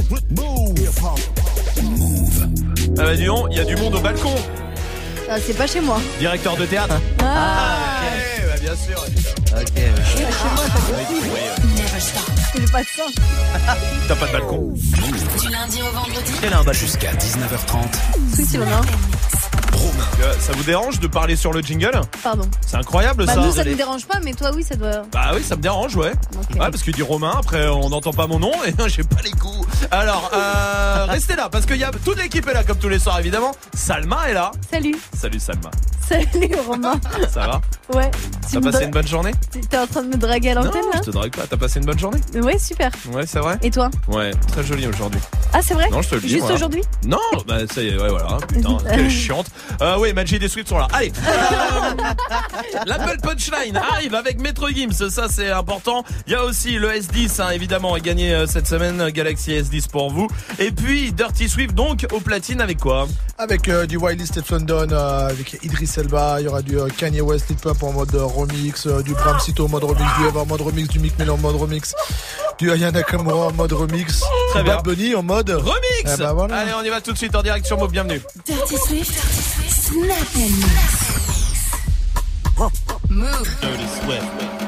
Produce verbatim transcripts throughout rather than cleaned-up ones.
Ah bah dis donc, il y a du monde au balcon. Ah, c'est pas chez moi. Directeur de théâtre. Ah, ah ok, bah bien sûr. Ok. c'est pas chez moi, ça fait J'ai pas de ça. T'as pas de balcon. Du lundi au vendredi. Elle a un balcon. Jusqu'à dix-neuf heures trente. Oui, c'est Romain. Romain. Euh, ça vous dérange de parler sur le jingle? Pardon. C'est incroyable Bah ça. nous ça nous dérange pas, mais toi oui ça doit. Bah oui, ça me dérange, ouais. Okay. Ouais, parce qu'il dit Romain, après on n'entend pas mon nom et j'ai pas les coups. Alors, euh, restez là parce qu'il y a toute l'équipe est là comme tous les soirs évidemment. Salma est là. Salut. Salut Salma. Salut Romain. Ça va? Ouais. T'as passé dra- une bonne journée? T'es en train de me draguer à l'antenne Non, là? je te drague pas. T'as passé une bonne journée? Ouais, super. Ouais, c'est vrai. Et toi? Ouais, très joli aujourd'hui. Ah c'est vrai? Non, je te le dis. Juste voilà. aujourd'hui? Non, bah ça y est, ouais voilà. Putain, quelle chiante. Euh, oui, Magic des Sweets sont là. Allez. Euh, L'Apple Punchline arrive avec Maître Gims, ça c'est important. Il y a aussi le S dix, hein, évidemment, gagné euh, cette semaine, Galaxy S dix pour vous. Et puis Dirty Swift donc au platine avec quoi? Avec euh, du Wiley State London, euh, avec Idris Elba, il y aura du euh, Kanye West, Lil Pump en mode euh, remix, euh, du Bram Sito en mode remix, du Eva en mode remix, du Mick Mill en mode remix, du Ayana Nakamura en mode remix, Très du bien. Bad Bunny en mode Remix. Eh ben voilà. Allez, on y va tout de suite en direct sur Move, bienvenue. Dirty Swift. Snap and mix. Move. Dirty Swift.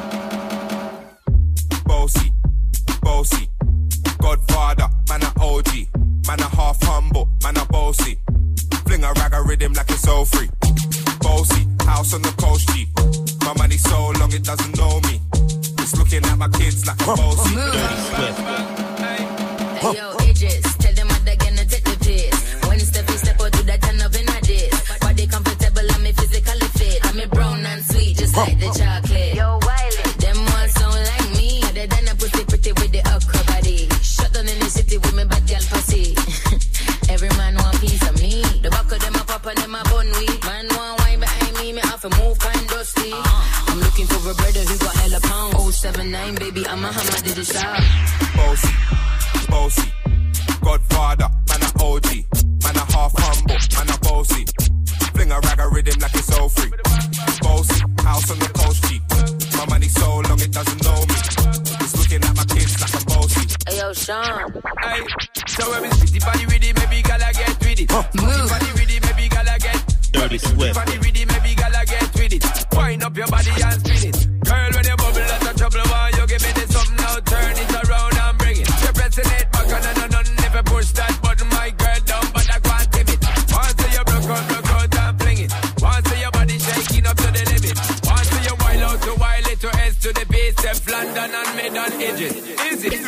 Bossy, bossy, Godfather, man a O G, man a half humble, man a bossy. Fling a rag a rhythm like it's all free. Bossy, house on the coast G. My money so long it doesn't know me. It's looking at my kids like a bossy. Dirty Swift. Hey yo, Idris, tell them what they're gonna take the piss. When step is step out, do that turn up in a diss. Body comfortable, I'm a physically fit. I'm a brown and sweet, just like the chocolate. Yo, Wiley, them all sound like me. Other than a pretty pretty with the upper body. Shut down in the city with me bad girl pussy. Every man want piece of me. The back of them a pop and them a bun weed. Man want wine behind me, me have to move kind dusty. I'm looking for a brother who got hella pound. oh seven nine, baby, I'm a hammer, did it shot. Bossy, bossy, Godfather, man a O G, man a half humble, man a bossy. Fling a rag a rhythm like it's all free. Bossy, house on the coast G. My money so long it doesn't know me. It's looking at my kids like a bossy. Hey yo, Sean. Hey, so when we spitty body with it, maybe gala get with it. Move. Body with it, maybe gala get. Dirty Swift. Body with it, maybe gala get with it. Wind up your body and spin it. Girl, when you bubble, that's a trouble. Why you give me this something now? Turn it around and bring it. You're pressing it back on and on. Never push that button, my girl, down, but I can't tip it. Once you broke out, broke out and fling it. Once your body shaking up to the limit. Once you wild out to wild it to S to the base, F London and mid on edges. Is it?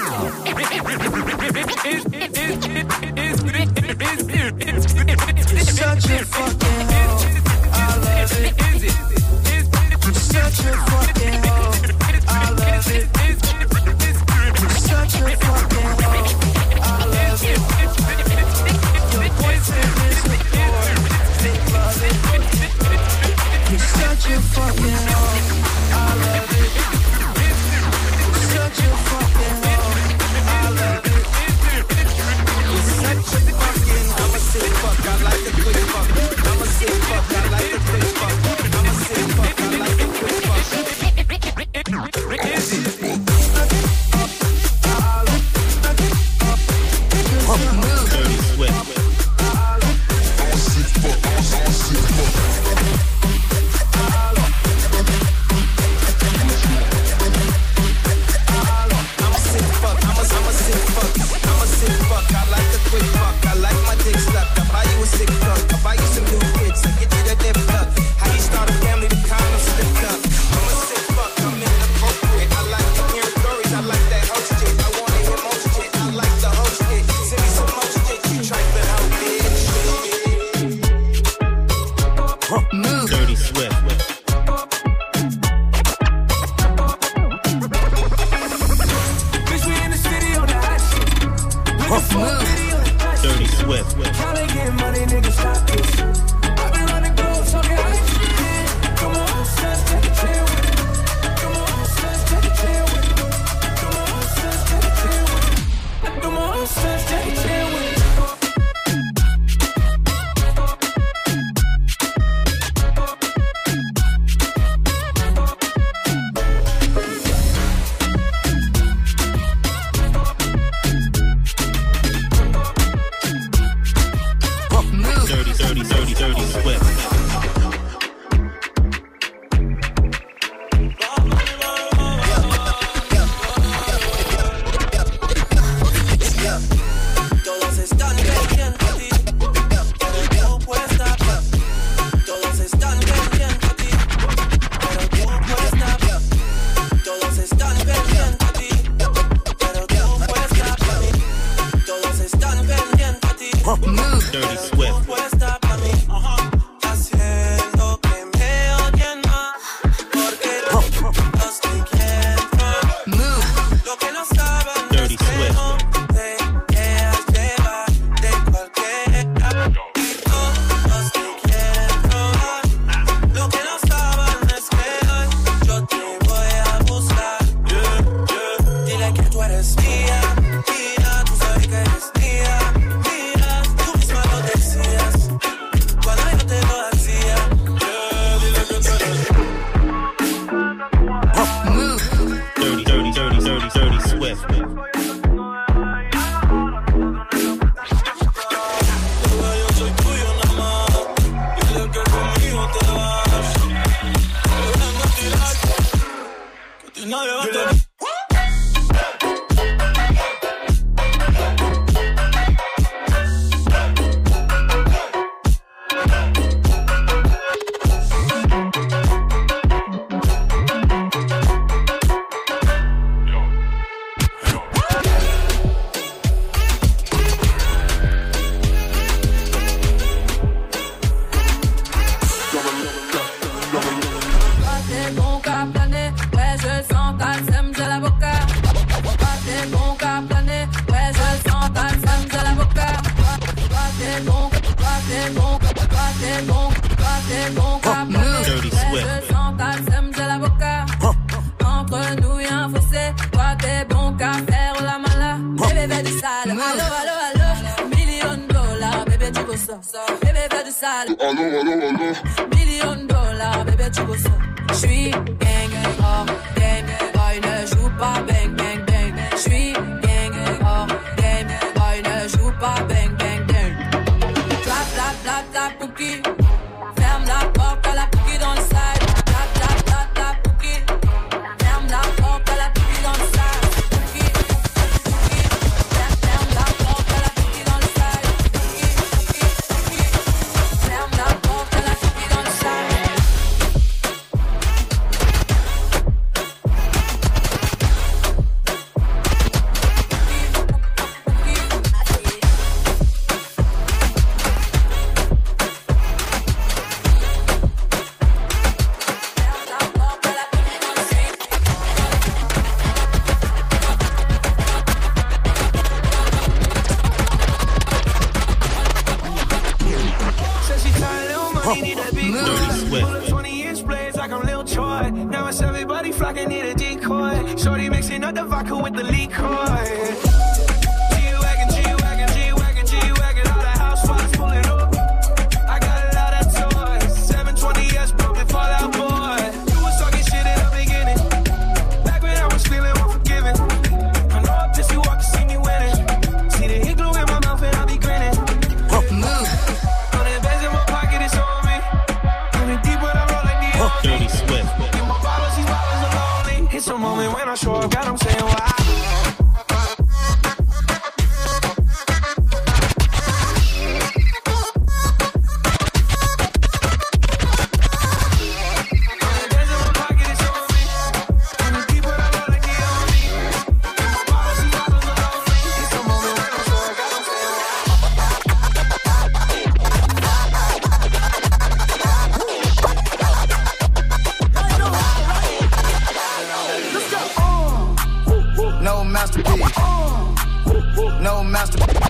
Such a fucking hoe, I love it. Is it? You're such a fucking hoe, I love it. You're such a fucking hoe, I love it. Your boyfriend is a whore, they love it. You're such a fucking hoe, I love it. You're such a fucking hoe, I love it. You're such a fucking, I'm a sick fuck, I like a quick fuck. I'm a sick fuck, I like a quick fuck. I'm a sick fuck, I like a quick fuck. Is it? Dirty Swift. I'm a sick fuck, I'm a, I'm a sick fuck. I'm a sick fuck, I like a quick fuck. I like my dick stuck. I buy you a sick fuck. I buy you some new kids. I get you that dip up. How you start a family, the condom slipped up. I'm a sick fuck, I'm inappropriate. I like to hear stories, I like that host shit. I wanna hear most shit, I like the host shit. Send me some more shit, you trifling out, bitch. Move. Dirty Swift. Bitch, we in the city on the hot shit. With the fuck video. Dirty Swift. Tryna get money, nigga, stop this. I've been on the go, talking hot shit. Come on, son, take a chill with it. Come on, son, take a chill with it. Come on, son, take a chill with it. Come on, son, take a chill with it. Dirty Swift. Puesta pa' mí, haciendo que me odien más, porque los que quiero, lo que no saben Dirty es que Swift. no te dejas llevar de cualquiera. Todos te quieren probar, lo que no saben es que hoy yo te voy a buscar. Yeah, yeah. Dile que tú eres mía, mía, tú sabes que eres mía. Dirty, dirty, dirty, dirty, dirty Swift. Dirty Swift. Entre nous y'a un fossé. Toi t'es bon qu'à faire la mala. Bébé fais du sale. Allo, allo, allo. Million dollars, bébé tu veux ça. Bébé fais du sale. Allo, allo, allo. Million dollars, bébé tu veux ça. J'suis gang, oh game. Boy ne joue pas bang, bang, bang. J'suis gang, oh game. Boy ne joue pas bang, bang, bang. Clap, clap, clap, clap, cookie. Ferme la porte à la cookie dans le side. Clap, clap, clap, clap, cookie. Ferme la porte à la cookie dans le side. Cookie, cookie. Ferme la porte à la cookie dans le side. Cookie, cookie, cookie. Ferme la porte à la cookie dans le side. Dirty Swift. twenty inch blades like I'm Lil Troy. Now it's everybody flocking, need a decoy. Shorty mixing up the vodka with the liquor. G-Wagon, G-Wagon, G-Wagon, G-Wagon. All the housewives pulling up. I got a lot of toys. seven twenty S broken Fallout Boy. You was talking shit in the beginning. Back when I was feeling unforgiving. I know up just you walk to see me winning. See the hit glue in my mouth and I be grinning. Hundred bands in my pocket, it's on me. Hundred deep when I roll like the Dirty Swift. Get my bottles, these bottles are lonely. It's a moment when I show up, God, I'm saying why. No masterpiece. No masterpiece.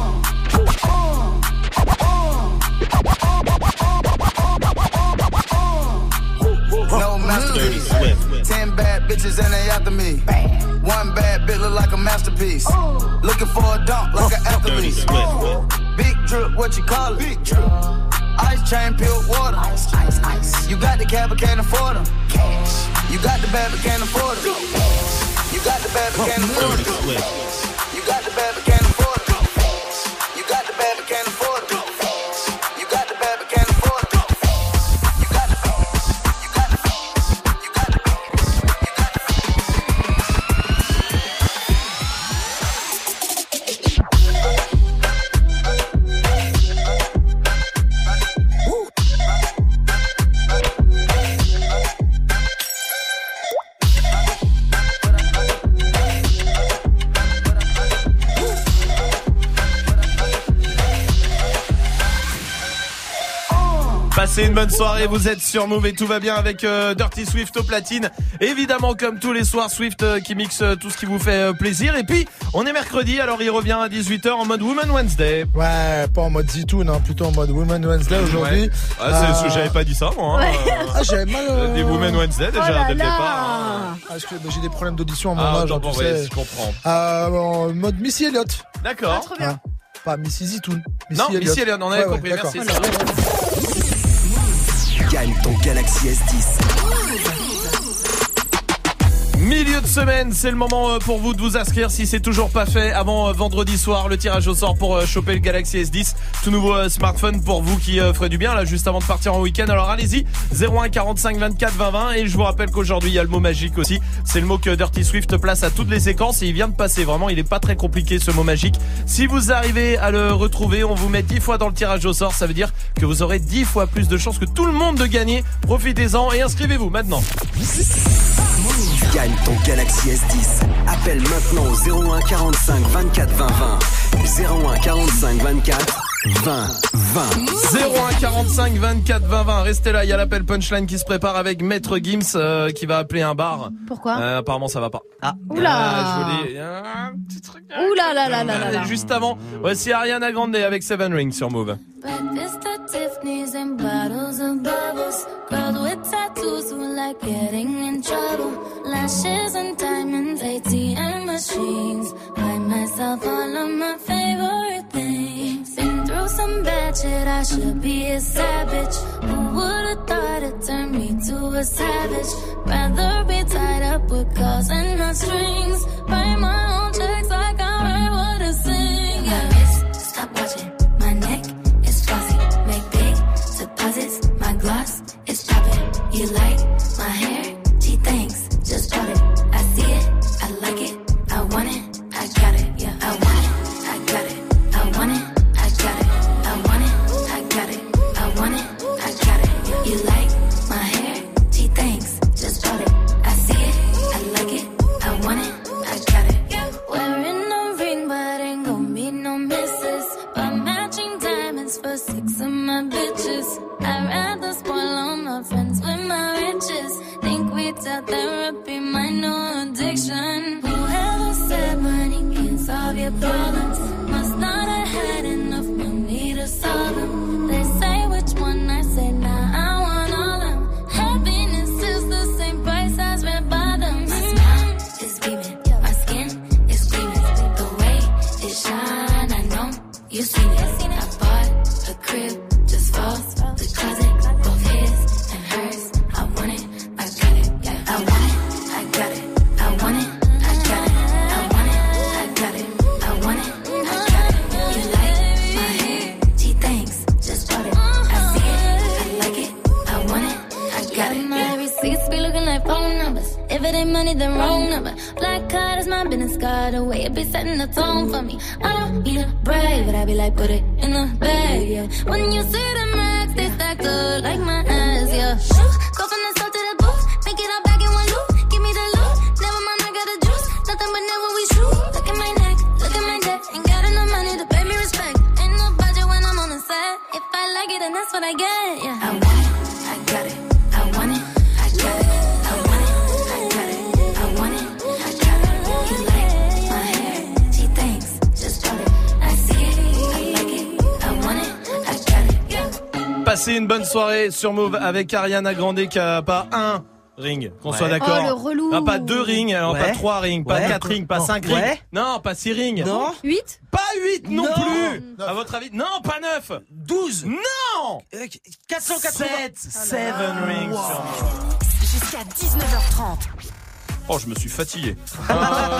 No Dirty masterpiece. Swift. Ten bad bitches and they after me. One bad bitch look like a masterpiece. Looking for a dunk like an Dirty athlete. Swift. Big drip, what you call it? Big drip. Ice chain, pure water. Ice, ice, ice. You got the cab, but can't afford them. Cash. You got the bad, but can't afford them. You got the bad, but can't afford Dirty them. Swift. You got the bad, but can't afford them. You got the bad, but can't afford them. You got the bad, but can't afford them. You got the bad, you got the bad, you got the bad, you got the Passez une bonne soirée, vous êtes sur Move et tout va bien avec euh, Dirty Swift au platine. Évidemment, comme tous les soirs, Swift euh, qui mixe euh, tout ce qui vous fait euh, plaisir. Et puis, on est mercredi, alors il revient à dix-huit heures en mode Woman Wednesday. Ouais, pas en mode Zitoun, hein, plutôt en mode Woman Wednesday aujourd'hui. Ouais. Ah, c'est, euh... J'avais pas dit ça, moi. Hein. Ouais. Ah, j'avais mal. Euh... Des Woman Wednesday déjà, oh là dès le là. départ. Hein. Ah, parce que bah, j'ai des problèmes d'audition à mon ah, âge, hein, tu ouais, sais. je comprends. Euh, en mode Missy Elliott. D'accord. Ah, trop bien. Hein. Pas Missy Zitoun. Non, Missy Elliott, on avait ouais, compris, ouais, merci. Gagne ton Galaxy S dix. Milieu de semaine, c'est le moment pour vous de vous inscrire si c'est toujours pas fait avant vendredi soir, le tirage au sort pour choper le Galaxy S dix, tout nouveau smartphone pour vous qui ferait du bien là juste avant de partir en week-end. Alors allez-y, zéro un quarante-cinq vingt-quatre vingt vingt, et je vous rappelle qu'aujourd'hui il y a le mot magique aussi. C'est le mot que Dirty Swift place à toutes les séquences et il vient de passer. Vraiment, il est pas très compliqué ce mot magique. Si vous arrivez à le retrouver, on vous met dix fois dans le tirage au sort. Ça veut dire que vous aurez dix fois plus de chances que tout le monde de gagner. Profitez-en et inscrivez-vous maintenant. Gagne ton Galaxy S dix. Appelle maintenant au zéro un quarante-cinq vingt-quatre vingt vingt. zéro un quarante-cinq vingt-quatre vingt vingt. zéro un quarante-cinq vingt-quatre vingt vingt. Restez là, il y a l'appel punchline qui se prépare avec Maître Gims euh, qui va appeler un bar. Pourquoi euh, Apparemment ça va pas. Ah. Oula. Ah, je voulais un petit truc. Oula là là là là là. Juste avant, voici Ariana Grande avec Seven Rings sur Move. Breakfast at Tiffany's and bottles of bubbles. Girls with tattoos who like getting in trouble. Lashes and diamonds, A T M machines. Buy myself all of my favorite things. Been through some bad shit, I should be a savage. Who would've thought it turned me to a savage? Rather be tied up with calls and not strings. Write my own checks like I write what I sing. Yeah, wrist, stop watching. My neck is flossy. Make big deposits. My gloss is popping. You like my hair? Gee, thanks. Just bought it. I see it. I like it. I want it. I got it. Yeah, I want it. I got it. I want it. I got it. I want it. I got it. I want it. I got it. Yeah. You like my hair? Gee, thanks. Just bought it. I see it. I like it. I want it. I got it. Yeah. Wearing a ring, but ain't gon' be no misses. But matching diamonds for six of my bitches. I'd rather spoil all my friends with my riches. Think we tell therapy my new addiction. Whoever said money can solve your problems must not have had enough money to solve them. They say which one, I say nah, I want all them. Happiness is the same price as red bottoms. My smile is beaming, my skin is gleaming. The way it shine, I know you seen it. I bought a crib just for the closet, both his and hers. I want it, I got it, yeah. I want it, I got it. I want it, I got it. I want it, I got it. I want it, I got it. You like my hair? Gee, thanks. Just bought it. I see it, I like it. I want it, I got it. My receipts be looking like phone numbers. If it ain't money, then wrong number. Black card is my business card. The way it be setting the tone for me. I don't need a brag, but I be like, put it in the bag, yeah. When you see the max, they stacked up like my ass, yeah. Go from the south to the booth, make it all back in one loop. Give me the loot, never mind, I got the juice. Nothing but never we shoot. Look at my neck, look at my debt. Ain't got enough money to pay me respect. Ain't no budget when I'm on the set. If I like it, then that's what I get, yeah. I want it, I got it. I want it, I got it. I want it, I got it. I want it, I got it. You like my hair? Gee, thanks. Just bought it. I see it, I like it. I want it, I got it. Yeah. Passez une bonne soirée sur Move avec Ariana Grande qui a pas un ring, qu'on Ouais. soit d'accord. Oh, le relou. Non, pas deux rings, alors Ouais. pas trois rings, pas Ouais. quatre rings, pas Non. cinq Ouais. rings. Non, pas six rings. Non. huit Pas huit non, Non. plus. Neuf. À votre avis? Non, pas neuf. douze. Non. Euh, quatre cent quatre-vingts. sept. Seven rings. Wow. sur Move. Jusqu'à dix-neuf heures trente. Oh, je me suis fatigué. Euh,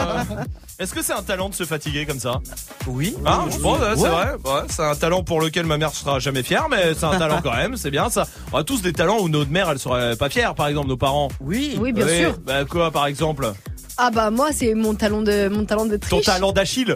Est-ce que c'est un talent de se fatiguer comme ça? Oui. Ah, je pense, ouais, c'est Ouais. vrai. Ouais, c'est un talent pour lequel ma mère sera jamais fière, mais c'est un talent quand même, c'est bien ça. On a tous des talents où notre mère, elle serait pas fière, par exemple, nos parents. Oui. Oui, bien Oui, sûr. Bah quoi, par exemple? Ah bah moi c'est mon talent de mon talent de Ton triche. talent d'Achille.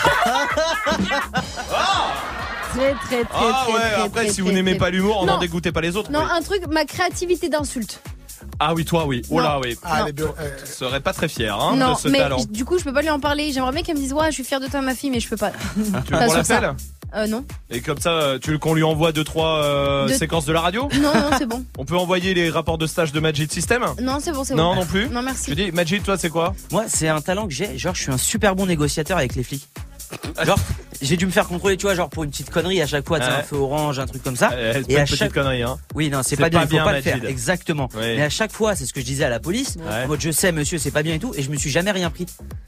Très très très Ah très, ouais, très, après très, si très, vous n'aimez très- pas l'humour, Non. n'en dégoûtez pas les autres. Non, Oui. un truc, ma créativité d'insulte. Ah oui, toi oui. Oh là oui. Ah, Non. les bio- euh, Je serais pas très fier hein, non, de ce mais talent. du coup je peux pas lui en parler. J'aimerais bien qu'elle me dise ouais, je suis fière de toi ma fille, mais je peux pas. Tu veux Pas qu'on sur ça. l'appelle? Euh, non. Et comme ça, tu veux qu'on lui envoie deux trois euh, De- séquences de la radio? Non, non, c'est bon. On peut envoyer les rapports de stage de Majid System? Non, c'est bon, c'est Non, bon. non plus. Non, merci. Tu dis, Majid, toi, c'est quoi? Moi, c'est un talent que j'ai. Genre, je suis un super bon négociateur avec les flics. Genre, j'ai dû me faire contrôler, tu vois, genre pour une petite connerie à chaque fois, tu sais, Ouais. un feu orange, un truc comme ça. Euh, c'est Et pas une à petite chaque connerie, hein. Oui, non, c'est C'est pas bien, pas il faut bien, pas le faire. Majid. Exactement. Oui. Mais à chaque fois, c'est ce que je disais à la police. Ouais. En mode, je sais, monsieur, c'est pas bien et tout, et je me suis jamais rien pris.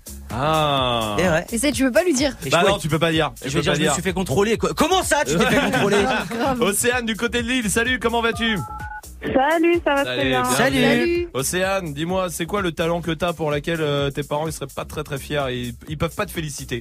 Ah. Et ouais. Et ça, tu veux pas lui dire. Et Bah je, non, tu peux pas dire. je Tu veux peux dire, pas je me suis fait contrôler. quoi. Comment ça, tu t'es fait contrôler? Océane du côté de Lille, salut, comment vas-tu? Salut, ça va Salut, très bien. bienvenue. Salut. Salut. Océane, dis-moi, c'est quoi le talent que t'as pour laquelle euh, tes parents ils seraient pas très très fiers et ils, ils peuvent pas te féliciter?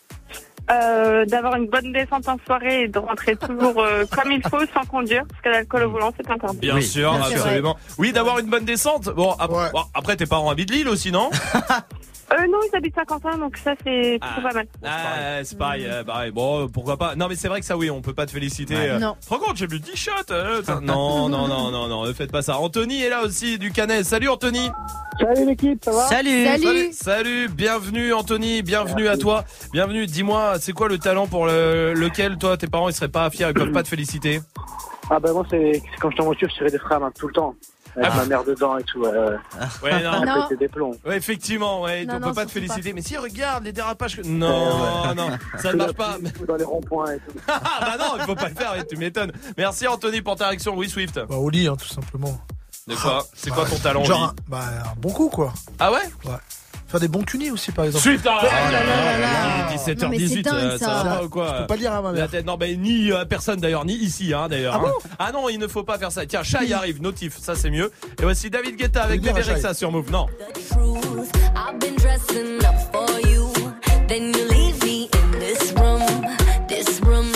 Euh, d'avoir une bonne descente en soirée et de rentrer toujours euh, comme il faut sans conduire, parce que l'alcool au volant c'est interdit. Bien Oui, sûr, bien sûr. absolument. Oui, d'avoir une bonne descente. Bon, ap- Ouais. bon, après tes parents habitent Lille aussi, non? Euh, non, ils habitent Saint-Quentin, donc ça c'est Ah. plutôt pas mal. Ah, c'est pareil, euh, pareil. Bon, pourquoi pas. Non, mais c'est vrai que ça, oui, on peut pas te féliciter. Ouais. euh. Non. Tu te rends compte, j'ai bu dix shots. euh, ça- non, non, non, non, non, ne faites pas ça. Anthony est là aussi du Canet. Salut Anthony. Salut l'équipe, ça va? Salut. Salut. Salut, salut, bienvenue Anthony, bienvenue à toi. Bienvenue, dis-moi, c'est quoi le talent pour le- lequel toi, tes parents, ils seraient pas fiers, ils peuvent pas te féliciter? Ah bah moi c'est c'est quand j'étais en voiture, je tirais des freins à main tout le temps. Avec Ah. ma mère dedans et tout. Euh, Ouais, non. Non. péter des plombs. Ouais, effectivement, ouais, Non, on non, peut pas te surtout féliciter. pas. Mais si, regarde les dérapages. que- Non, non, ça ne marche pas. Dans les ronds-points et tout. Ah bah non, il faut pas le faire, ouais, tu m'étonnes. Merci Anthony pour ta réaction, oui Swift. Bah, au lit, hein, tout simplement. De quoi? C'est Bah, quoi ton talent? Genre, Oli un, bah, un bon coup, quoi. Ah ouais? Faire des bons tunis aussi, par exemple. Suite à Oh là là là là. Il est dix-sept Non, heures mais c'est dix-huit, dingue, euh, ça. ça va pas ou quoi? Je peux pas le dire à ma La mère. tête, non, mais ni à personne d'ailleurs, ni ici, hein, d'ailleurs. Ah bon hein. Ah non, il ne faut pas faire ça. Tiens, Chat y arrive, notif, ça c'est mieux. Et voici David Guetta avec Faut le Bébé dire à Rexha sur Move. Non. truth. I've been dressing up for you. Then you leave me in this room, this room.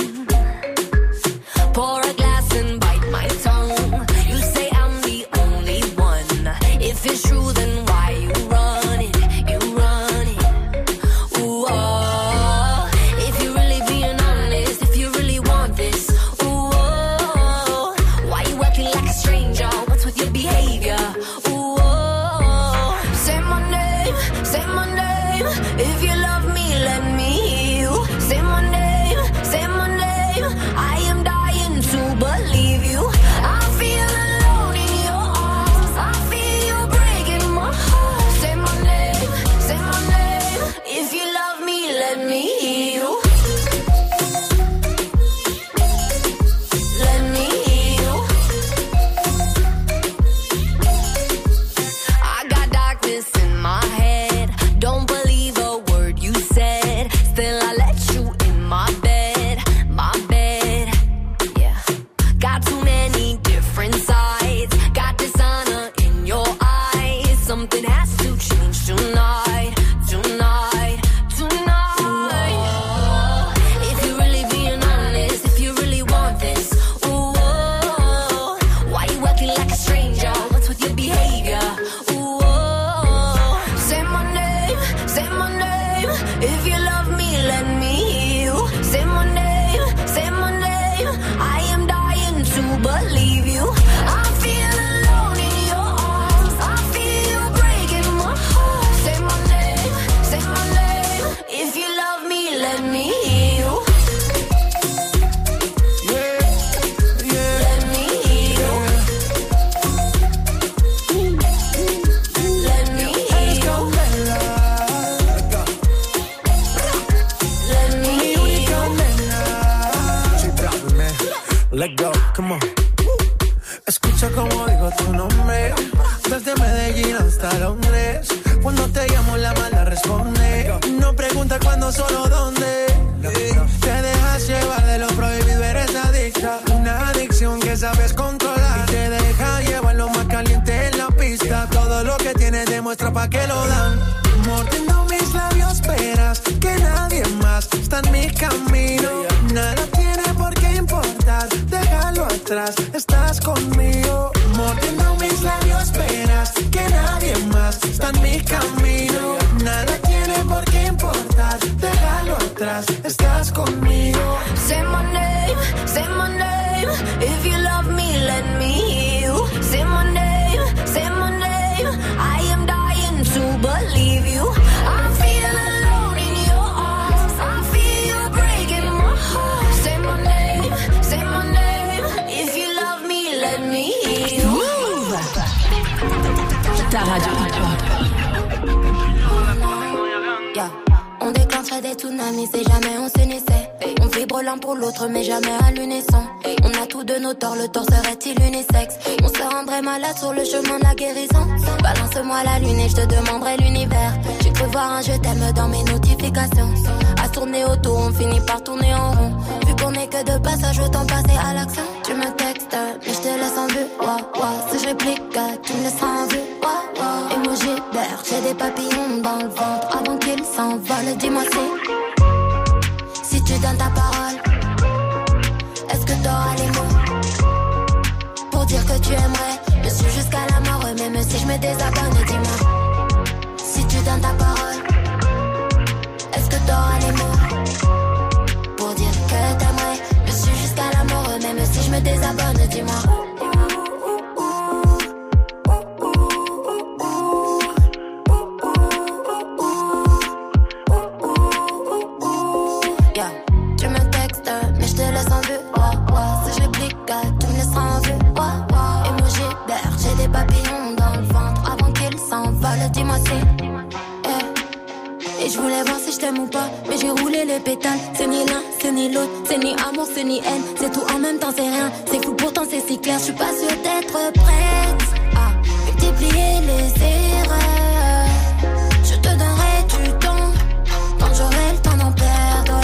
Pour a glass and bite my tongue. You say I'm the only one. If it's true, then why you run it? You run it. Ooh, oh. If you really being honest, if you really want this, ooh, oh. Why you acting like a stranger? What's with your behavior? Ooh, oh. Say my name, say my name. If you love me, let me hear you. Say my name, say my name. I am dying to believe you. I feel alone in your arms. I feel you breaking my heart. Say my name, say my name. If you love me, let me hear you. Let me hear you. I got darkness in my head. Don't believe a word you said. Still, I let you in my bed, my bed. Yeah. Got too many different sides. Got dishonor in your eyes. Something has to change tonight, tonight, tonight. If you really being honest, if you really want this, ooh, oh, why you acting like a stranger? What's with your behavior? Ooh, oh, say my name, say my name. If you love me, let me hear you. Say my name, say my name. I am dying to believe you. I feel alone in your arms. I feel you breaking my heart. Say my name, say my name. If you love me, let me hear you. Let me hear you. Let me hear you. Let me hear you. Let go, come on. Escucha como digo tu nombre. Desde Medellín hasta Londres. Cuando te llamo la mala responde. No pregunta cuándo, solo dónde. Te dejas llevar de lo prohibido, eres adicta. Una adicción que sabes controlar. Y te deja llevar lo más caliente en la pista. Todo lo que tienes demuestra pa' que lo dan. Mordiendo mis labios, esperas que nadie más está en mi camino. Nada tiene por qué importar, déjalo atrás, estás conmigo. Mordiendo mis labios, esperas que nadie más está en mi camino. Nada tiene por qué importar, déjalo atrás, estás conmigo. Say my name, say my name. If you love me, let me hear you. Say my name, say my name. I am dying to believe you. I feel alone in your arms. I feel you breaking my heart. vivre l'un pour l'autre, mais jamais à l'unisson. On a tous de nos torts, le tort serait-il unisexe? On se rendrait malade sur le chemin de la guérison. Balance-moi la lune et je te demanderai l'univers. J'ai cru voir un je t'aime dans mes notifications. À tourner autour, on finit par tourner en rond. Vu qu'on est que de passage, autant passer à l'action. Tu me textes, mais je te laisse en vue. Wow, wow. Si je réplique, tu me laisseras en vue. Wow, wow. Emoji vert, j'ai des papillons dans le ventre. Avant qu'ils s'envolent, dis-moi si Si tu donnes ta parole, est-ce que t'auras les mots pour dire que tu aimerais me suivre jusqu'à la mort? Même si je me désabonne, dis-moi si tu donnes ta parole, est-ce que t'auras les mots pour dire que t'aimerais me suivre jusqu'à la mort? Même si je me désabonne, dis-moi. Dis-moi si eh. Et je voulais voir si je t'aime ou pas, mais j'ai roulé les pétales. C'est ni l'un, c'est ni l'autre, c'est ni amour, c'est ni haine. C'est tout en même temps, c'est rien. C'est fou, pourtant c'est si clair. Je suis pas sûre d'être prête à multiplier les erreurs. Je te donnerai du temps quand j'aurai le temps d'en perdre.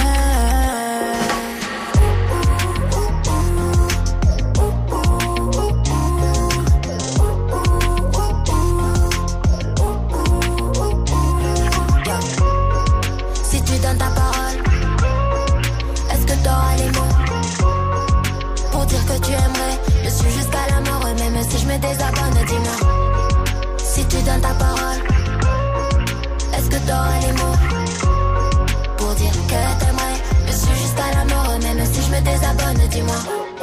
Tu aimerais, je suis jusqu'à la mort, même si je me désabonne, dis-moi si tu donnes ta parole, est-ce que t'auras les mots pour dire que t'aimerais, je suis jusqu'à la mort, même si je me désabonne, dis-moi.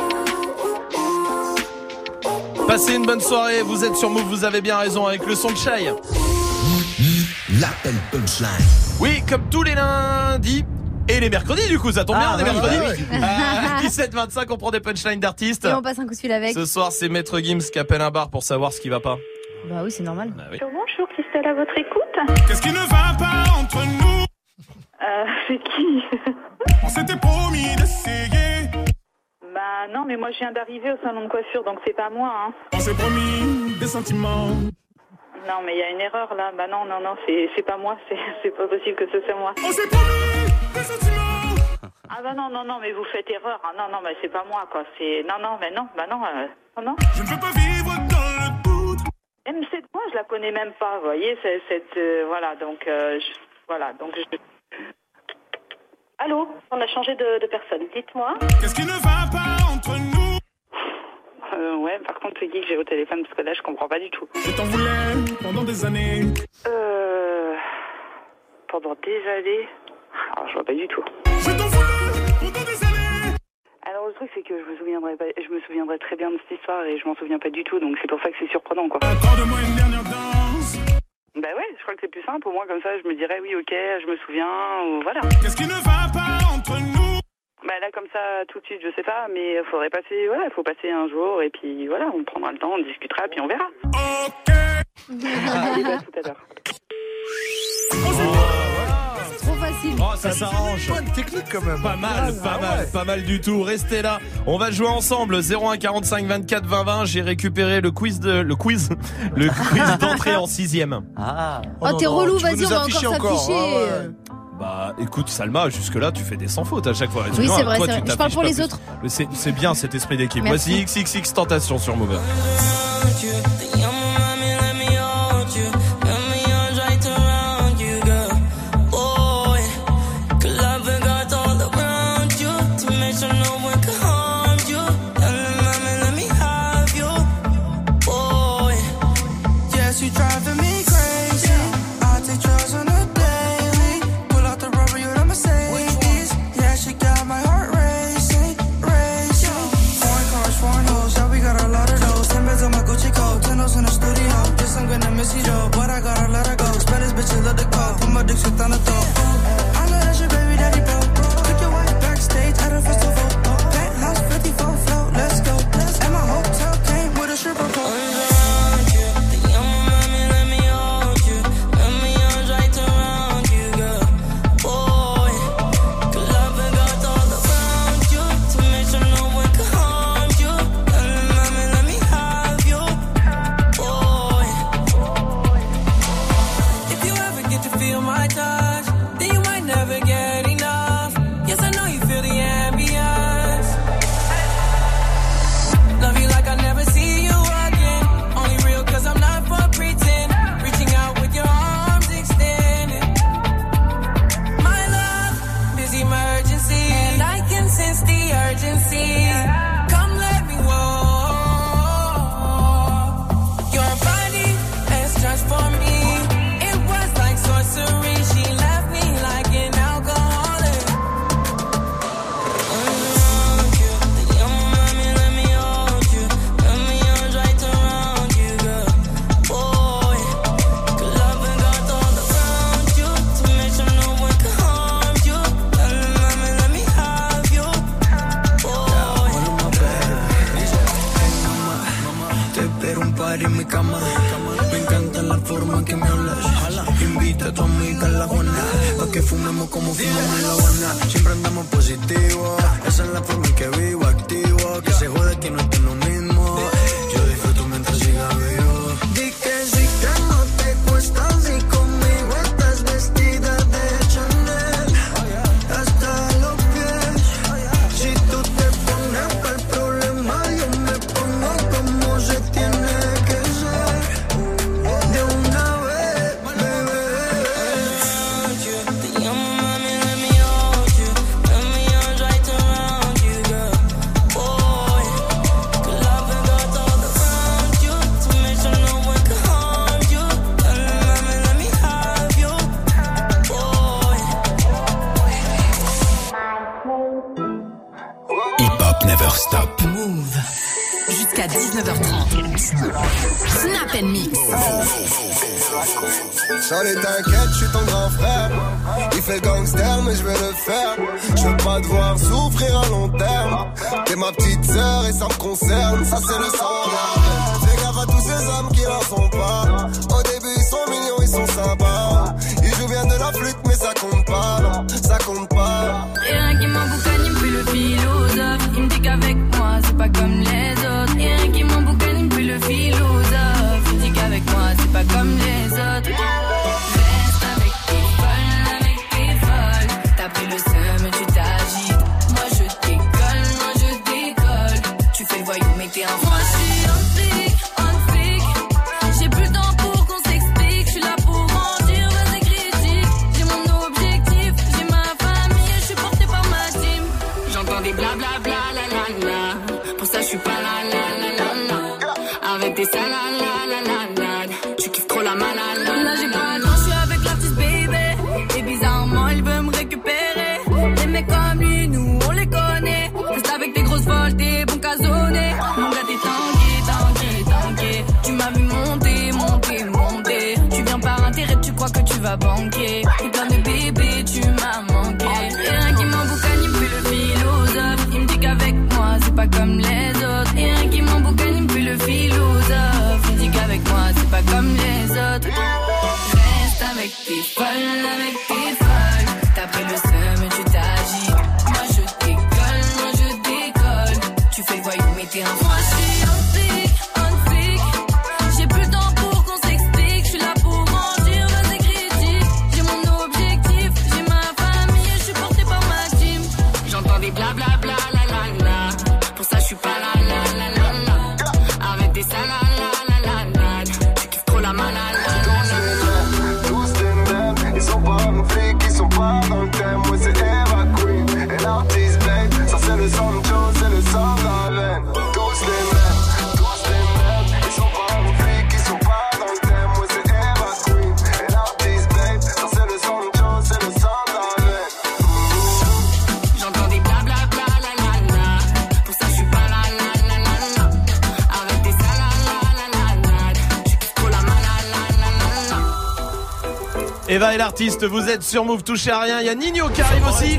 Passez une bonne soirée, vous êtes sur Move, vous avez bien raison avec le son de Shai. L'appel punchline. Oui, comme tous les lundis et les mercredis, du coup, ça tombe ah, bien, les oui, mercredis. ouais, ouais. Euh, dix-sept vingt-cinq, on prend des punchlines d'artistes. Et on passe un coup de fil avec. Ce soir, c'est Maître Gims qui appelle un bar pour savoir ce qui va pas. Bah oui, c'est normal. Bah oui. Bonjour, Christelle, à votre écoute. Qu'est-ce qui ne va pas entre nous? Euh, c'est qui? On s'était promis d'essayer. Bah non, mais moi je viens d'arriver au salon de coiffure, donc c'est pas moi, hein. On s'est promis des sentiments. Non, mais il y a une erreur là. Bah non, non, non, c'est, c'est pas moi, c'est, c'est pas possible que ce soit moi. On s'est promis des sentiments. Ah bah non, non, non, mais vous faites erreur. Ah, non, non, mais c'est pas moi, quoi. C'est... Non, non, mais non, bah non, euh... non, non. Je ne veux pas vivre dans le doute. M C, moi, je la connais même pas, vous voyez, c'est, cette... Euh, voilà, donc... Euh, je... Voilà, donc je... Allô, on a changé de, de personne, dites-moi. Qu'est-ce qui ne va pas entre nous? Euh, ouais, par contre, c'est qui que j'ai au téléphone, parce que là, je comprends pas du tout. Je t'en voulais pendant des années. Euh... Pendant des années... Alors, je vois pas du tout. Je t'en voulais pendant des années. Alors, le truc, c'est que je me souviendrai pas... Je me souviendrai très bien de cette histoire et je m'en souviens pas du tout, donc c'est pour ça que c'est surprenant, quoi. Accorde-moi une dernière danse. Bah ouais, je crois que c'est plus simple. Au moins, comme ça, je me dirais, oui, ok, je me souviens, ou voilà. Qu'est-ce qui ne va pas entre nous? Bah là, comme ça, tout de suite, je sais pas, mais il faudrait passer, voilà, il faut passer un jour, et puis voilà, on prendra le temps, on discutera, puis on verra. Ok. Allez, bah, tout à l'heure. Trop facile. Oh, ça s'arrange. Point de technique quand même. Pas mal, pas ah, mal, ouais. pas mal du tout. Restez là. On va jouer ensemble. zéro un quarante-cinq vingt-quatre vingt vingt. J'ai récupéré le quiz de, le quiz, le quiz d'entrée en sixième. Ah. Oh, non, t'es non, relou, tu veux vas-y, nous on va afficher encore s'afficher. encore, ah, ouais. Bah, écoute, Salma, jusque là, tu fais des sans fautes à chaque fois. Oui, Excuse-moi, c'est vrai, toi, c'est tu vrai. Je parle t'affiches pour pas les plus. autres. Mais C'est, c'est bien cet esprit d'équipe. Merci. Voici X X X Tentation sur Move. Ten toes cama. Me encanta la forma en que me hablas. Invita a tu amiga a la Juana, pa' que fumemos como fumamos en La Habana. Siempre andamos positivo, esa es la forma en que vivo, activo. Que se jode que no esté lo mismo. Yo disfruto mientras siga vivo. Di que sí que no te cuesta, si conmigo estás vestida de Chanel hasta los pies. Si tú te pones para el problema, yo me pongo como se tiene que ser. De una vez, bebé. Te llamo mami, let me hold you. Let me arms right around you, girl. Boy, que la venga todo around you. To make sure no one can harm you. Mami, let me have you, boy. Hip-hop never stop. Move. Jusqu'à dix-neuf heures trente. Snap and Mix. Charlie, t'inquiète, je suis ton grand frère. Il fait le gangster, mais je vais le faire. Je veux pas te voir souffrir à long terme. T'es ma petite sœur et ça me concerne. Ça, c'est le sang. Fais gaffe à tous ces hommes qui n'en sont pas. Au début, ils sont mignons, ils sont sympas. Ils jouent bien de la flûte, mais ça compte pas. Non, ça compte pas. Rien qui m'emboucane, il me fait le philosophe. Il me dit qu'avec moi, c'est pas comme les autres. Rien qui m'emboucane, il me fait le philosophe. Il me dit qu'avec moi, c'est pas comme les autres. Reste avec tes folles, avec tes folles. T'as pris le seum, tu t'agites. Moi je décolle, moi je décolle. Tu fais le voyou, mais t'es un moi je suis un flic, un flic. J'ai plus le temps pour qu'on s'explique. Je suis là pour mentir, vas-y critique. J'ai mon objectif, j'ai ma famille. Je suis porté par ma team. J'entends des blablabla, la la la. Pour ça je suis pas la la la la la. Avec tes salades, la la la la. Tu kiffes trop la malade. Là j'ai pas le temps, je suis avec l'artiste baby. Et bizarrement il veut me récupérer. Des mecs comme lui, nous on les connaît. Reste avec tes grosses folles, t'es bon casonné. Mon gars t'es tangué, tangué, tangué. Tu m'as vu monter, monter, monter. Tu viens par intérêt, tu crois que tu vas banquer. Et plein de bébés, tu m'as manqué. Et rien qui m'emboucane, il me fait le philosophe. Il me dit qu'avec moi, c'est pas comme les autres. Et rien qui m'emboucane, il me fait le philosophe. Il me dit qu'avec moi, c'est pas comme les autres. Reste avec tes folles, avec tes folles. T'as pris le seum, tu t'agis. Moi je décolle, moi je décolle. Tu fais le voyou, mais t'es un moi je suis un flic, un flic. J'ai plus le temps pour qu'on s'explique. Je suis là pour mentir, vas-y critique. J'ai mon objectif, j'ai ma famille. Je suis porté par ma team. J'entends des blablabla, la la la. Pour ça je suis pas la la la la la. Avec des salades, la la la la. Tu kiffes trop la malade. Tous les mêmes, ils sont pas nos flics, ils sont pas dans le thème. Moi c'est Eva Queen et l'artiste Babe. Ça c'est le Sancho, c'est le sang dans la veine. Tous les mêmes, tous les mêmes, ils sont pas nos flics, ils sont pas dans le thème. Moi c'est Eva Queen et l'artiste Babe. Ça c'est le Sancho, c'est le sang dans la veine. J'entends des blablabla, la la la. Pour ça je suis pas la la la la la. Avec des salades, la la la la. Tu kiffes trop la malade, la la la la. Eva et l'artiste, vous êtes sur Move, touchez à rien. Il y a Nino qui arrive aussi.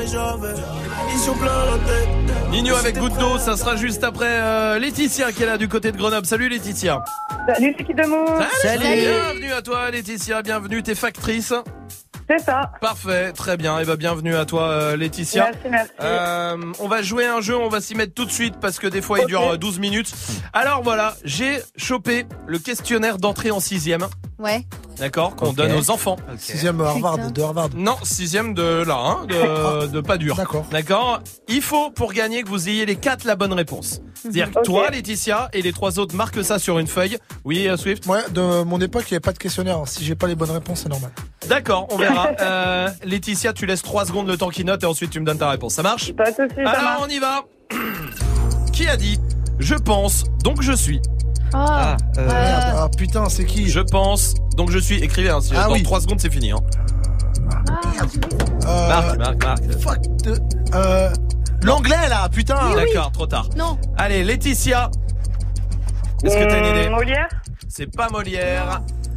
Nino avec Goutte d'eau, ça sera juste après euh, Laetitia qui est là du côté de Grenoble. Salut Laetitia. Salut, c'est qui de Move. Salut. Bienvenue à toi Laetitia, bienvenue, t'es factrice. C'est ça. Parfait, très bien. Et bah bienvenue à toi euh, Laetitia. Merci, merci. Euh, on va jouer un jeu, on va s'y mettre tout de suite parce que des fois il Okay. dure douze minutes. Alors voilà, j'ai chopé le questionnaire d'entrée en sixième. Ouais. D'accord, qu'on Ok. donne aux enfants. Sixième Harvard, de Harvard. Non, sixième de là, hein, de, de pas dur. D'accord. D'accord. Il faut pour gagner que vous ayez les quatre la bonne réponse. C'est-à-dire que Ok. toi, Laetitia, et les trois autres marquent ça sur une feuille. Oui, euh, Swift. Ouais, de mon époque, il n'y avait pas de questionnaire. Si j'ai pas les bonnes réponses, c'est normal. D'accord, on verra. Euh, Laetitia, tu laisses trois secondes le temps qu'il note et ensuite tu me donnes ta réponse. Ça marche? Pas de soucis, ça Alors marche. on y va. Qui a dit je pense donc je suis? Ah, euh, merde. Ah putain, c'est qui? Je pense donc je suis. Écrivez. Hein, si Ah dans oui. trois secondes c'est fini. Hein. Euh, Marc, Marc, Marc. Fuck de. Euh. L'anglais là, putain. Oui, oui. D'accord, trop tard. Non. Allez, Laetitia. Est-ce que t'as une idée? Molière. C'est pas Molière.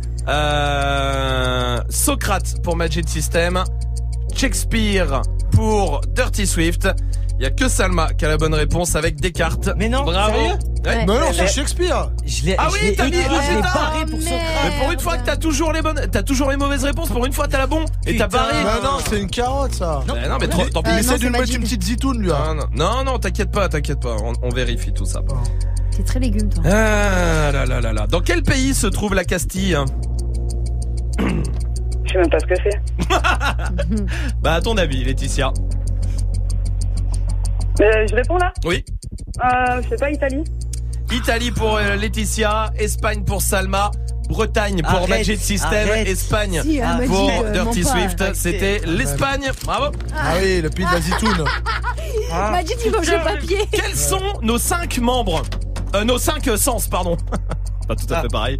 Euh, Socrate pour Magic System. Shakespeare pour Dirty Swift. Il y a que Salma qui a la bonne réponse avec Descartes. Mais non, bravo. sérieux Ouais. Non, non, c'est Shakespeare. Je l'ai, Ah je oui, l'ai t'as mis- écrit, ah, je l'ai putain. barré pour Socrate. Mais pour une fois que t'as toujours les bonnes, t'as toujours les mauvaises réponses. Pour une fois, t'as la bonne et t'as Putain. barré. Bah non, c'est une carotte ça. Non, mais, non, mais trop- tant pis. Il Euh, essaie non, de c'est nous mettre Majid. une petite zitoune lui. hein. Non, non, non, non, t'inquiète pas, t'inquiète pas. On, on vérifie tout ça. T'es très légume, toi. Ah là là là là. Dans quel pays se trouve la Castille? Je sais même pas ce que c'est. Bah à ton avis, Laetitia. Euh, je réponds là Oui. euh, Je sais pas, Italie. Italie pour euh, Laetitia, Espagne pour Salma, Bretagne pour Arrête, Magic System, arrête. Espagne Si, euh, Magic, pour euh, Dirty mens pas. Swift. C'était l'Espagne. Bravo. Ah oui, le pays de la zitoune. Majid, il mange le papier. Quels sont nos cinq membres euh, Nos cinq euh, sens, pardon. Pas tout à fait pareil.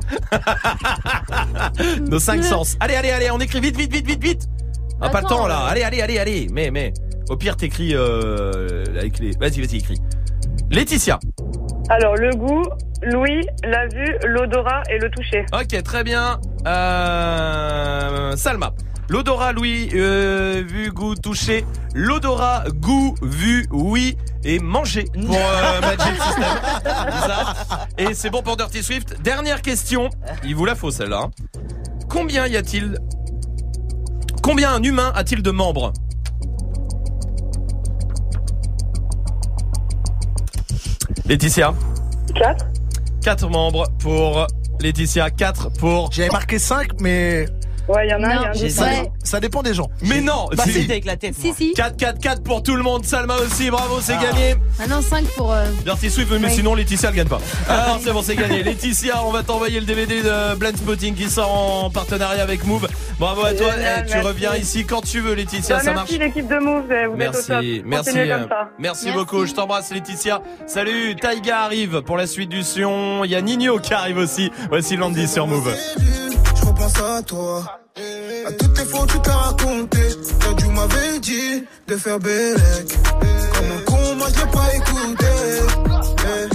Nos cinq sens. Allez, allez, allez, on écrit vite, vite, vite, vite, vite. On a pas le Attends, temps là. euh. Allez, allez, allez, allez. Mais, mais. Au pire, t'écris euh, avec les. Vas-y, vas-y, écris. Laetitia. Alors, le goût, l'ouïe, la vue, l'odorat et le toucher. Ok, très bien. Euh, Salma. L'odorat, l'ouïe, euh, vue, goût, toucher. L'odorat, goût, vue, oui et manger pour euh, Magic System. C'est ça. Et c'est bon pour Dirty Swift. Dernière question. Il vous la faut celle-là. hein. Combien y a-t-il Combien un humain a-t-il de membres? Laetitia. quatre. quatre membres pour Laetitia. quatre pour... J'avais marqué cinq, mais Ouais, il y en a un, il y a un j'ai doute. ça. Ouais. ça dépend des gens. Mais non, Bah, c'est c'était avec la tête. Si, moi. si. quatre quatre quatre pour tout le monde. Salma aussi, bravo, c'est Ah. gagné. Maintenant, cinq pour. euh, Dirty Swift, mais Ouais. sinon Laetitia elle gagne pas. Alors c'est bon, c'est gagné. Laetitia, on va t'envoyer le D V D de Blend Spotting qui sort en partenariat avec Move. Bravo à toi. Génial, Eh, tu merci. reviens ici quand tu veux, Laetitia, Bah, ça marche. merci l'équipe de Move, vous êtes au Merci, top. merci, Continuez euh, comme ça. merci Merci. beaucoup. Je t'embrasse, Laetitia. Salut, Taiga arrive pour la suite du son. Il y a Nino qui arrive aussi. Voici Landy sur Move. Je repense à toi, à toutes les fois que tu t'as raconté. Toi tu m'avais dit de faire bélec. Comme un con, moi je l'ai pas écouté. Eh.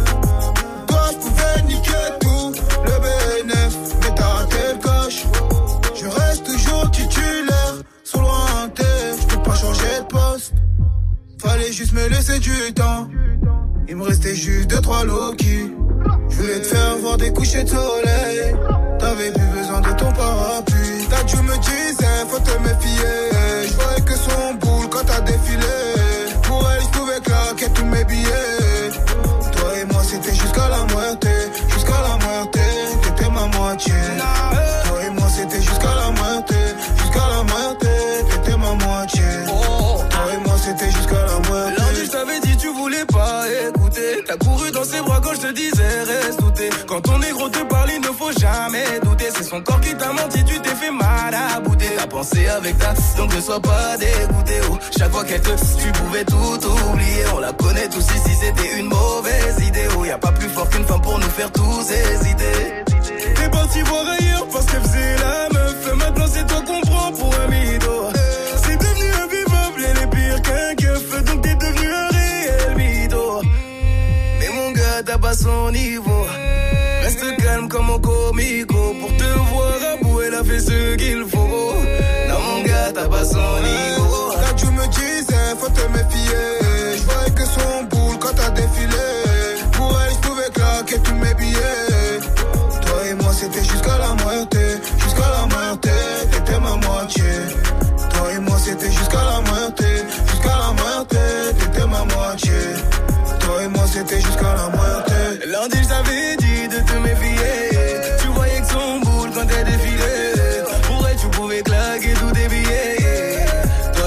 Toi je pouvais niquer tout, le B N F, mais t'as raté le coche. Je reste toujours titulaire, sur lointain. Je peux pas changer de poste. Fallait juste me laisser du temps. Il me restait juste deux trois Loki. Je voulais te faire voir des couchers de soleil. T'avais plus besoin de ton parapluie. T'as dû me disais, faut te méfier. Je voyais que son boule quand t'as défilé. Pour elle, je pouvais claquer tous mes billets. Toi et moi, c'était jusqu'à la moitié. Jusqu'à la moitié, t'étais ma moitié. Toi et moi, c'était jusqu'à la moitié. Jusqu'à la moitié, t'étais ma moitié. Toi et moi, c'était jusqu'à la moitié. Lundi, je t'avais dit, tu voulais pas écouter. T'as couru dans ses bras quand je te disais, reste douté. Quand ton négro te parle, il ne faut jamais douter. C'est son corps qui t'a menti, tu t'es fait mal à bouter. T'as pensé avec ta, donc ne sois pas dégoûté. Oh, chaque fois qu'elle te, tu pouvais tout oublier. On la connaît tous ici, c'était une mauvaise idée. Oh, y a pas plus fort qu'une femme pour nous faire tous hésiter. T'es parti voir ailleurs parce qu'elle faisait la meuf. Et maintenant c'est toi qu'on prend pour un mytho. C'est devenu invivable, elle est pire qu'un keuf. Donc t'es devenu un réel mytho. Mais mon gars, t'as pas son niveau. Reste calme comme un comico. Pour te voir à bout, elle a fait ce qu'il faut. Non mon gars, t'as pas son niveau. Là tu me disais, faut te méfier. Je voyais que son boule quand t'as défilé. Pour elle, je pouvais claquer tous mes billets. Toi et moi, c'était jusqu'à la moitié. Jusqu'à la moitié, t'étais ma moitié. Toi et moi, c'était jusqu'à la moitié. Jusqu'à la moitié, t'étais ma moitié. Toi et moi, c'était jusqu'à la moitié. Lundi, je t'avais dit de te méfier. Tu voyais que son boule quand elle défilait. Pour elle, tu pouvais claquer tous tes billets.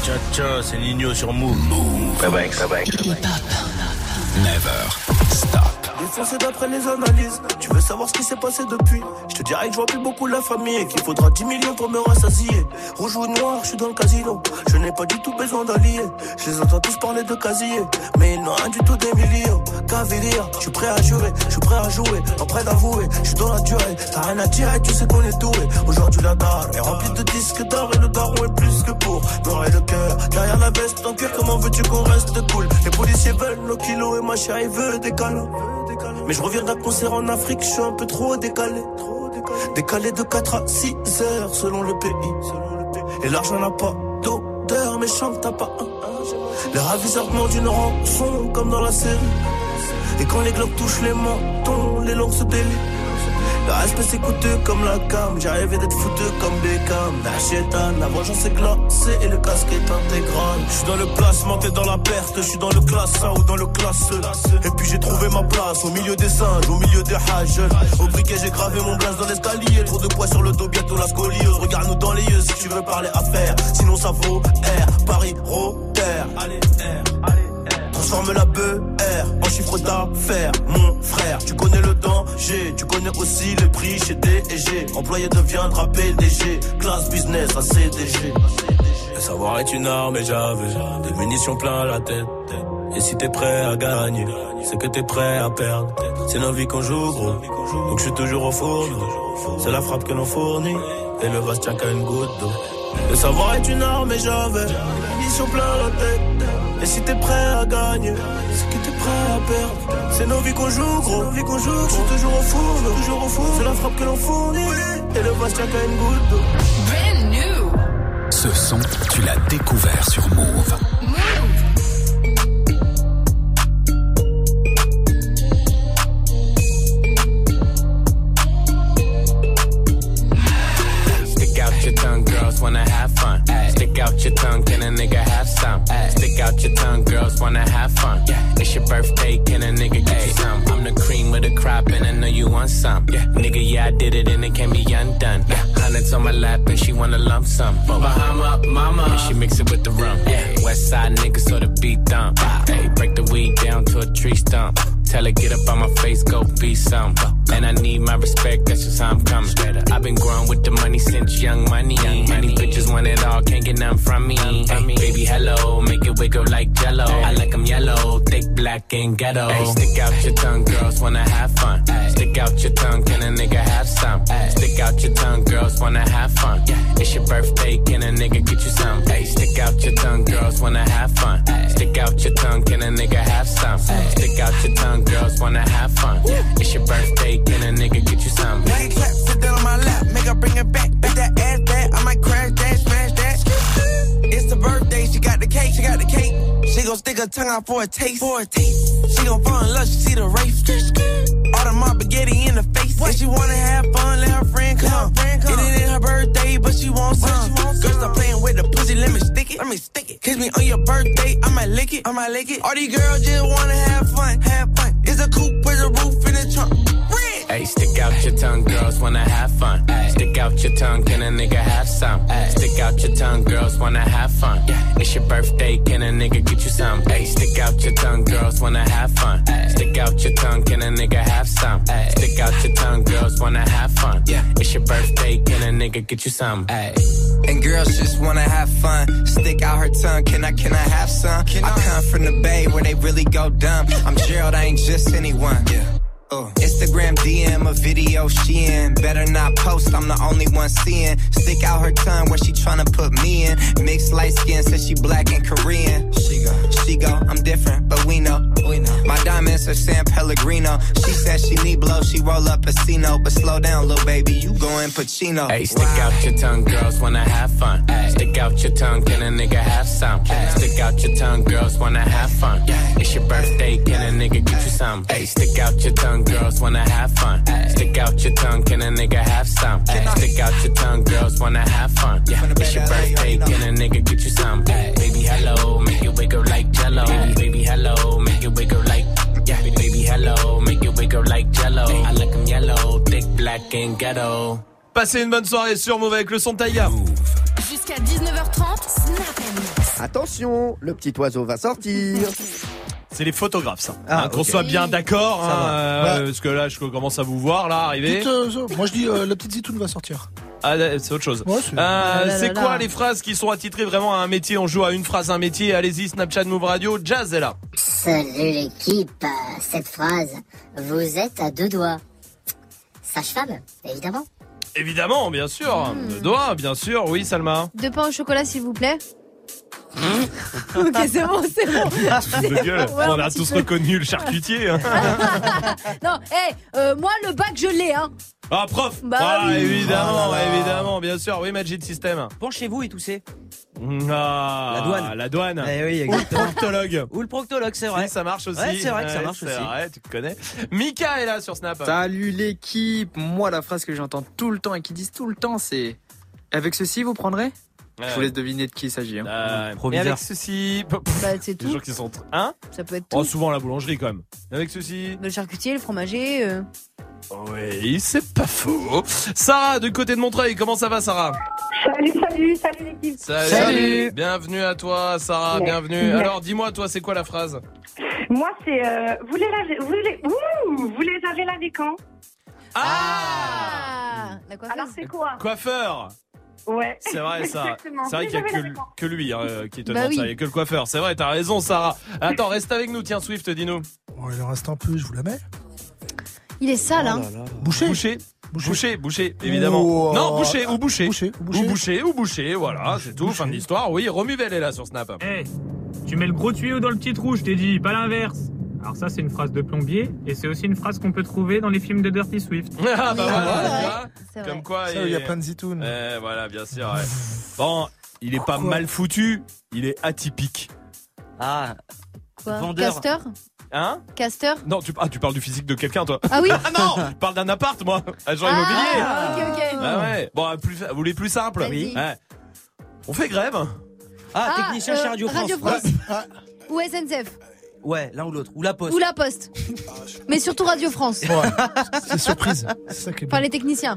Tcha tcha, c'est Nino sur Move. Move. Bye bye, bye bye. Never stop. Défoncé d'après les analyses. Tu veux savoir ce qui s'est passé depuis? Je te dirais que je vois plus beaucoup la famille et qu'il faudra dix millions pour me rassasier. Rouge ou noir, je suis dans le casino. Je n'ai pas du tout besoin d'alliés. Je les entends tous parler de casier, mais ils n'ont rien du tout des millions. Cavalier, je suis prêt à jurer, je suis prêt à jouer, en prêt d'avouer. Je suis dans la durée, t'as rien à dire et tu sais qu'on est doué. Aujourd'hui la dalle est remplie de disques d'or et le daron est plus que pour noir le cœur. Derrière la veste en cuir, comment veux-tu qu'on reste cool? Les policiers veulent nos kilos et ma chérie veut des câlins. Mais je reviens d'un concert en Afrique, je suis un peu trop décalé. Décalé de quatre à six heures selon le pays. Et l'argent n'a pas d'odeur, mais chante t'as pas un. Les raviseurs demandent une rançon comme dans la série. Et quand les globes touchent les mentons, les langues se délient. Le respect c'est coûteux comme la cam. J'ai rêvé d'être foutu comme Beckham. La chétane, la vengeance est glacée et le casque est intégral. Je suis dans le placement, t'es dans la perte. Je suis dans le classe un ou dans le classe E. Et puis j'ai trouvé ma place au milieu des singes, au milieu des hages. Au briquet j'ai gravé mon blaze dans l'escalier. Trop de poids sur le dos, bientôt la scoliose. Regarde-nous dans les yeux si tu veux parler affaires. Sinon ça vaut R, Paris, Rotter. Allez R, allez R. Transforme la B R en chiffre d'affaires. Mon frère, tu connais le danger. Tu connais aussi le prix chez D et G. Employé deviendra P D G. Classe business à C D G. Le savoir est une arme et j'avais des munitions plein la tête. Et si t'es prêt à gagner, c'est que t'es prêt à perdre. C'est nos vies qu'on joue gros, donc je suis toujours au fourneau. C'est la frappe que l'on fournit, et le vase tient qu'à une goutte d'eau. Le savoir est une arme et j'avais des munitions plein la tête. Et si t'es prêt à gagner, c'est que t'es prêt à perdre. C'est nos vies qu'on joue gros, nos vies qu'on joue gros. Je suis toujours au fourneau, toujours au fourneau. C'est la frappe que l'on fournit, et le vase tient qu'à une goutte d'eau. Brand new. Ce son, tu l'as découvert sur Move. Stick out your tongue, girls wanna have fun. Stick out your tongue, can a nigga have some? Stick out your tongue, girls wanna have fun. It's your birthday, can a nigga get you some? I'm the cream with a crop and I know you want some. Nigga, yeah, I did it and it can't be undone. Hundreds on my lap and she wanna lump sum. Bahama, mama, and she mix it with the rum. West side niggas so the beat dump. Hey, break the weed down to a tree stump. Tell her get up on my face, go be some. And I need my respect, that's just how I'm coming. I've been growing with the money since young money. Many bitches want it all, can't get nothing from me. Hey, baby, hello, make it wiggle like jello. I like them yellow, thick, black, and ghetto. Hey, stick out your tongue, girls wanna have fun. Stick out your tongue, can a nigga have some? Stick out your tongue, girls wanna have fun. It's your birthday, can a nigga get you some? Hey, stick out your tongue, girls wanna have fun. Stick out your tongue, can a nigga have some? Stick out your tongue, girls wanna have fun. It's your birthday, can a nigga get you some? Make clap, sit down on my lap, make her bring it back. Back that ass back, I might crash that, smash that. It's the birthday, she got the cake, she got the cake. She gon' stick her tongue out for a taste, for a taste. She gon' fall in love, she see the race. All the mob spaghetti in the face. If she wanna have fun, let her friend come. Friend come. It ain't her birthday, but she wants some. Girl, stop playing with the pussy, let me stick it. Let me stick it. Kiss me on your birthday, I might lick it. I might lick it. All these girls just wanna have fun, have fun. It's a coupe with a roof in the trunk. Hey, stick out your tongue, girls wanna have fun. Stick out your tongue, can a nigga have some? Stick out your tongue, girls wanna have fun. It's your birthday, can a nigga get you some? Hey, stick out your tongue, girls wanna have fun. Stick out your tongue, can a nigga have some? Stick out your tongue, girls wanna have fun. It's your birthday, can a nigga get you some? And girls just wanna have fun. Stick out her tongue, can I, can I have some? Can I, I come from the Bay where they really go dumb. I'm Gerald, I ain't just anyone. Yeah. Uh. Instagram D M a video she in. Better not post, I'm the only one seeing. Stick out her tongue where she tryna put me in. Mixed light skin, says she black and Korean. She go, she go, I'm different, but we know. We know. My diamonds are San Pellegrino. She said she need blow, she roll up a Cino. But slow down, little baby, you going Pacino. Hey, stick wow. out your tongue, girls wanna have fun. Ay. Stick out your tongue, can a nigga have some? Ay. Stick out your tongue, girls wanna have fun. Ay. It's your birthday, can a nigga get you some? Hey, stick out your tongue, girls wanna have fun. Ay. Stick out your tongue, can a nigga have some? Ay. Stick out your tongue, girls wanna have fun. Yeah. It's your birthday, can a nigga get you some? Ay. Baby, hello, make it wiggle like jello. Baby, baby, hello, make it wiggle like. Yeah, baby, hello, make it wiggle like jello. I like them yellow, thick, black, and ghetto. Passez une bonne soirée sur Move avec le son de Taïga. Jusqu'à dix-neuf heures trente, Snap and Attention, le petit oiseau va sortir. C'est les photographes, ça. Ah, hein, qu'on okay. soit bien d'accord, Ça hein, va. euh, Ouais. parce que là, je commence à vous voir, là, arriver. Petite, euh, moi je dis euh, la petite zitoune va sortir. Ah, c'est autre chose. Ouais, c'est Euh, Ah là c'est là quoi là. les phrases qui sont attitrées vraiment à un métier? On joue à une phrase, un métier. Allez-y, Snapchat, Move Radio. Jazz est là. Salut l'équipe, cette phrase, vous êtes à deux doigts. Sage-femme, évidemment. Évidemment, bien sûr. Hmm. Le doigt, bien sûr. Oui, Salma. Deux pains au chocolat, s'il vous plaît. Ok, c'est bon, c'est bon. De gueule. Ouais, On un a petit tous peu. reconnu le charcutier. hein. Non, hé, euh, moi le bac je l'ai, hein. Ah, prof. Bah ah, oui. évidemment, Oh là là. évidemment, bien sûr. Oui, Magic System. Penchez-vous et toussez. Ah, La douane. La douane. Eh oui, Ou le exactement. proctologue. Ou le proctologue, c'est vrai. Si, ça marche aussi. Ouais, c'est vrai que ça Ouais, marche c'est aussi. vrai, tu te connais. Mika est là sur Snap. Salut l'équipe. Moi, la phrase que j'entends tout le temps et qu'ils disent tout le temps, c'est avec ceci, vous prendrez. Ouais. Je vous laisse deviner de qui il s'agit. Hein. Euh, et Proviseur. avec ceci. Bah, c'est Les tout. gens qui sont. Hein? Ça peut être Oh, tout. souvent à la boulangerie quand même. Avec ceci. Le charcutier, le fromager. euh. Oui, c'est pas faux. Sarah, du côté de Montreuil, comment ça va, Sarah? Salut, salut, salut l'équipe. Salut. Salut. Bienvenue à toi, Sarah, Ouais. bienvenue. Ouais. Alors, dis-moi, toi, c'est quoi la phrase? Moi, c'est euh, vous les lavez, vous les, ouh, vous les avez lavés quand? Ah, la coiffeuse. Alors c'est quoi? Coiffeur. Ouais. C'est vrai, ça. Exactement. C'est vrai Vous qu'il y a les que, avez lavés quand? que lui hein, qui te Bah demande oui. ça. Il n'y a que le coiffeur. C'est vrai, t'as raison, Sarah. Attends, reste avec nous. Tiens, Swift, dis-nous. Oh, il en reste un peu, je vous la mets. Il est sale, Oh hein. Boucher. Boucher. Boucher, boucher, évidemment. Ou, euh, Non, boucher ou boucher. Boucher, ou Ou boucher, ou boucher, voilà, c'est tout, fin de l'histoire. Oui, Romuvel est là sur Snap. Eh, tu mets le gros tuyau dans le petit trou, je t'ai dit, pas l'inverse. Alors ça, c'est une phrase de plombier, et c'est aussi une phrase qu'on peut trouver dans les films de Dirty Swift. Ah bah Oui, voilà, c'est tu vrai. vois. C'est vrai. Comme quoi, Ça, il y a plein de zitounes. Eh, voilà, bien sûr. Ouais. Bon, il est pas Pourquoi mal foutu, il est atypique. Ah, Quoi? vendeur. Casteur? Hein? Casteur? Non, tu, ah, tu parles du physique de quelqu'un, toi. Ah oui? Ah non, je parle d'un appart, moi. Agent immobilier. Ah, ok, ok. Ah ouais. Bon, plus, vous voulez plus simple? Vas-y. Ouais. On fait grève. Ah, technicien euh, chez Radio France. Radio France. Ou S N C F. Ouais, l'un ou l'autre. Ou la poste. Ou la Poste. Mais surtout Radio France. Ouais, c'est surprise. C'est ça qui est Enfin, bien. les techniciens.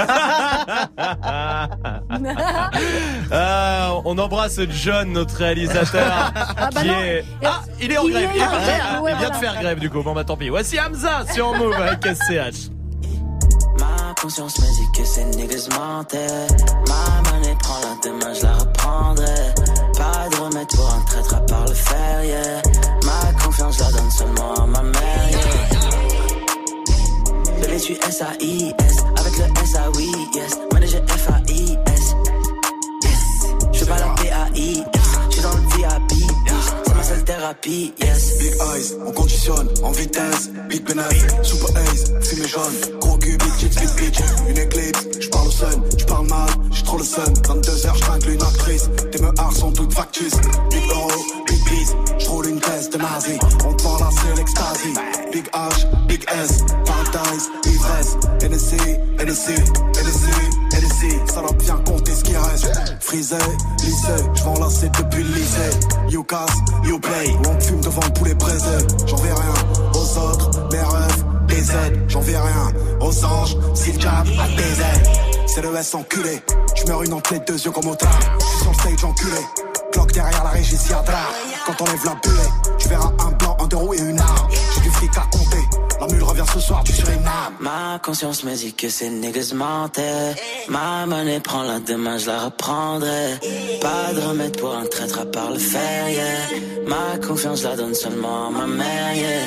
Ah, on embrasse John, notre réalisateur. Ah bah qui non. est... ah, il est en Il grève. est Il, est en parti. grève, Ah, ouais, il vient voilà. de faire grève du coup. Bon bah tant pis. Voici Hamza sur Move avec S C H. Ma conscience me dit que ces niggas mentaient. Ma monnaie prend la demain, je la reprendrai. Pas de remède pour un traître à part le fer, yeah. Ma confiance, je la donne seulement à ma mère, yeah. Bébé, je suis S A I S, avec le S A oui, yes. Manager F A I S, yes. Je fais pas la P A I S, je suis dans le V I P, bitch. C'est ma seule thérapie, yes. Big eyes, on conditionne, en vitesse. Big penis, super ace, fumée jaune. Gros cul, big chicks, big bitch. Une éclipse, j'parle au sun, j'parle mal, j'ai trop le sun. vingt-deux heures, j'tringle une actrice. Tes meurs sont toutes factus. Big euro, big biz, j'roule une caisse de nazi. On te vend là, c'est l'extasie. Big H, big S, paradise, ivresse. N S C, N S C, N S C, N S C. Ça doit bien compter ce qui reste. Frisé, lycée, j'vends la c'est depuis le lycée. You casse, you play, où on fume devant le poulet braisé. J'en vais rien aux autres, mes rêves, des aides. J'en vais rien aux anges, si le jab a des ailes. C'est le S enculé, j'meurs une entre les deux yeux comme au tard. J'suis sur le stage enculé, cloque derrière la régie s'y a drap. Quand on lève la bulle, tu verras un blanc, un deux roues et une arme. J'ai du fric à compter, la mule revient ce soir, tu Suriname. Ma conscience me dit que ces niggas mentaient. Ma monnaie prend la demain, je la reprendrai. Pas de remède pour un traître à part le fer, yeah. Ma confiance, je la donne seulement à ma mère, yeah.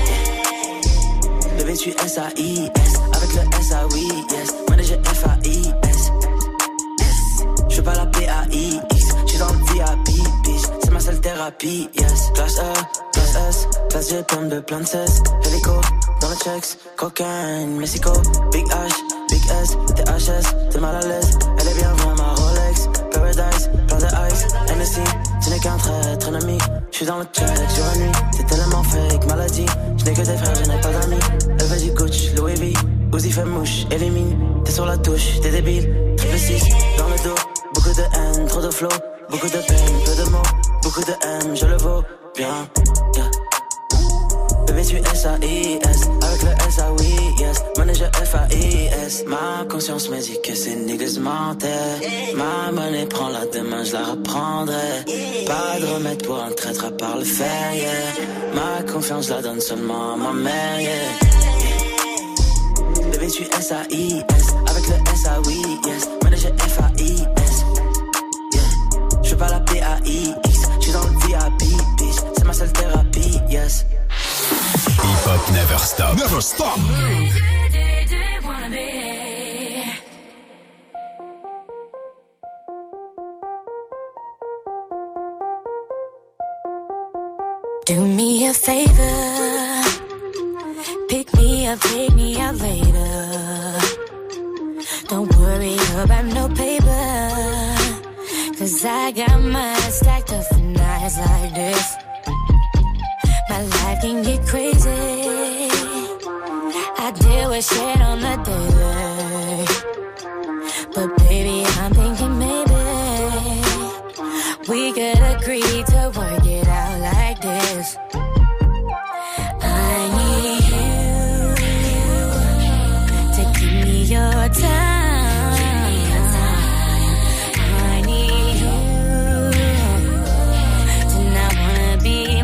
Bébé, tu S A I S, avec le S A oui, yes. Manager F A I S, yes. Je fais pas la P A I X, je suis dans le V I P, bitch. C'est ma seule thérapie, yes. Classe E, classe S, classe G, pomme de plein de cesse. Hélico, dans le checks, cocaine, Mexico. Big H, Big S, T H S, t'es mal à l'aise. Elle est bien vraie, ma Rolex. Paradise, plein de ice, N S C. Tu n'es qu'un traître ennemi. J'suis dans le check sur la nuit. T'es tellement fake, maladie. J'n'ai que des frères, je n'ai pas d'amis. Elle veut du Gucci, Louis V. Uzi fait mouche, élimine. T'es sur la touche, t'es débile. Triple six, dans le dos. Beaucoup de haine, trop de flow. Beaucoup de peine, peu de mots. Beaucoup de haine, je le vaux bien. Yeah. Bébé tu S A I S, avec le S A oui yes, manager F A I S. Ma conscience me dit que ces niggas mentaient. Ma monnaie prend la demain, je la reprendrai. Pas de remède pour un traître à part le fer, yeah. Ma confiance je la donne seulement à ma mère, yeah. Bébé tu S A I S, avec le S A oui yes, manager F A I S, yeah. Je pas la P A I X, j'suis dans le V I P, bitch, c'est ma seule thérapie, yes. Hip-hop never stop. Never stop. Do me a favor, pick me up, take me out later. Don't worry about no paper, cause I got mine stacked up for nights like this. My life can get crazy, I deal with shit on the daily. But baby, I'm thinking maybe we could agree to work it out like this. I need you to give me your time. I need you to not wanna be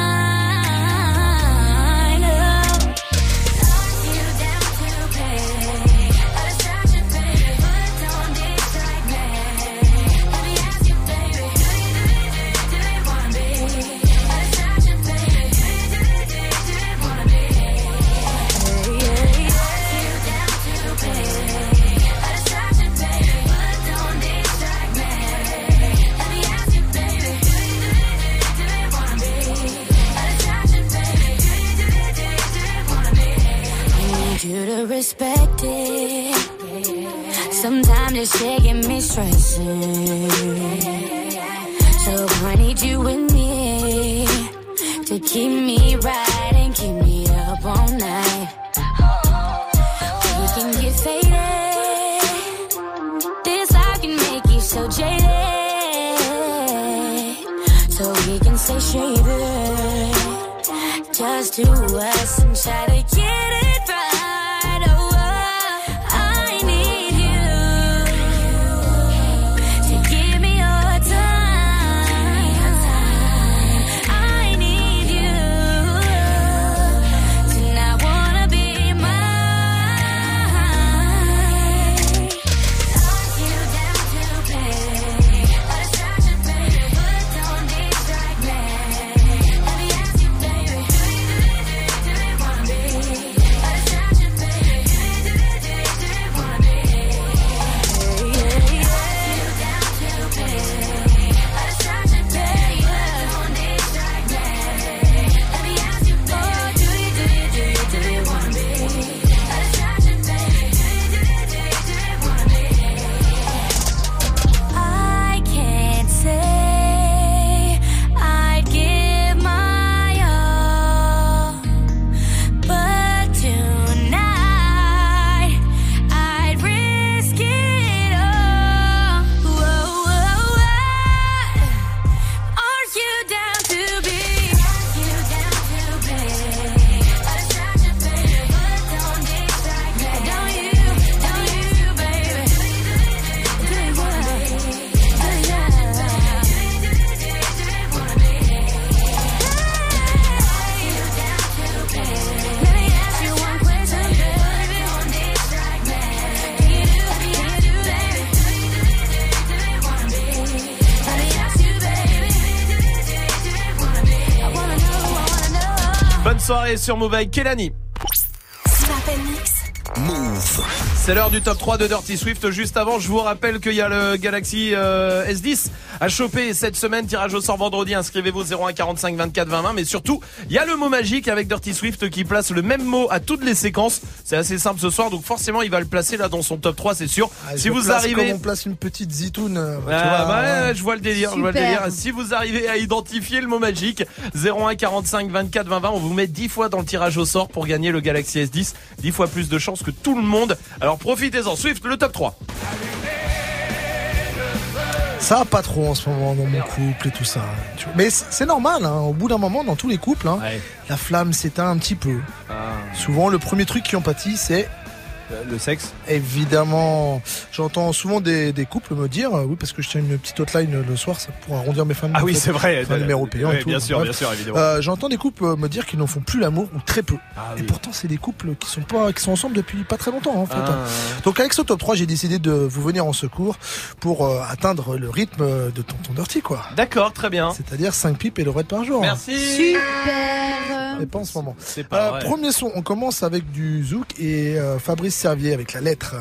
mine. Oh, you down to play. I just tried to play, but don't distract me. Let me ask you, baby, do you, do you, do you, do you wanna be? I just tried to play, do you, do you, do you, do you wanna be? Yeah, yeah, yeah. You down to play. I just tried to play, but don't distract me. Let me ask you, baby, do you, do you, do you, do you wanna be? I just tried to play, do you, do you, do you, do you wanna be? I need you to respect it. Sometimes this shit get me stressing. So I need you with me to keep me right and keep me up all night. We can get faded. This I can make you so jaded. So we can stay shaded. Just do us and try to get it right. Oh, I need you to give me your time. I need you to not wanna be mine. You down to play. I just tried to play, but don't distract me. Let me ask you, baby, do you, do you, do you, do you wanna be? I just tried to play, do you, do you, do you, do you wanna be? Yeah, yeah, yeah. You down to play. I just tried to play, but don't distract me. Let me ask you, baby, do you, do you, do you, do you wanna be? I just tried to play, do you, do you, do you, do you wanna be? I can't say I'd give my all, but tonight I'd risk it all. Whoa, whoa, whoa. Are you down to be? You down to play? I just tried to play, but don't distract me. Don't you, don't you, baby? Do you wanna be? Do you, do you, do you wanna be? You down to play? Let me ask you one question, baby. Don't distract me. Do you do, do you do, baby? Do you, do you, do you, do you wanna be? Let me ask you, baby. Do you, do you, do you, do you wanna be? I wanna know, I wanna know. Bonne soirée sur Move avec Kelani. Move. C'est l'heure du top trois de Dirty Swift. Juste avant, je vous rappelle qu'il y a le Galaxy euh, S dix à choper cette semaine. Tirage au sort vendredi. Inscrivez-vous zéro un quarante-cinq vingt-quatre vingt vingt. Mais surtout, il y a le mot magique avec Dirty Swift qui place le même mot à toutes les séquences. C'est assez simple ce soir. Donc forcément, il va le placer là dans son top trois, c'est sûr. Ah, si je vous place arrivez... Comme on place une petite zitoune. euh, tu Ah, vois, bah, ouais. ouais, je vois le délire, je vois le Super. délire. Si vous arrivez à identifier le mot magique, zéro un quarante-cinq vingt-quatre vingt vingt, on vous met dix fois dans le tirage au sort pour gagner le Galaxy S dix. dix fois plus de chances que tout le monde. Alors profitez-en. Swift, le top trois. Ça va pas trop en ce moment dans mon couple et tout ça. Tu vois. Mais c'est, c'est normal, hein. Au bout d'un moment, dans tous les couples, hein, Ouais. la flamme s'éteint un petit peu. Ah. Souvent, le premier truc qui en pâtit, c'est Le sexe. évidemment. J'entends souvent des, des couples me dire, euh, oui, parce que je tiens une petite hotline le soir, ça pour arrondir mes fins de Ah mois, oui, en fait. c'est vrai. Enfin, numéro payant Ouais, et tout. bien sûr, Bref. bien sûr, évidemment. Euh, j'entends des couples me dire qu'ils n'en font plus l'amour ou très peu. Ah Et oui. pourtant, c'est des couples qui sont pas, qui sont ensemble depuis pas très longtemps, en fait. Ah. Donc, avec ce top trois, j'ai décidé de vous venir en secours pour euh, atteindre le rythme de Tonton Dirty, quoi. D'accord, très bien. C'est-à-dire cinq pipes et le red par jour. Merci. Super. Et pas en ce moment. C'est pas Euh, vrai. premier son, on commence avec du zouk et euh, Fabrice Servier avec la lettre.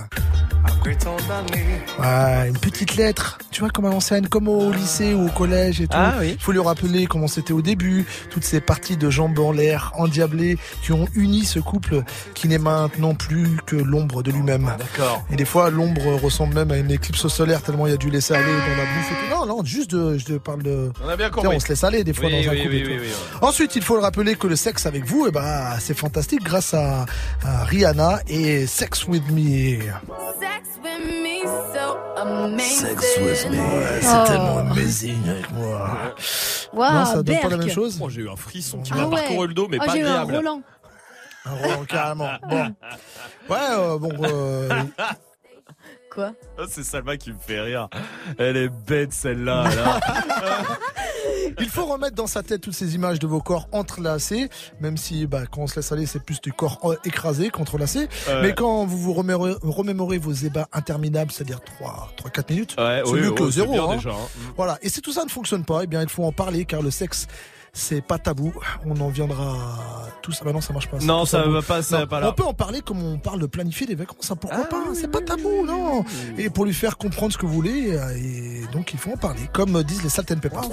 Ouais, une petite lettre, tu vois, comme à l'ancienne, comme au lycée ou au collège et tout. Ah oui. Il faut lui rappeler comment c'était au début, toutes ces parties de jambes en l'air, endiablées, qui ont uni ce couple qui n'est maintenant plus que l'ombre de lui-même. D'accord. Et des fois, l'ombre ressemble même à une éclipse solaire tellement il y a du laisser aller dans la bouffe et tout. Non, non, juste de, je te parle de... On a bien Tu sais, compris. on se laisse aller des fois Oui, dans un oui, couple oui, et tout. oui, oui, oui. Ensuite, il faut le rappeler que le sexe avec vous, eh ben, c'est fantastique grâce à, à Rihanna et Sex With Me. Sex with me so amazing. Sex with me. Ouais, c'est Oh. tellement amazing avec moi. Waouh, non, ça donne pas la Berk. même chose. Oh, j'ai eu un frisson qui Ah m'a ouais. parcouru le dos, mais Oh, pas j'ai eu un agréable. Roland. Un Roland, carrément. Bon. Ouais, euh, bon. Euh, Quoi? Oh, c'est Salma qui me fait rire. Elle est bête celle-là. Là. il faut remettre dans sa tête toutes ces images de vos corps entrelacés, même si bah, quand on se laisse aller, c'est plus du corps euh, écrasé qu'entrelacé. Ouais. Mais quand vous vous remémorez, remémorez vos ébats interminables, c'est-à-dire trois à quatre minutes, Ouais, c'est oui, mieux oui, que c'est zéro. bien hein. déjà, hein. Voilà. Et si tout ça ne fonctionne pas, eh bien, il faut en parler car le sexe, c'est pas tabou. On en viendra tous. Ah bah non, ça marche pas. c'est Non, pas ça tabou. va pas, ça Non, va pas là. On peut en parler comme on parle de planifier des vacances. Ça, pourquoi Ah, pas oui, C'est oui, pas oui, tabou, oui, non. oui. Et pour lui faire comprendre ce que vous voulez, euh, et donc il faut en parler, comme disent les Salt and Pepper.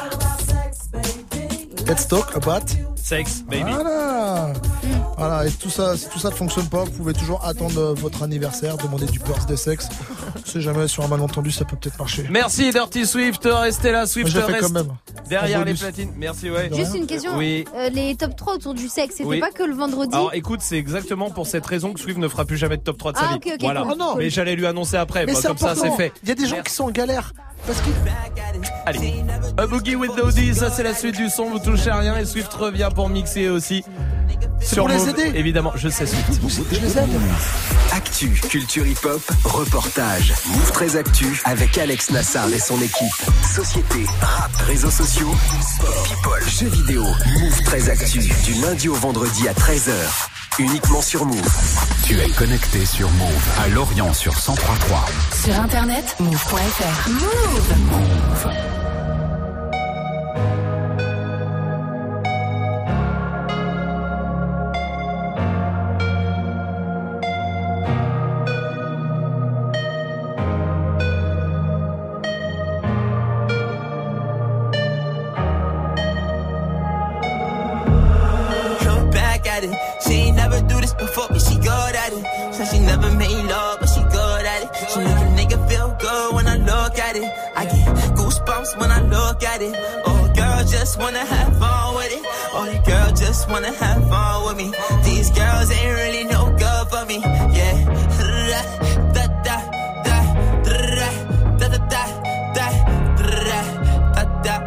Let's talk about Sex, baby. Voilà. Voilà. Et tout ça, si tout ça ne fonctionne pas, vous pouvez toujours attendre euh, votre anniversaire, demander du birthday sexe. On sait jamais, sur un malentendu, ça peut peut-être marcher. Merci Dirty Swift, restez là, Swift Moi, je l'ai fait reste quand même. derrière En les bonus. platines. Merci, ouais. Juste une question. Oui. Euh, les top trois autour du sexe, c'était Oui. pas que le vendredi? Alors écoute, c'est exactement pour cette raison que Swift ne fera plus jamais de top trois de sa Ah, vie. ok, ok, voilà. cool. Oh non. Mais j'allais lui annoncer après, Mais bah, c'est comme ça important. c'est fait. Il y a des gens qui sont en galère. Parce que Allez, A Boogie with Dodie, ça c'est la suite du son, vous touchez à rien et Swift revient pour mixer aussi. C'est pour les Move, aider. Évidemment, je sais Swift. je les aime. Actu, culture hip-hop, reportage. Move très Actu avec Alex Nassar et son équipe. Société, rap, réseaux sociaux, sport, people, jeux vidéo. Move très Actu, du lundi au vendredi à treize heures. Uniquement sur Move. Tu es connecté sur Move à Lorient sur cent trois virgule trois. Sur internet, move point f r. Move. Move. Look back at it. She ain't never do this before, but she good at it. Said she never made love, but she good at it. She make a nigga feel good when I look at it. I get goosebumps when I look at it. Oh, girl, just wanna have fun with it. Oh, the girl just wanna have fun with me. These girls ain't really no good for me. Yeah. Da da da da da da da da da da da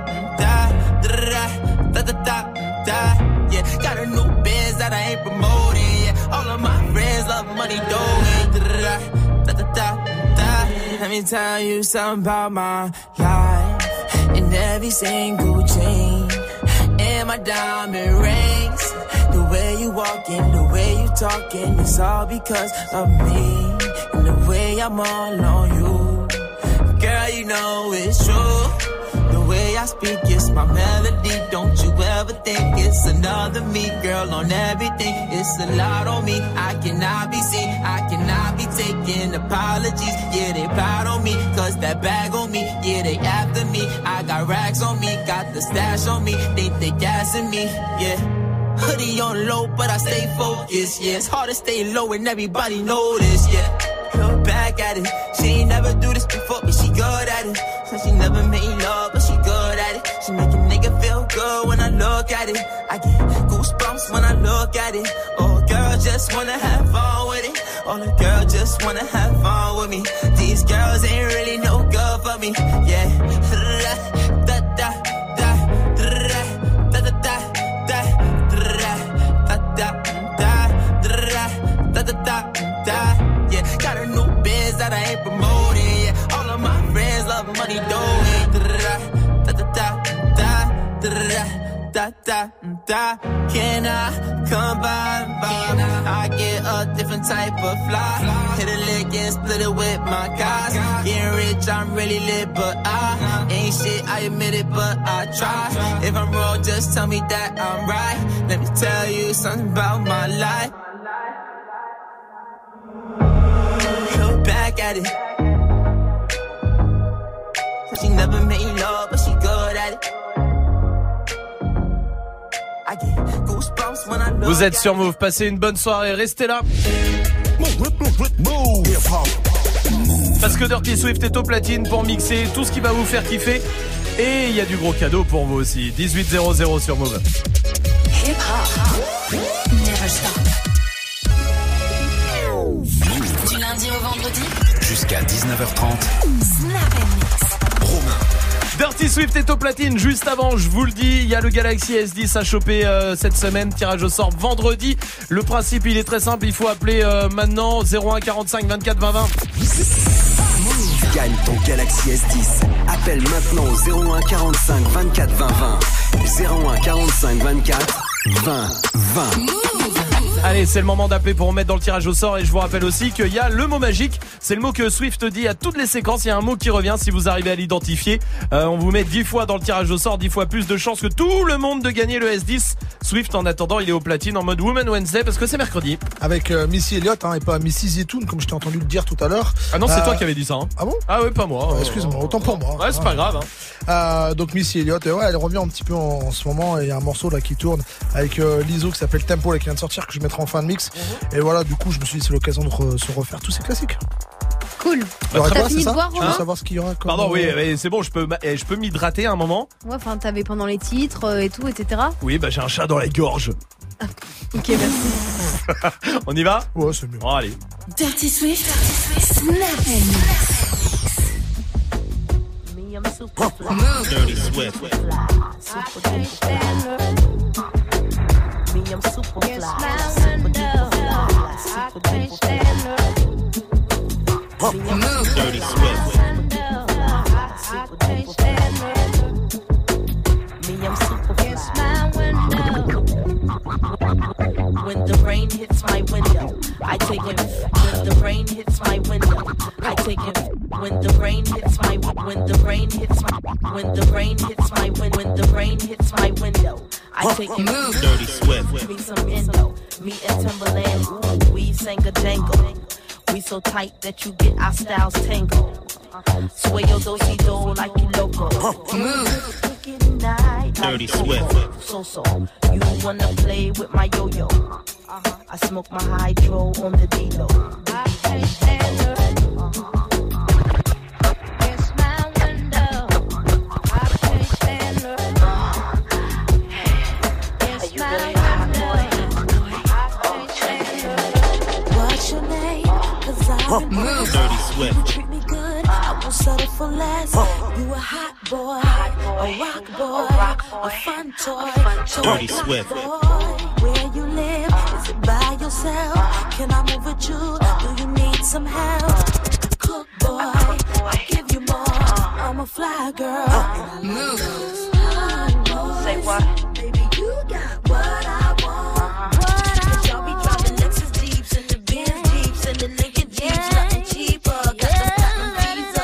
da da da da da. Yeah, got a new biz that I ain't promoting. Yeah, all of my friends love money, dough. Yeah, da da da da. Let me tell you something about my life. In every single chain, in my diamond rings. The way you walking, the way you talking, it's all because of me. And the way I'm all on you, girl, you know it's true. The way I speak, it's my melody. Don't you ever think it's another me, girl, on everything. It's a lot on me. I cannot be seen. I cannot be taking apologies. Yeah, they proud on me, cause that bag on me. Yeah, they after me. I got racks on me, got the stash on me. Think they gassing me, yeah. Hoodie on low, but I stay focused, yeah. It's hard to stay low and everybody know this, yeah. Look back at it. She ain't never do this before, but she good at it. Said she never made love, but she good at it. She make a nigga feel good when I look at it. I get goosebumps when I look at it. Oh, girl, just wanna have fun with it. Oh, the girl just wanna have fun with me. These girls ain't really no good for for me, yeah. Da da da da da da da da da da da da da da da. Yeah, got a new biz that I ain't promoting. Yeah, all of my friends love money doing. Da da da da da da da da. Can I come by? I get a different type of fly. Hit a lick and split it with my guys. Getting rich, I'm really lit, but I ain't shit. I admit it, but I try. If I'm wrong, just tell me that I'm right. Let me tell you something about my life. Look back at it. She never made love, but she good at it. I get goosebumps when I look. Vous êtes sur Move, passez une bonne soirée, restez là. Parce que Dirty Swift est au platine pour mixer tout ce qui va vous faire kiffer. Et il y a du gros cadeau pour vous aussi. dix-huit zéro zéro sur Move. Hip hop, never stop. Du lundi au vendredi, jusqu'à dix-neuf heures trente. Snap and Mix. Romain. Dirty Swift est au platine. Juste avant, je vous le dis, il y a le Galaxy S dix à choper euh, cette semaine. Tirage au sort vendredi. Le principe, il est très simple. Il faut appeler euh, maintenant zéro un quarante-cinq vingt-quatre vingt vingt. Gagne ton Galaxy S dix. Appelle maintenant au zéro un quarante-cinq vingt-quatre vingt vingt. zéro un quarante-cinq vingt-quatre vingt vingt. Allez, c'est le moment d'appeler pour mettre dans le tirage au sort. Et je vous rappelle aussi qu'il y a le mot magique. C'est le mot que Swift dit à toutes les séquences. Il y a un mot qui revient. Si vous arrivez à l'identifier, euh, on vous met dix fois dans le tirage au sort, dix fois plus de chances que tout le monde de gagner le S dix. Swift, en attendant, il est au platine en mode Woman Wednesday parce que c'est mercredi. Avec euh, Missy Elliott hein, et pas Missy Zetoun comme je t'ai entendu le dire tout à l'heure. Ah non, c'est euh... toi qui avais dit ça. Hein. Ah bon? Ah oui, pas moi. Euh, Excuse-moi, autant pour moi. Ouais, c'est pas grave. Hein. Euh, donc Missy Elliott, ouais, elle revient un petit peu en, en ce moment. Et il y a un morceau là qui tourne avec euh, Lizzo qui s'appelle Tempo là, qui vient de sortir que je mettrai en fin de mix. Mm-hmm. Et voilà, du coup, je me suis dit c'est l'occasion de re- se refaire tous ces classiques. Cool. Bah, T'as quoi, fini de voir, tu veux savoir ce qu'il y aura comme... Pardon, oui, mais c'est bon, je peux, je peux m'hydrater un moment. Ouais, enfin, t'avais pendant les titres euh, et tout, et cetera. Oui, bah j'ai un chat dans la gorge. Ok, merci. On y va? Ouais, c'est mieux. Bon, allez. Dirty Swift, Snap and Mix. Me, I'm super fly. Dirty Swift. Super duper fly. Me, I'm super fly. Super duper fly. Super duper fly. Dirty Swift. Super duper fly. Me, I'm super fly. When the rain hits my window, I take it. When the rain hits my window, I take it. When the rain hits my when the rain hits my when the rain hits my when when the rain hits my window, I take it. Dirty Swift. Me some Indo, me and Timberland. Ooh, we sang a jangle. We so tight that you get our styles tangled. Sway your do-si-do like you loco. Wicked night, Dirty Swift. So so, you wanna play with my yo-yo? Uh-huh. I smoke my hydro on the D-Lo. I can't stand her. It's my window. I can't stand her. It's my window. I can't stand her. What's your name? Cause I'm Dirty Swift. You treat me good, I won't settle for less. You a hot boy, a rock boy, a fun toy. Dirty Swift. Where you live? Is it by yourself? Can I move with you? Do you need some help? Cook boy, I'll give you more. I'm a fly girl. Move. Say what? Baby, you got what I want. What I y'all be driving Lexus Jeeps and the Benz Jeeps and the Lincoln Jeeps, nothing cheaper. Got the platinum visa.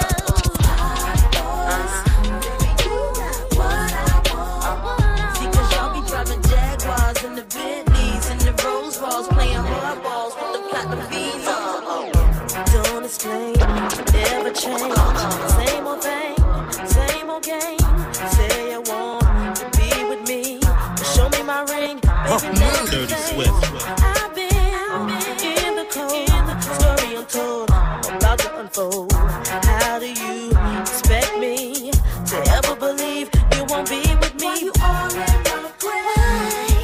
Baby, you got what I want. See, cause y'all be driving Jaguars and the Bentleys and the Rolls Royce, playing hardballs with the platinum visa. Don't explain, never change. Same old thing, same old game. Say you want to be with me, show me my ring, baby. Dirty Swift. I've been in the cold, story untold, about to unfold. How do you expect me to ever believe you won't be with me? You all in my way.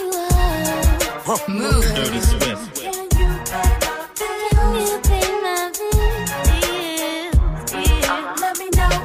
Move. Dirty Swift. Can you pay my bills? Can you pay my bills? Yeah, yeah. Let me know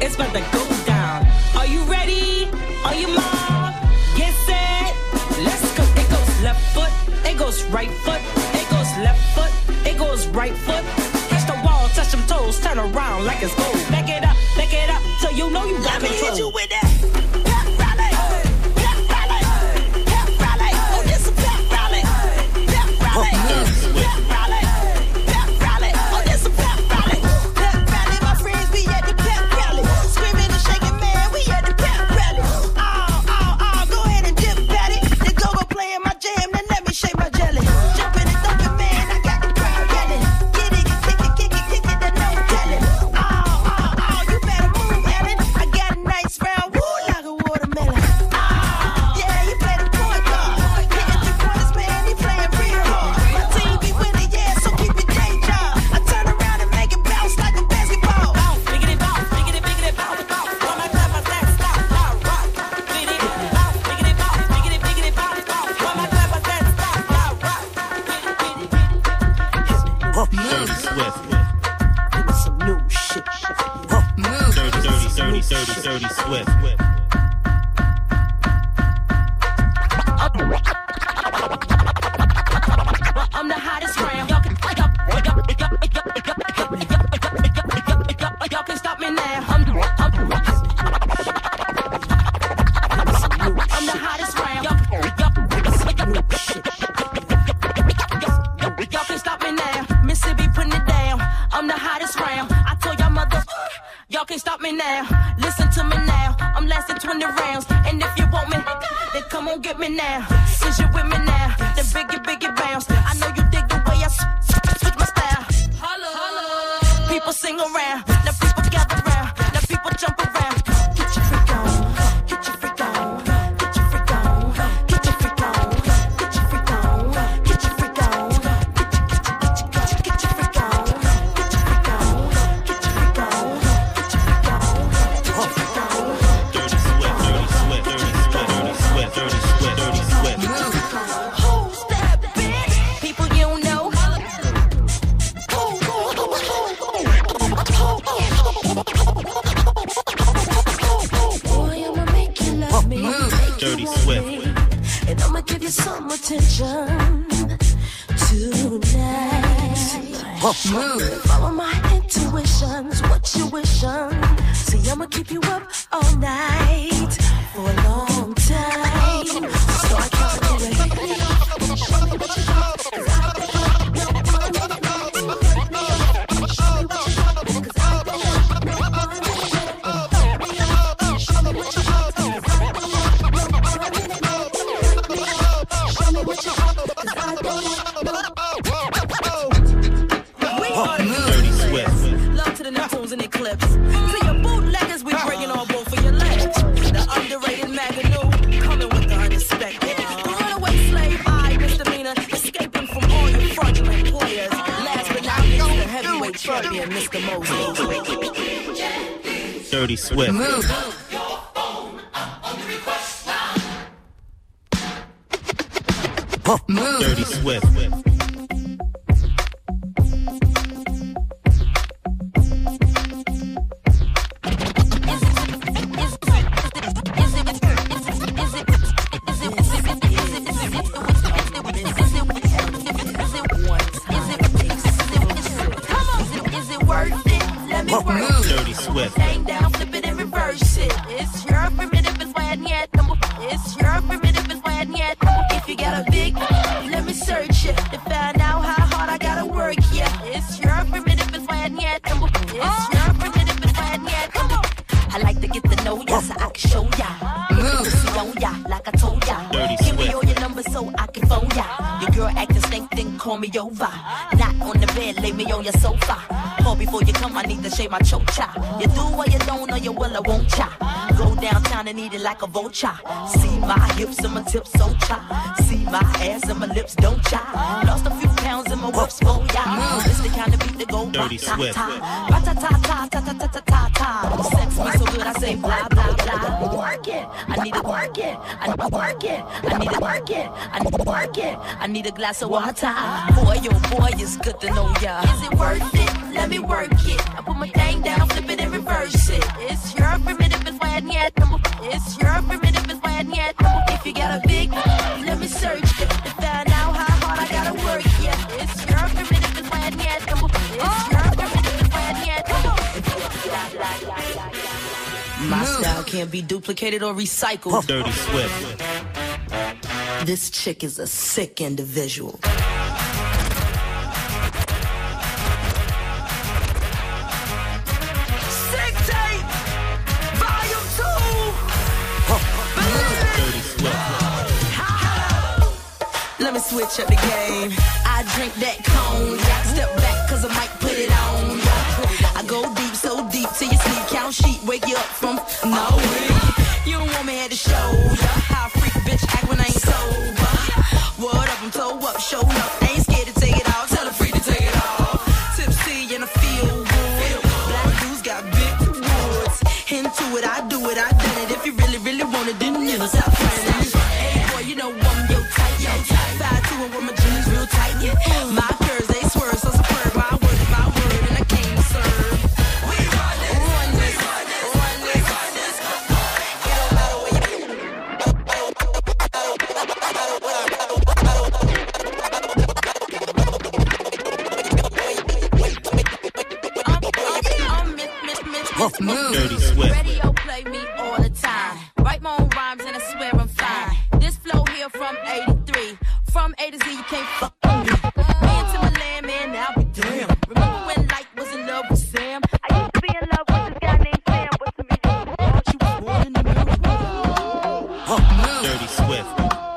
It's about to go down. Are you ready? Are you mom? Get set. Let's go. It goes left foot. It goes right foot. It goes left foot. It goes right foot. Touch the wall, touch them toes, turn around like it's gold. Back it up, back it up, so you know you got Let me control. hit you with that. Pep rally. Pep rally. Pep rally. Oh, this a pep rally. Pep rally. Pep rally. Pep rally. Oh, this a pep rally. Pep rally, my friends, we at the pep rally. Screaming and shaking, man, we at the pep rally. Oh, oh, oh, go ahead and dip, Patty. The go-go playing my jam, then let me shake my jelly. Jumping and thumping, man, I got the crowd yelling. Get it, kick it, kick it, kick it, then no telling. Oh, oh, oh, you better move, Ellen. I got a nice round, woo, like a watermelon. Oh, yeah, you play the point guard. Hitting three pointers, man, he playing real hard. My team be winning, yeah, so keep your day job. I turn around and make it bounce like a basketball. Bounce, biggity bounce, biggity, biggity, bounce, bounce. When my clap, I stand, stop, stop, rock. Biggity, bounce, biggity, bounce, biggity, biggity, bounce, bounce. When my clap, I stand, stop, stop, rock. Dirty Swift. Give me some new shit. Dirty, dirty, dirty, dirty, dirty Swift. I'm the hottest round. Y'all can, y'all, y'all, y'all, y'all, y'all can stop me now. I'm, I'm, I'm the hottest round. Y'all, y'all, y'all can stop me now. Mississippi putting it down. I'm the hottest round. I told y'all mother, y'all can't stop me now. Listen to me now. I'm lasting twenty rounds. And if you want me, then come on get me now. Since you with me now, then biggie, biggie bounce. I know you dig the way I s- s- switch my style. Holla, holla. People sing around. Now people gather round. Now people jump around. Get your freak on. Get your freak on. Get your freak on. Get your freak on. Get your freak on. Get your freak on. Get your freak on. Get your freak on. Get your freak on. Get your freak on. Get your freak on. Dirty Swift, dirty Swift, dirty Swift, dirty Swift, dirty Swift, dirty Swift. Who's that bitch? People you don't know. Boy, I'ma make you love me. Make Dirty you want Swift. me. And I'ma give you some attention tonight. Follow my intuitions, what you wishing. See, I'ma keep you up all night for a long time. So I can't do it. Show me what you got, 'cause I got Dirty Swift. love to the Neptunes and Eclipse. To your bootleggers, we bringing on both of your legs. The underrated Maganoo, coming with the unexpected. The runaway slave, I misdemeanor, escaping from all your fraudulent players. Last but not least, the heavyweight champion, Mister Mosley. Dirty Swift. Dirty Swift. Dirty Swift. Hang down, flip it and reverse it. It's your primitive is why yet. It's your primitive is why yet. If you got a big, let me search it to find out how hard I gotta work. Yeah, it's your primitive is why yet. It's your primitive is why yet. I like to get to know ya so I can show ya. Move, see on ya like I told ya. Dirty Give me Swift. all your numbers so I can phone ya. Your girl acting stink, then call me over. Not on the bed, lay me on your sofa. Call before you come, I need to shave my chocha. You do or you don't, or you will or won't cha. Go downtown and eat it like a vulture. See my hips and my tips so cha. See my ass and my lips don't cha. Lost a few pounds in my whips for ya. This the kind of beat that go Dirty Swift. ra-ta-ta-ta-ta-ta-ta-ta-ta. Sex me so good I say blah blah blah. Work it, I need to work it. I need to work it. I need to work it. I need to work it. I need a glass of water. Boy, oh boy, it's good to know ya. Is it worth it? Let me work it. I put my thing down, flip it and reverse it. It's your My style can't be duplicated or recycled. Dirty Swift. This chick is a sick individual. Sick tape, volume two. Dirty Swift. Let me switch up the game. I drink that cognac. Step back cause I might put it on. I go deep, so deep till you sleep. Count sheep, wake you up from no way. You don't want me at the show. How a freak bitch act when I ain't sober. What up, I'm toe up, show up. Ain't scared to take it out, tell her free to take it off. Tipsy and I feel good. Black dudes got big woods. Into it, I do it, I done it. If you really, really want it, then you stop friends. Hey boy, you know I'm your type, yo type. Five two and with my jeans real tight, yeah. My curves, they swerve, so superb. My word is my word, and I came to serve. We run this, run this, run this, run this, run this. It don't matter where you Move. Dirty Swift. Radio play me all the time. Write my own rhymes and I swear I'm fine. This flow here from eighty-three. From A to Z, you can't fuck with me. Me and Timberland, man, now we damn. Remember when Light was in love with Sam? I used to be in love with this guy named Sam. What's the video? She was born in the middle. Dirty Swift.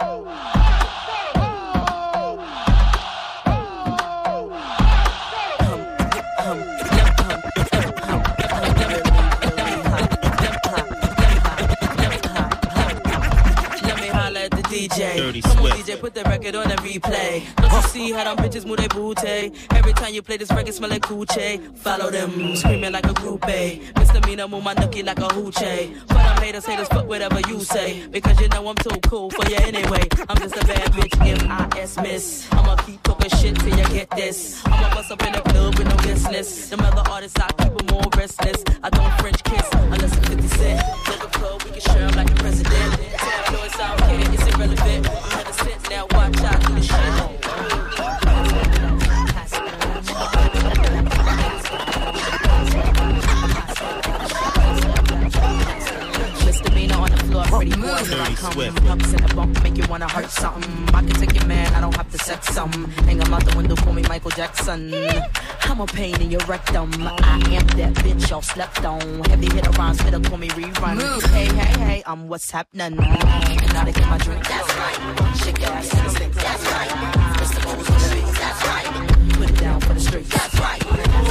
D J. Dirty Come on, Swift. D J, put the record on a replay. Don't you see how them bitches move their booty? Every time you play this record, smell like coochie. Follow them, screaming like a groupie. Misdemeanor, move my nookie like a hoochie. But I'm haters, haters, fuck whatever you say. Because you know I'm too cool for you anyway. I'm just a bad bitch, M I S miss. I'ma keep talking shit till you get this. I'ma bust up in the club with no business. Them other artists, I keep them more restless. I don't French kiss unless it's fifty cent. Take a club, we can share them like the president. Tabloids, I don't care, it's irrelevant. You had a sense, now watch out do the shit. Misdemeanor on the floor, pretty boy, here I come. Pumps in the bump, make you wanna hurt something. I can take your man, I don't have to sex some. Hang him out the window, call me Michael Jackson. I'm a pain in your rectum. I am that bitch y'all slept on. Heavy hitter rhymes, fitter, call me rerun. Hey, hey, hey, I'm what's happening. Now to get my drink, that's right. Shake your ass in the stick, that's right. Mister Mo's on the beat, that's right. Put it down for the street, that's right.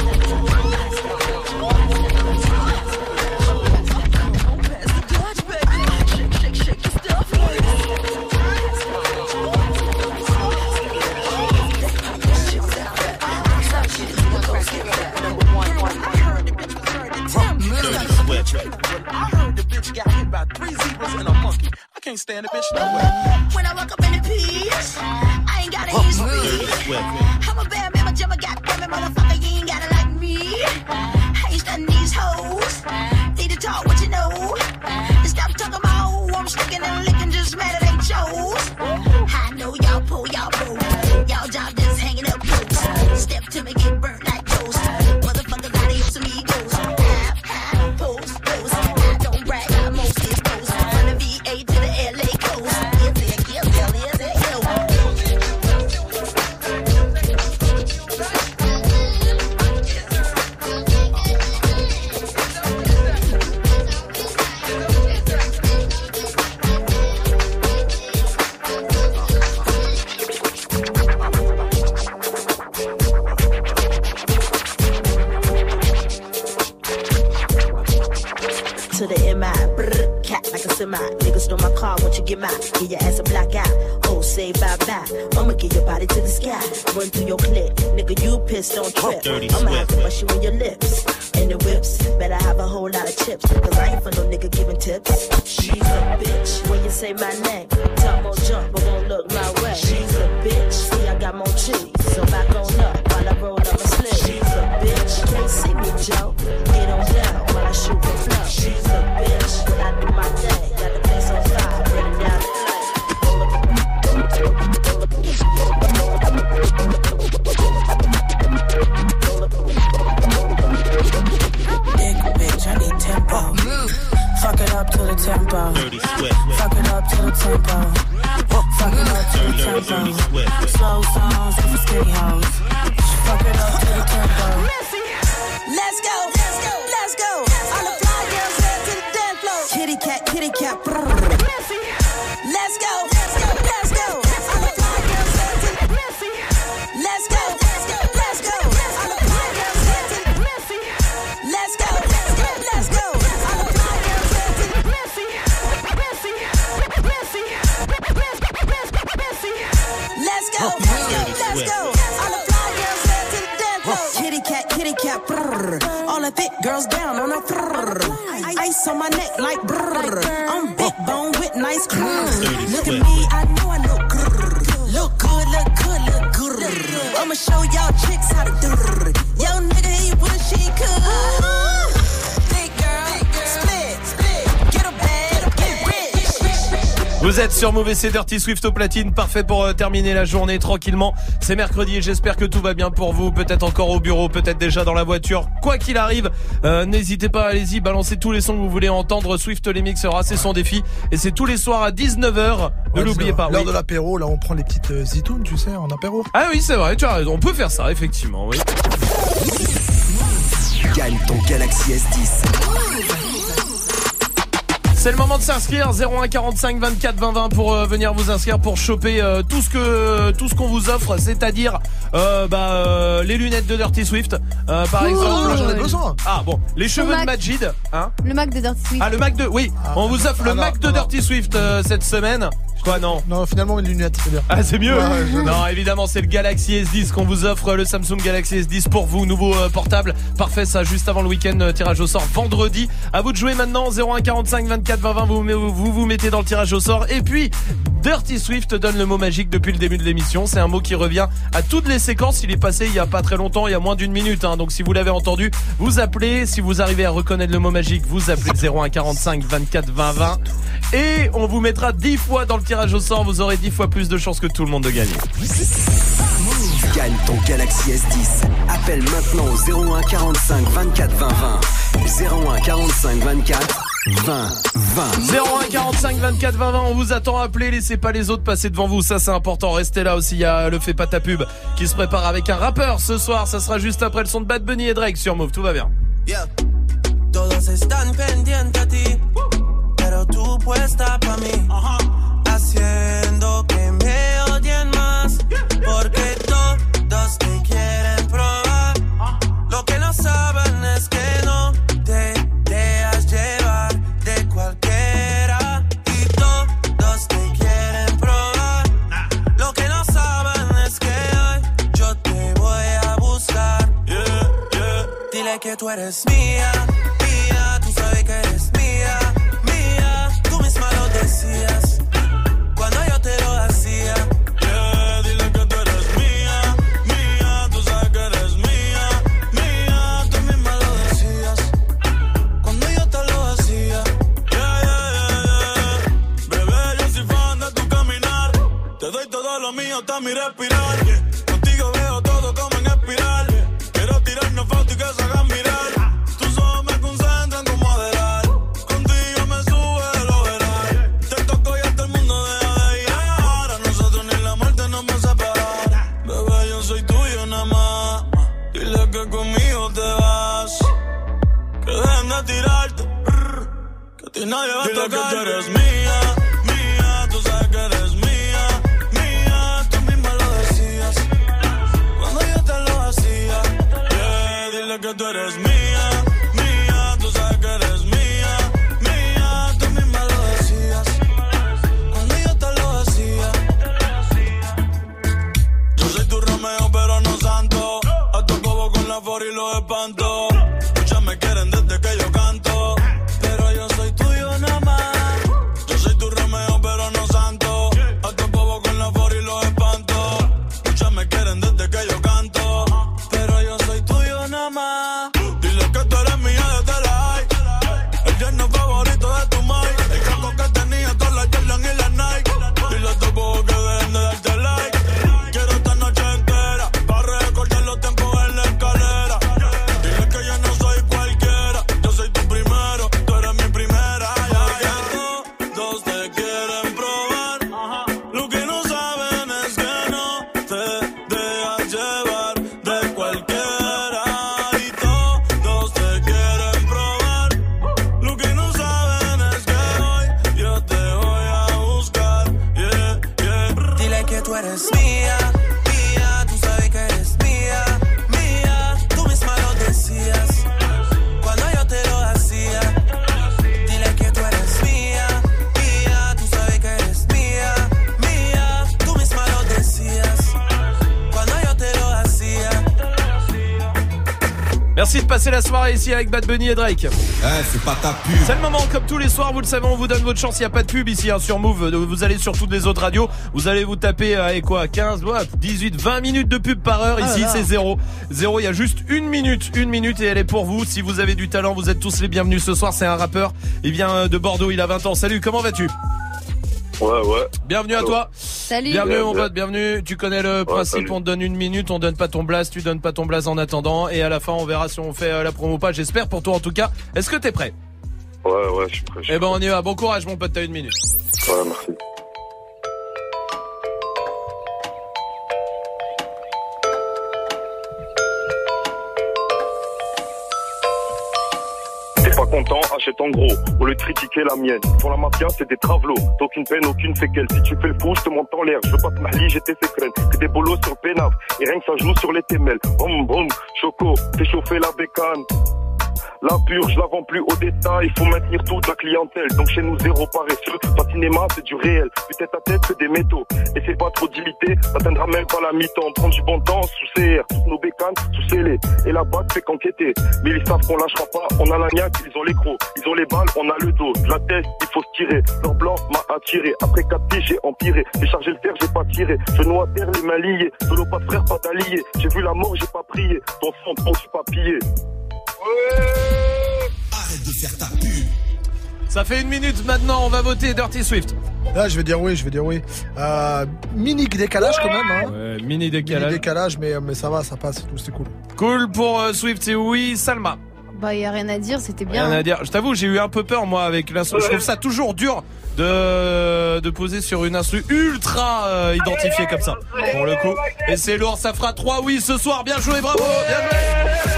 Swift. I heard the bitch got hit by three zebras and a monkey. I can't stand the bitch no way. When I walk up in the piece, I ain't gotta use me. I'm a bad man, my jumper got damn it, motherfucker, you ain't gotta like me. I ain't studying these hoes. Need to talk what you know. Stop talking about who I'm sticking and licking, just mad at they chose. I know y'all pull, y'all pull. Y'all job just hanging up close. Step to me, get burnt like toast. Motherfucker gotta use some egos. Post, post. I don't brag, I mostly post. From the V A to the L A coast. Yes, yes, yes, yes, yes, yes. To the M I, brr, cat like a semi. Niggas stole my car, won't you get mine? Give your ass a black eye. Oh, say bye bye. I'ma get your body to the sky. Run through your clip, nigga, you pissed, don't trip. I'ma have to bust you in your lips. And the whips, better have a whole lot of chips. Cause I ain't for no nigga giving tips. She's a bitch. When you say my name, talk more jump, but won't look my way. She's a bitch. See, I got more cheese. So back on up while I roll up my slip. She's a bitch. Can't see me, Joe. Get on down while I shoot the flow. She's a bitch. When I do my thing, got the place on fire. Bring it down the Big bitch, I need tempo. Move. tempo. Fuck it up to the tempo. Fuck it up to the tempo. Slow songs for skinny hoes. Fuck it up to the tempo. Let's go, let's go, let's go. All the fly girls head to the dance floor. Kitty cat, kitty cat. Brrr. Let's go, let's go, let's go. All the fly girls head to the Let's go, let's go, let's go. All the fly girls head to the Let's go, let's go, let's go. All the fly girls head to the Let's go, let's go, let's go. All the fly girls head to the dance floor. Kitty cat, kitty cat. Brrr. All the thick girls down on a brrr. Ice on my neck like brrr. I'm big bone with nice curves. Look at me, I know I look good. Look good, look good, look good. I'ma show y'all chicks how to do it. Yo nigga, he wish he could. Big girl, split, split. Get a bag, get rich. Vous êtes sur Move et c'est Dirty Swift au platine, parfait pour euh, terminer la journée tranquillement. C'est mercredi et j'espère que tout va bien pour vous, peut-être encore au bureau, peut-être déjà dans la voiture. Quoi qu'il arrive, euh, n'hésitez pas, allez-y, balancez tous les sons que vous voulez entendre. Swift les mixera, c'est son défi et c'est tous les soirs à dix-neuf heures. Ne Ouais, l'oubliez pas. L'heure Oui. de l'apéro, là on prend les petites euh, zitounes, tu sais, en apéro. Ah oui, c'est vrai, tu as raison, on peut faire ça effectivement, oui. Gagne ton Galaxy S dix. C'est le moment de s'inscrire, zéro un quarante-cinq vingt-quatre vingt vingt pour euh, venir vous inscrire pour choper euh, tout ce que tout ce qu'on vous offre, c'est-à-dire euh, bah euh, les lunettes de Dirty Swift euh, par Ouh, exemple. j'en ai besoin. Ah bon, les cheveux Mac. de Majid, hein. Le Mac de Dirty Swift. Ah le Mac de oui, on vous offre le ah, non, Mac de non, Dirty Swift euh, cette semaine. Quoi non? Non, finalement les lunettes, c'est bien. Ah c'est mieux. Ouais, ouais, je- Non, évidemment, c'est le Galaxy S dix qu'on vous offre, le Samsung Galaxy S dix pour vous, nouveau euh, portable. Parfait, ça juste avant le week-end, euh, tirage au sort vendredi. À vous de jouer maintenant, zéro un quarante-cinq vingt-quatre vingt vingt, vous vous, vous vous mettez dans le tirage au sort et puis Dirty Swift donne le mot magique depuis le début de l'émission. C'est un mot qui revient à toutes les séquences. Il est passé il y a pas très longtemps, il y a moins d'une minute, hein. Donc si vous l'avez entendu, vous appelez. Si vous arrivez à reconnaître le mot magique, vous appelez zéro un quarante-cinq vingt-quatre vingt vingt et on vous mettra dix fois dans le tirage au sort. Vous aurez dix fois plus de chances que tout le monde de gagner. Gagne ton Galaxy S dix. Appelle maintenant au zéro un quarante-cinq vingt-quatre vingt vingt. zéro un quarante-cinq vingt-quatre vingt vingt. zéro un quarante-cinq vingt-quatre vingt vingt, on vous attend à appeler, laissez pas les autres passer devant vous, ça c'est important, restez là aussi, il y a le Fais pas ta pub qui se prépare avec un rappeur ce soir, ça sera juste après le son de Bad Bunny et Drake sur Move, tout va bien. Yeah. Todos están pendientes a ti, pero tú puesta pa' mí, haciendo que me odien más, porque todos te quieren probar. Lo que no saben es que no te dejas llevar de cualquiera, y todos te quieren probar. Lo que no saben es que hoy yo te voy a buscar. Yeah, yeah. Dile que tú eres mía, mía, tú sabes que eres mía, mía, tú misma lo decías cuando yo te lo hacía. Yeah, dile que tú eres mía, mía, tú sabes que eres mía, mía, tú misma lo decías cuando yo te lo hacía. Yeah, yeah, yeah, yeah. Bebé, yo soy fan de tu caminar, te doy todo lo mío hasta mi respirar. Contigo veo todo como en espiral, quiero tirarnos fotos y que se hagan mirar. Tus ojos me concentran como adelar, contigo me sube de lo veral. Te toco y hasta el mundo deja de ir. A nosotros ni la muerte nos va a separar. Bebé, yo soy tuyo nada más, dile que conmigo te vas, que dejen de tirarte, que a ti nadie va a tocar. Dile que tú eres mía, mía, tú sabes que eres mía, mía, tú misma lo decías cuando yo te lo hacía. Yeah, dile que tú eres mía, mía, tú sabes que eres mía, mía, tú misma lo decías cuando yo te lo hacía. Yo soy tu Romeo pero no santo, a tu bobo con la for y los espanto. Muchas me quieren desde que yo canto, pero yo soy tuyo nada más. Yo soy tu Merci de passer la soirée ici avec Bad Bunny et Drake. Eh, c'est pas ta pub. C'est le moment, comme tous les soirs, vous le savez, on vous donne votre chance. Il n'y a pas de pub ici hein, sur Move. Vous allez sur toutes les autres radios. Vous allez vous taper euh, et quoi, quinze, ouais, dix-huit, vingt minutes de pub par heure. Ici, ah c'est zéro. Zéro, il y a juste une minute. Une minute et elle est pour vous. Si vous avez du talent, vous êtes tous les bienvenus ce soir. C'est un rappeur. Il vient de Bordeaux, il a vingt ans. Salut, comment vas-tu? Ouais, ouais. Bienvenue à toi. Salut. Bienvenue Bien, mon bien. pote, bienvenue. Tu connais le Ouais, principe, salut. on te donne une minute, on donne pas ton blast, tu donnes pas ton blast en attendant. Et à la fin, on verra si on fait euh, la promo ou pas. J'espère pour toi en tout cas. Est-ce que t'es prêt? Ouais, ouais, je suis prêt. je suis Eh ben on y va. Bon courage mon pote, t'as une minute. prêt. Ouais, merci. T'es pas content, achète en gros. Au lieu de critiquer la mienne. Pour la mafia, c'est des travelots. T'as aucune peine, aucune séquelle. Si tu fais le fou, je te monte en l'air. Je veux pas te mahli, j'étais sécrène. Que des bolos sur le pénaf. Et rien que ça joue sur les témelles. Boum, boum, choco, fais chauffer la bécane. La pure, je la vends plus au détail. Faut maintenir toute la clientèle. Donc chez nous, zéro paresseux. Pas de cinéma, c'est du réel. Du tête à tête, c'est des métaux. Et c'est pas trop d'imiter. T'atteindras même pas la mi-temps. Prends du bon temps sous C R. Toutes nos bécanes sous scellé. Et la bague fait qu'enquêter. Mais ils savent qu'on lâchera pas. On a la niaque, ils ont les crocs. Ils ont les balles, on a le dos. De la tête, il faut se tirer. Leur blanc m'a attiré. Après quatre pieds, j'ai empiré. J'ai chargé le fer, j'ai pas tiré. Genoux à terre, les mains liées. Solo, pas de frère, pas d'alliés. J'ai vu la mort, j'ai pas prié. Ton sang, ton suis pas pillé. Arrête de faire ta pub. Ça fait une minute maintenant, on va voter Dirty Swift. Là, je vais dire oui, je vais dire oui. Euh, mini décalage quand même. Hein. Ouais, mini décalage. Mini décalage, mais, mais ça va, ça passe, tout, c'est cool. Cool pour euh, Swift, c'est oui. Salma. Bah, y a rien à dire, c'était bien. Rien à dire. Je t'avoue, j'ai eu un peu peur moi avec l'instru. Je trouve ça toujours dur de de poser sur une instru ultra euh, identifiée comme ça. Pour le coup. Et c'est lourd, ça fera trois oui ce soir. Bien joué, bravo. Bien joué.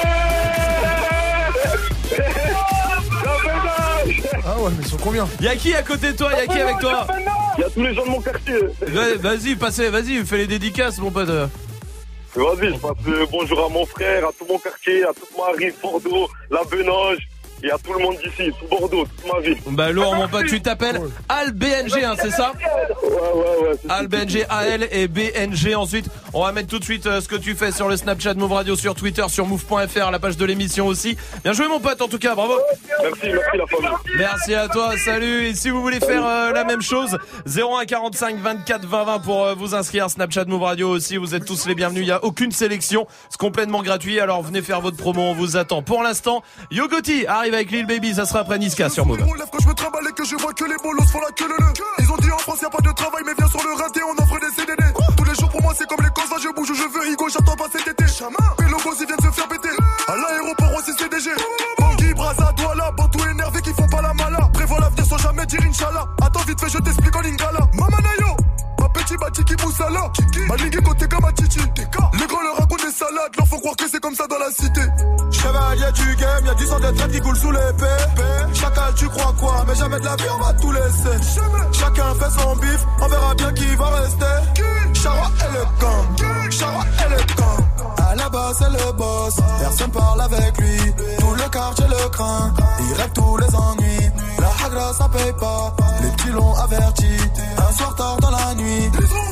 Ah ouais, mais ils sont combien? Y'a qui à côté de toi? Y'a qui avec toi? Y'a tous les gens de mon quartier. Ouais, vas-y, passez, vas-y, fais les dédicaces, mon pote. Vas-y, je passe le bonjour à mon frère, à tout mon quartier, à toute ma rive, Bordeaux, la Benoge, et à tout le monde d'ici, tout Bordeaux, toute ma ville. Bah lourd mon pote, tu t'appelles Al B N G, hein, c'est ça? Ouais, ouais, ouais. Al B N G, A L et B N G. Ensuite, on va mettre tout de suite euh, ce que tu fais sur le Snapchat Move Radio, sur Twitter, sur move point f r, la page de l'émission aussi. Bien joué mon pote, en tout cas, bravo. Merci, merci la famille. Merci à toi, salut. Et si vous voulez faire euh, la même chose, zéro un quarante-cinq vingt-quatre vingt vingt pour euh, vous inscrire. Snapchat Move Radio aussi, vous êtes tous les bienvenus. Il n'y a aucune sélection, c'est complètement gratuit. Alors venez faire votre promo, on vous attend. Pour l'instant, Yo Gotti arrive avec Lil Baby, ça sera après Niska sur Move. Quand je me trimballe et que je vois que les bolos font la queue le le. Ils ont dit en France y'a pas de travail mais viens sur le rinté on offre des C D D. Tous les jours pour moi c'est comme les cons, je bouge où je veux Higo, j'attends pas cet été. Mais le boss ils viennent se faire péter. À l'aéroport aussi C D G. Bangui, Braza, Douala, Bantou énervé qui font pas la mala. Prévois l'avenir sans jamais dire Inch'Allah. Attends vite fait je t'explique en lingala. Mamanayo, ma petit bati qui moussala. Malingue côté comme un titi. Les grands leur racontent des salades, leur faut croire que c'est comme ça dans la cité. Chevalier du game, y'a du sang de traite qui coule sous l'épée. Chacal, tu crois quoi? Mais jamais de la vie, on va tout laisser. Chacun fait son bif, on verra bien qui va rester. Charwa est le gang, Charwa est le gang. À la base, c'est le boss, personne parle avec lui. Tout le quartier le craint, il règle tous les ennuis. La hagra, ça paye pas, les petits l'ont averti. Un soir tard dans la nuit,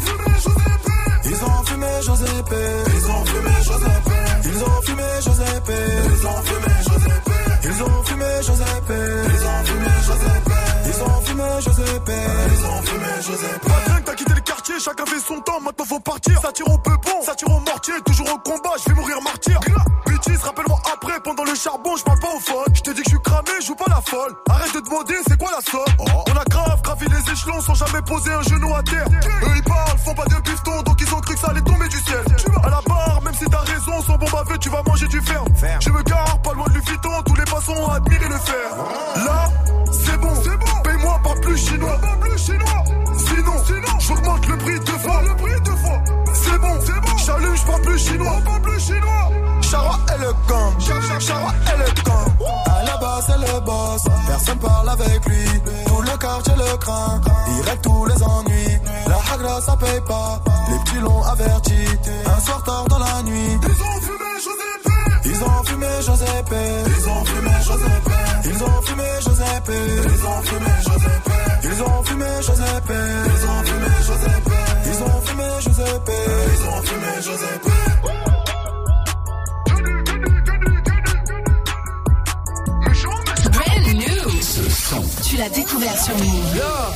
ils ont fumé Josépé. Ils ont fumé Josépé. Ils ont fumé Josépé. Ils ont fumé Josépé. Ils ont fumé Josépé. Ils ont fumé Josépé. Ils ont fumé Josépé. Ils ont fumé Josépé. Pas de t'as quitté le quartier, chacun fait son temps, maintenant faut partir. Ça tire au peupon, ça tire au mortier, toujours au combat, je vais mourir martyr. Bêtise, rappelle-moi après, pendant le charbon, je parle pas au phone. Je te dis que je suis cramé, je joue pas la folle. Arrête de demander, c'est quoi la somme? Oh. On a grave gravi les échelons sans jamais poser un genou à terre. Eux ils parlent, font pas de bifton, donc ils ont cru que ça allait tomber du ciel. À la barre, même si t'as raison, sans bombe à feu, tu vas manger du fer. Je me gare, pas loin de Lufiton, tous les passants ont admiré le fer. Là, c'est bon, c'est bon. Paye-moi, pas plus chinois. Pas plus chinois. Sinon, sinon, j'augmente le prix deux fois. Le prix deux fois. C'est bon, c'est bon. J'allume, j'parle plus chinois. Pas plus chinois. Charwa est le gang. Charwa est le gang. À la base, c'est le boss. Personne parle avec lui. Tout le quartier le craint. Il règle tous les ennuis. La hagra, ça paye pas. Les petits l'ont averti. Un soir tard dans la nuit. Ils ont fumé Josépé. Ils ont fumé Josépé. Ils ont fumé Josépé. Ils ont fumé Josépé. Ils ont fumé Josépé. Ils ont fumé Josépé. Ils ont fumé Josépé. Ils ont fumé Josépé. Ils ont fumé Josépé. Tu l'as découvert sur Move.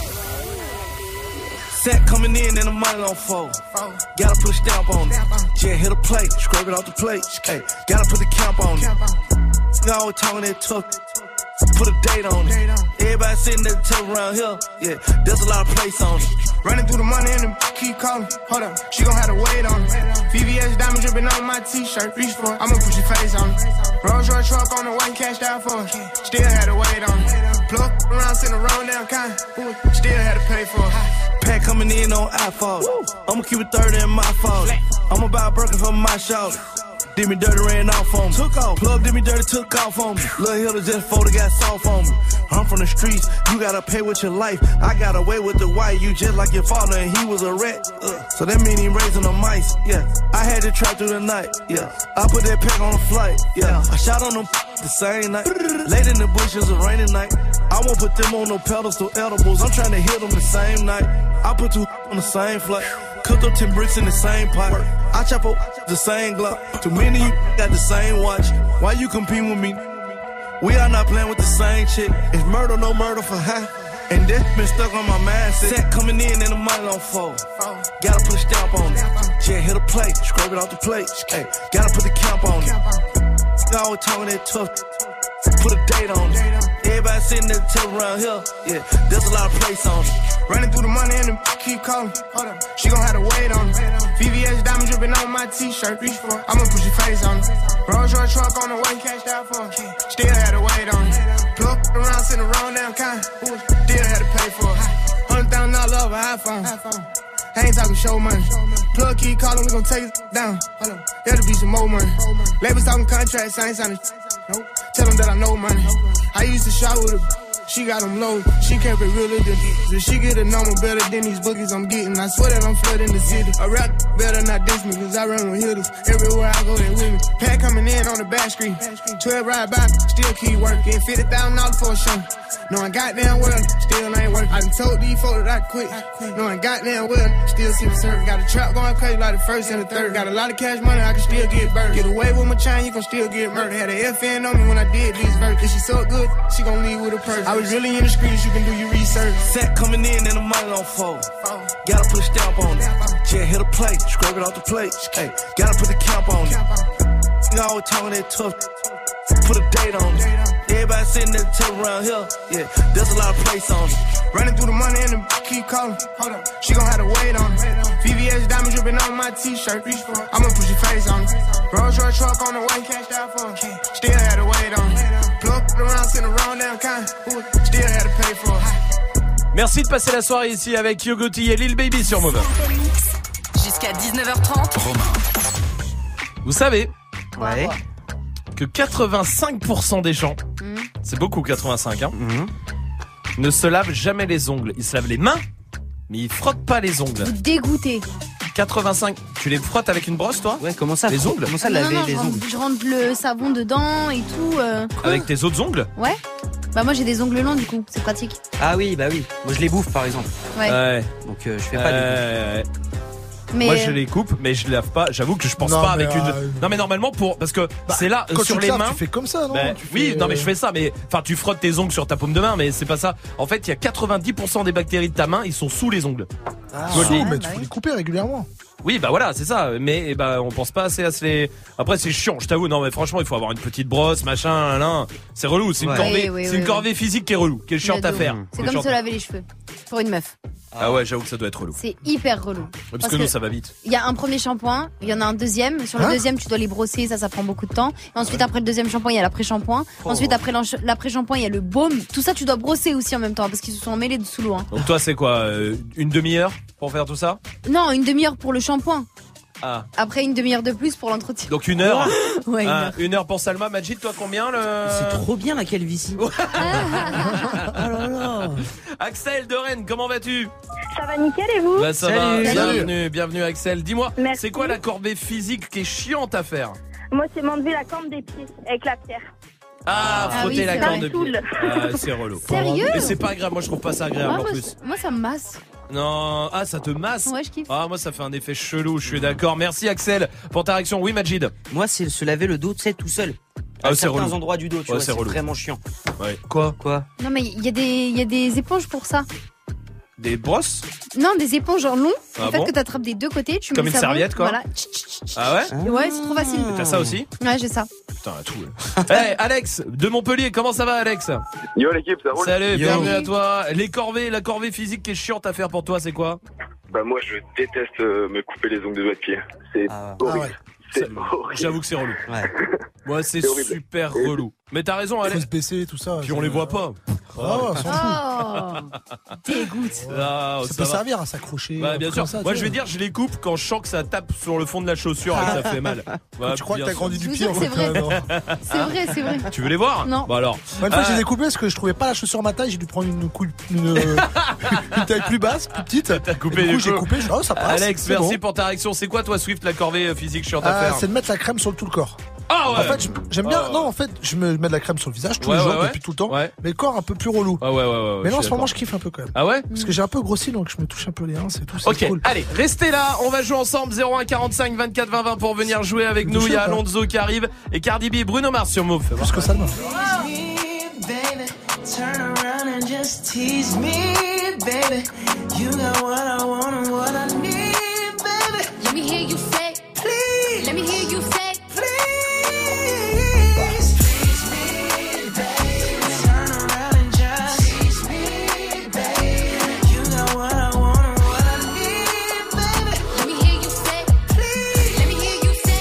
Set coming in and the money on fold. Gotta put a stamp on it. Yeah, hit a plate, scrape it off the plate. Hey, gotta put the camp on it. Nigga always talking that tough. Put a date on it. Everybody sitting there tough around here. Yeah, there's a lot of place on it. Running through the money and the keep calling. Hold up, she gon' have to wait on it. V V S diamond dripping on my t-shirt. Reach for it, I'ma put your face on it. Rolls Royce truck on the way, cashed out for it. Still had to wait on it. Plug around, send a roll down, kind. Still had to pay for it. Pack coming in on iPhone. I'ma keep it thirty in my phone. I'ma buy a Birkin for my shoulder. Did me dirty, ran off on me. Took off. Plug did me dirty, took off on me. Lil' Hilda just folded, got soft on me. I'm from the streets, you gotta pay with your life. I got away with the white, you just like your father, and he was a rat. Uh, so that mean he raising the mice, yeah. I had to try through the night, yeah. I put that pack on a flight, yeah. I shot on them the same night. Late in the bushes, a rainy night. I won't put them on no pedestal edibles. I'm trying to hit them the same night. I put two on the same flight. Cooked up ten bricks in the same pot. I chop up the same Glock. Too many of you got the same watch. Why you compete with me? We are not playing with the same chick. It's murder, no murder for high. And this been stuck on my mindset. Set coming in and the money on fold. Gotta put a stamp on it. Yeah, hit a plate, scrape it off the plate. Hey, gotta put the camp on it. Nigga always talking that tough. Put a date on it. Everybody sitting there tough around here. Yeah, there's a lot of place on it. Running through the money and the keep calling. Hold up, she gon' have to wait on it. V V S diamond dripping on my t-shirt. Reach for it, I'ma put your face on it. Rolls Royce truck on the way, cashed out for it. Still had to wait on it. Plug around, send a roll down, kind. Still had to pay for it. Hundred thousand dollars off an iPhone. I ain't talking show money. Plug keep calling, we gon' take it down. Hold up, there'll be some more money. Labels talking contracts, I ain't signing. Nope. Tell them that I know money. I used to shop with her. She got them low, she kept it realer than if she get a number better than these bookies I'm getting. I swear that I'm flooding the city. A rap better not diss me, cause I run with hitters. Everywhere I go, they with me. Pack coming in on the back street. twelve ride by, still keep working. fifty thousand dollars for a show. Knowing goddamn well, still ain't working. I done told these folks that I quit. Knowing goddamn well, still see the service. Got a trap going crazy like the first and the third. Got a lot of cash money, I can still get burned. Get away with my chain, you can still get murdered. Had an F N on me when I did these verses. She so good, she gon' leave with a purse. I was really in the streets, you can do your research. Set coming in and the money on fold. Gotta put a stamp on it. Yeah, hit a plate, scrape it off the plate. Hey, gotta put the camp on it. Nigga always talking that tough. Put a date on it. Everybody sitting there tough around here. Yeah, there's a lot of place on it. Running through the money and the keep calling. Hold up, she gon' have to wait on it. V V S diamond dripping on my t-shirt. Reach for it, I'ma put your face on it. Rolls Royce truck on the way, cashed out for it. Still had to wait on it. Plug around, send a roll down, kind. Still had to pay for it. Merci de passer la soirée ici avec Yogoti et Lil Baby sur Move. Jusqu'à dix-neuf heures trente. Vous savez Ouais. que quatre-vingt-cinq pour cent des gens, mmh. c'est beaucoup quatre-vingt-cinq, hein, mmh. ne se lavent jamais les ongles. Ils se lavent les mains, mais ils frottent pas les ongles. Vous dégoûtez. quatre-vingt-cinq. Tu les frottes avec une brosse, toi? Ouais, comment ça? Les ongles? Comment ça non, laver non, les je ongles? rentre, je rentre le savon dedans et tout. Euh... Avec tes autres ongles? Ouais. Bah moi j'ai des ongles longs du coup, c'est pratique. Ah oui, bah oui. Moi je les bouffe par exemple. Ouais. ouais. Donc euh, je fais pas euh... du Mais Moi je les coupe, mais je les lave pas. J'avoue que je pense non, pas avec euh... une. Non mais normalement pour parce que bah, c'est là quand sur tu les laves, mains. Tu fais comme ça, non bah, tu Oui, fais... non mais je fais ça, mais enfin tu frottes tes ongles sur ta paume de main, mais c'est pas ça. En fait, il y a quatre-vingt-dix pour cent des bactéries de ta main, ils sont sous les ongles. Ah, tu vois, ah, mais tu faut les couper régulièrement. Oui, bah voilà, c'est ça. Mais bah on pense pas assez à se les. Après c'est chiant, je t'avoue. Non mais franchement, il faut avoir une petite brosse, machin, là. C'est relou. C'est une ouais. corvée, oui, oui, c'est oui, une oui. corvée physique qui est relou, qui est chiante à faire. C'est comme se laver les cheveux pour une meuf. Ah ouais, j'avoue que ça doit être relou. C'est hyper relou. Ouais, parce, parce que, que nous ça va vite. Il y a un premier shampoing, il y en a un deuxième. Sur le hein deuxième, tu dois les brosser, ça, ça prend beaucoup de temps. Et ensuite, ouais. après le deuxième shampoing, il y a l'après-shampoing. Oh. Ensuite, après l'après-shampoing, il y a le baume. Tout ça, tu dois brosser aussi en même temps parce qu'ils se sont mêlés sous l'eau. Hein. Donc toi, c'est quoi, euh, une demi-heure pour faire tout ça? Non, une demi-heure pour le shampoing. Ah. Après une demi-heure de plus pour l'entretien. Donc une heure. Ouais, une, ah, heure. une heure pour Salma. Majid, toi combien le... C'est trop bien la calvitie. Oh là là. Axel de Rennes, comment vas-tu? Ça va nickel et vous? Bah ça Salut. va. Salut. Bienvenue, bienvenue Axel. Dis-moi, Merci. c'est quoi la corvée physique qui est chiante à faire? Moi, c'est m'enlever la corne des pieds avec la pierre. Ah, Ah frotter oui, la c'est corne vrai. de pied. Ah, c'est relou. Sérieux? Mais c'est pas agréable. Moi, je trouve pas ça agréable Ah, en moi, plus. moi, ça me masse. Non, ah, ça te masse? Ouais, je kiffe. Ah, moi, ça fait un effet chelou. Je suis d'accord. Merci Axel pour ta réaction. Oui, Majid. Moi c'est se laver le dos, tu sais, tout seul. Ah, à c'est certains relou. endroits du dos, tu Ouais, vois, c'est c'est relou. vraiment chiant. Ouais. Quoi Quoi Non, mais il y, a des- il y a des éponges pour ça. Des brosses? Non, des éponges en long. Ah en fait, bon que t'attrapes des deux côtés. Tu Comme mets une le savon, serviette, quoi. Voilà. Ah ouais? Ouais, c'est trop facile. T'as ça aussi? Ouais, j'ai ça. Putain, à tout. Hey, Alex, de Montpellier, comment ça va, Alex? Yo l'équipe, ça roule? Salut, Yo. bienvenue à toi. Les corvées, la corvée physique qui est chiante à faire pour toi, c'est quoi? Bah moi je déteste euh, me couper les ongles de doigts de pied. C'est horrible. C'est horrible. J'avoue que c'est relou. Ouais, c'est C'est horrible. super relou. Mais t'as raison, Alex. Faut se baisser, tout ça. Puis on les voit pas. Ah, on s'en Oh, dégoûte. Ah, Ça ça peut va. servir à s'accrocher. Bah bien comme sûr. ça, Moi tu je vais vois. dire je les coupe quand je sens que ça tape sur le fond de la chaussure et que ça fait mal. Ouais, Tu crois que bien t'as sûr. grandi du Je vous pied jure en que fait. c'est vrai. euh, non. C'est vrai, c'est vrai. Tu veux les voir? Non. Bah alors. Moi, une fois, Euh, j'ai découpé parce que je trouvais pas la chaussure à ma taille. J'ai dû prendre une, coupe, une, euh, une taille plus basse, plus petite. T'as coupé Et du les coup, j'ai cheveux. coupé. Je dis, oh, ça passe. Alex, c'est merci bon. pour ta réaction. C'est quoi toi Swift la corvée euh, physique chiante à Euh, faire? c'est de mettre la crème sur tout le corps. Ah ouais. En fait, je- j'aime bien. Ah ouais. Non, en fait, je me mets de la crème sur le visage tous Ouais, les jours ouais, ouais. depuis tout le temps. Ouais. Mais le corps un peu plus relou. Ah ouais ouais ouais. ouais, Mais je non, en suis ce moment, d'accord. je kiffe un peu quand même. Ah ouais? Parce que j'ai un peu grossi, donc je me touche un peu les hanches et tout. C'est Ok, cool. allez, restez là, on va jouer ensemble zéro un quarante-cinq vingt-quatre vingt vingt pour venir jouer avec nous. Il y a Alonso qui arrive et Cardi B et Bruno Mars sur Move. Plus que ça, non. Baby, turn around and just tease me, baby. You got what I want and what I need, baby. Let me hear you say, Please, let me hear you say, please, please me, baby. Turn around and just tease me, baby. You got what I want and what I need, baby. let me hear you say, Please, let me hear you say,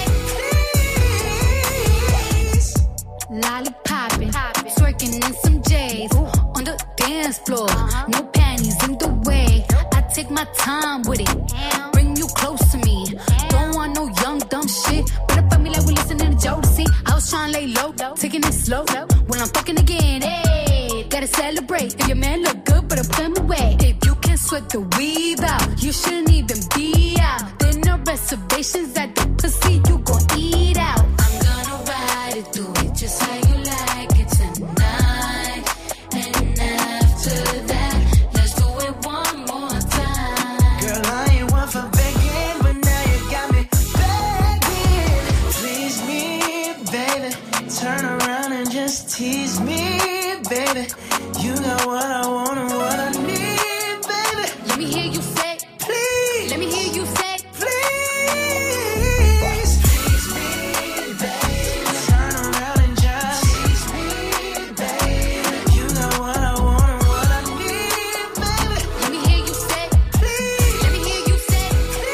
please. lollipopping, twerking in some J's on the dance floor. No panties in the way. I take my time with it, bring you close to me. Don't want no young dumb shit. But up on me like we listening to Jodeci. I was trying to lay low, taking it slow. When I'm fucking again, hey, gotta celebrate. If your man look good, but I put him away. If you can sweat the weave out, you shouldn't even be out. There no reservations at the pussy, you gon' eat out. I'm gonna ride it, do it just how you like it tonight. And after that, let's do it one more time. Girl, I ain't one for begging, but now you got me begging. Please me, baby. Turn around and just tease me, baby. You got what I want and what I need, baby. Let me hear you say, Please, let me hear you say, please. Please me, baby. Turn around and just tease me, baby. You got what I want and what I need, baby. let me hear you say, Please, let me hear you say.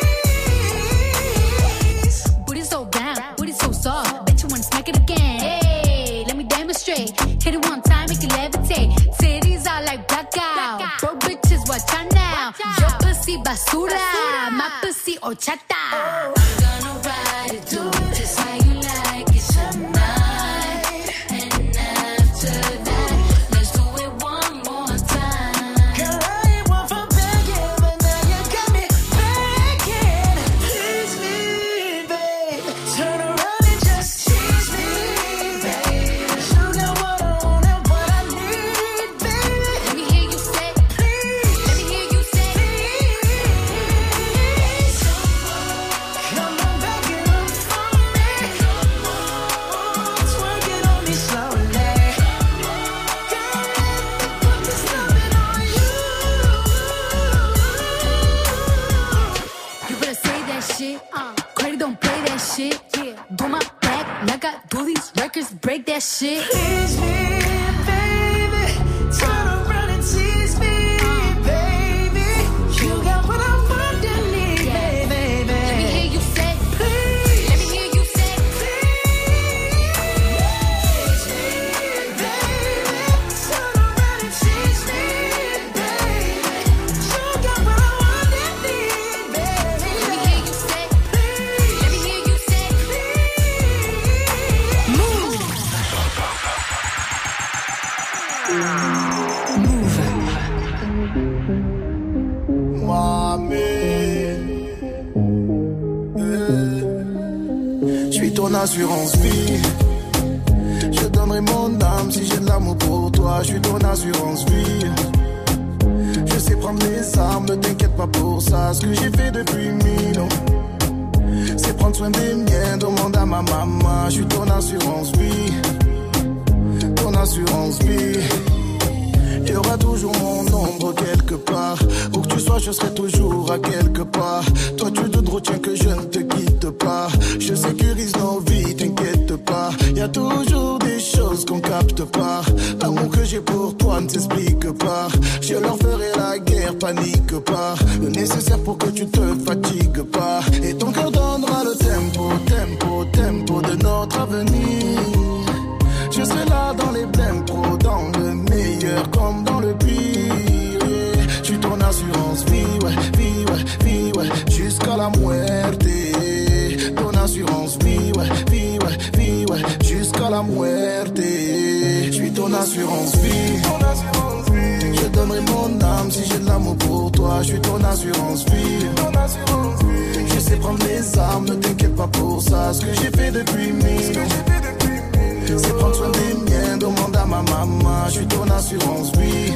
please. Booty so round, booty so soft. Bet you wanna smack it again. Hey, let me demonstrate. Hit it one time, make it levitate. Titties are like blackout. Bro, bitches, watch out now. Your pussy basura, my pussy horchata. I'm gonna ride it, do it just how you like it tonight. And after that, let's do it one more time. Girl, I ain't one for begging, but now you got me begging. Please me, babe. Turn around and just tease me, babe. You got what I want and what I need, baby. Let me hear you say, Please, let me hear you say, please. Come on, begging up for me. Twerk it on me slowly. Girl, put this loving on you. you better say that shit. Uh, Credit don't play that shit. Yeah, do my back like I do these records, break that shit. Tease me, baby. Turn around and tease me, baby. You got what I want and need, baby. Let me hear you say, Please, let me hear you say, please, baby. Turn around and tease me, baby. You got what I want and need, baby. let me hear you say, let me hear you say, Move. Je suis ton assurance vie. Je donnerai mon âme si j'ai de l'amour pour toi. Je suis ton assurance vie. Je sais prendre les armes, ne t'inquiète pas pour ça. Ce que j'ai fait depuis mille ans. c'est prendre soin des miens. Demande à ma maman, je suis ton assurance vie. Ton assurance vie. Il y aura toujours mon ombre quelque part. Où que tu sois, je serai toujours à quelque part. Toi, tu te retiens que je ne te quitte pas. Je sécurise nos vies, t'inquiète pas. Il y a toujours des choses qu'on capte pas. L'amour que j'ai pour toi ne s'explique pas. Je leur ferai la guerre, panique pas. Le nécessaire pour que tu te fatigues pas. Et ton cœur donnera le tempo, tempo, tempo de notre avenir. Je serai là dans les blèmes pro, dans le meilleur comme dans le pire. Yeah. Je suis ton assurance vie, ouais, vie, ouais, vie, ouais, jusqu'à la muerte. Ton assurance vie, ouais, vie, ouais, vie, ouais, jusqu'à la muerte. Je suis ton assurance vie. Je donnerai mon âme si j'ai de l'amour pour toi. Je suis ton assurance vie. Je sais prendre les armes, ne t'inquiète pas pour ça. Ce que j'ai fait depuis mille. C'est prendre soin des miens, demande à ma maman. Je suis ton assurance vie.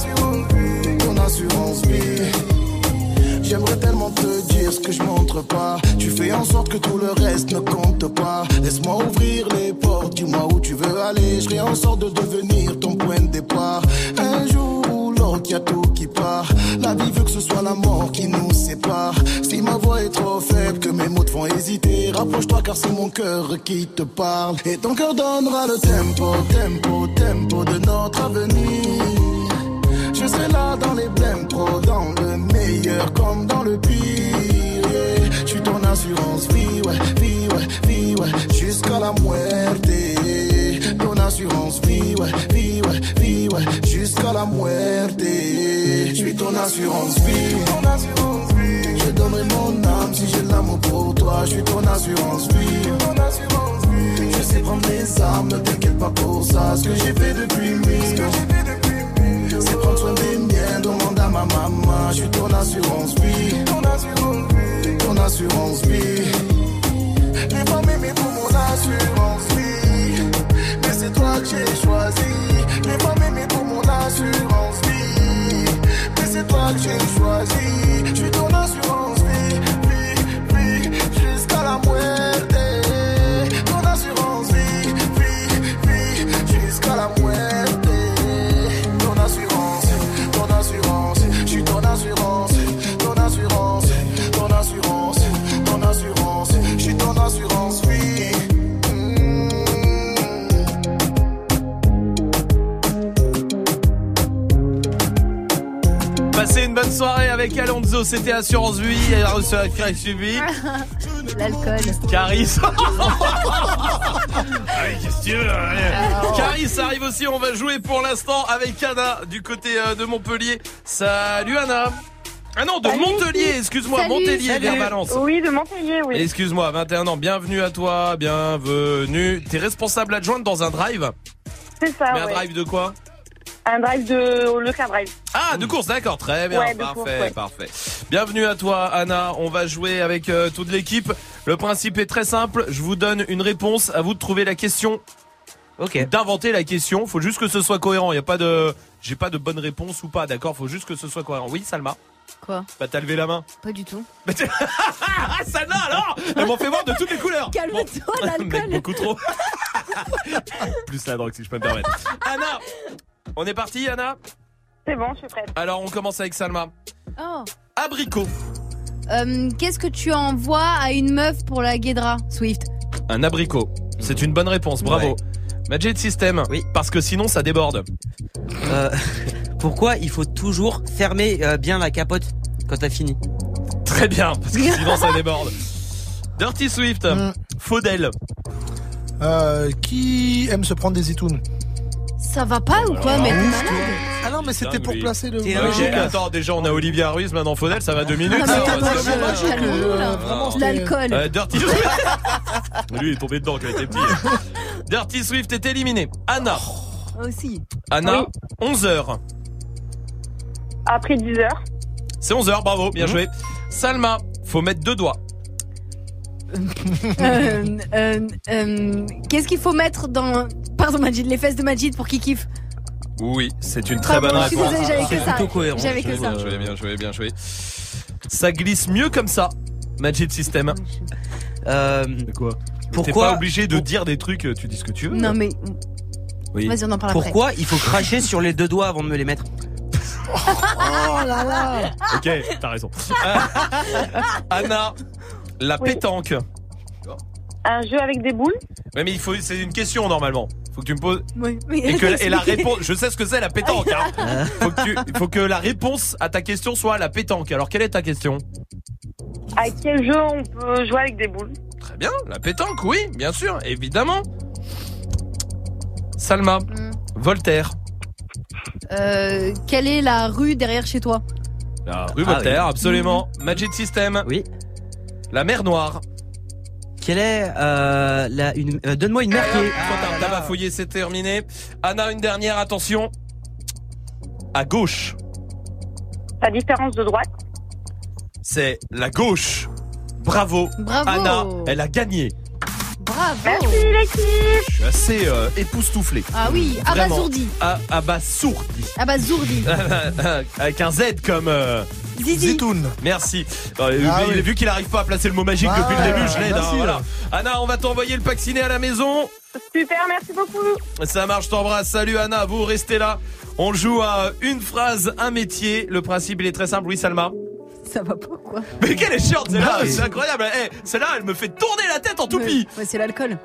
Ton assurance vie. J'aimerais tellement te dire ce que je montre pas. Tu fais en sorte que tout le reste ne compte pas. Laisse-moi ouvrir les portes, dis-moi où tu veux aller. Je ferai en sorte de devenir ton point de départ. Un jour ou l'autre, y'a tout qui part. La vie veut que ce soit la mort qui nous sépare. Si ma voix est trop faible, que mes mots te font hésiter, rapproche-toi car c'est mon cœur qui te parle. Et ton cœur donnera le tempo, tempo, tempo de notre avenir. Je serai là dans les blèmes pro, dans le meilleur comme dans le pire. Yeah. Je suis ton assurance vie, ouais, vie, ouais, vie, ouais, jusqu'à la muerte. Ton assurance vie, ouais, vie, ouais, vie, ouais, jusqu'à la muerte. Je suis ton assurance vie. Je donnerai mon âme si j'ai de l'amour pour toi. Je suis ton assurance vie. Je sais prendre les armes, ne t'inquiète pas pour ça. Ce que j'ai fait depuis mille. C'est prendre soin des miens, demande à ma maman. Je suis ton assurance vie. Ton assurance vie. Les femmes aimées pour mon assurance vie. Mais c'est toi que j'ai choisi. Les femmes aimées pour mon assurance vie. Mais c'est toi que j'ai choisi. Je suis ton assurance vie, vie, vie, jusqu'à la muerte. Ton assurance vie, vie, vie, jusqu'à la muerte. Ton assurance, ton assurance, je suis ton assurance, ton assurance, ton assurance, ton assurance, je suis ton assurance vie. Passez une bonne soirée avec Alonso, c'était Assurance Vie, elle a reçu un crack suivi. L'alcool. Caris. Ah oui, qu'est-ce que tu veux hein. Caris arrive aussi, on va jouer pour l'instant avec Anna du côté euh, de Montpellier. Salut Anna. Ah non, de Salut. Montpellier, excuse-moi, Salut. Montpellier Salut. vers Valence. Oui, de Montpellier, oui. Excuse-moi, vingt et un ans, bienvenue à toi, bienvenue. T'es responsable adjointe dans un drive. C'est ça, Mais un ouais. drive de quoi? Un drive de le car drive. Ah, de course, d'accord, très bien, Ouais, de parfait, course, ouais. parfait. Bienvenue à toi, Anna. On va jouer avec euh, toute l'équipe. Le principe est très simple. Je vous donne une réponse. À vous de trouver la question. Ok. D'inventer la question. Faut juste que ce soit cohérent. Il y a pas de, j'ai pas de bonne réponse ou pas. D'accord. Faut juste que ce soit cohérent. Oui, Salma. Quoi? Bah t'as levé la main. Pas du tout. Ah, Salma alors. Elle m'en fait voir de toutes les couleurs. Calme-toi, Bon. l'alcool. Mec, beaucoup trop. Plus la drogue si je peux me permettre. Anna. On est parti, Anna? C'est bon, je suis prête. Alors, on commence avec Salma. Oh. Abricot. Euh, Qu'est-ce que tu envoies à une meuf pour la guédra, Swift? Un abricot. C'est une bonne réponse, bravo. Ouais. Magic System. Oui. Parce que sinon, ça déborde. Euh, pourquoi il faut toujours fermer euh, bien la capote quand t'as fini? Très bien, parce que sinon, ça déborde. Dirty Swift. Mm. Faudel. Euh, qui aime se prendre des zitoun? Ça va pas ou quoi, mais t'es malade? Ah non, mais c'était pour oui. placer le. Ok, attends, déjà on a Olivia Ruiz, maintenant Faudel, ça va deux minutes. Ah, ça, mais parce attends, que- je- je- calme-nous, là. Vraiment, c'était- L'alcool. Euh, Dirty Lui, il est tombé dedans quand il était petit. Dirty Swift est éliminé. Anna. Aussi. Anna, Oui. onze heures. Après dix heures. C'est onze heures, bravo, bien joué. Salma, faut mettre deux doigts. euh, euh, euh, Qu'est-ce qu'il faut mettre dans. Pardon, Majid, les fesses de Majid pour qu'il kiffe? Oui, c'est une très Pardon, bonne je suis réponse. désolée, j'avais que C'est ça. plutôt cohérent. J'avais que ça. Bien joué, bien joué, bien joué. Ça glisse mieux comme ça. Magic System. Euh, quoi Pourquoi T'es pas obligé de dire des trucs, tu dis ce que tu veux. Non mais. Oui. Vas-y, on en parle Pourquoi après. il faut cracher sur les deux doigts avant de me les mettre? Oh là là. Ok, t'as raison. Euh, Anna, la Oui. pétanque. Un jeu avec des boules. Ouais, mais il faut, c'est une question normalement. Faut que tu me poses. Oui, oui. Et, que, et la réponse, je sais ce que c'est la pétanque. Hein. Faut que tu, faut que la réponse à ta question soit la pétanque. Alors quelle est ta question? À quel jeu on peut jouer avec des boules? Très bien, la pétanque, oui, bien sûr, évidemment. Salma, Mm. Voltaire. Euh, quelle est la rue derrière chez toi? La rue Ah, Voltaire, oui. absolument. Magic System. Oui. La mer Noire. Quelle est euh, la une euh, donne-moi une mer qui est. Quand t'as t'as bafouillé, c'est terminé. Anna, une dernière, attention. À gauche, La différence de droite. c'est la gauche. Bravo. Bravo. Anna, elle a gagné. Bravo. Merci l'équipe. Je suis assez euh, époustouflé. Ah oui, Vraiment. abasourdi. Ah, abasourdi. Abasourdi. Avec un Z comme euh, Zizi. Zitoun. Merci. Euh, Ah il- oui. Vu qu'il arrive pas à placer le mot magique Ah depuis ouais, le début, je l'aide. merci, hein, voilà. là. Anna, on va t'envoyer le pack ciné à la maison. Super, merci beaucoup. Ça marche, je t'embrasse. Salut Anna, vous restez là. On joue à une phrase, un métier. Le principe, il est très simple. Oui, Salma. Ça va pas quoi? Mais quelle est chiante, celle-là. Ouais. C'est incroyable. Eh, celle-là, elle me fait tourner la tête en toupie. Ouais, c'est l'alcool.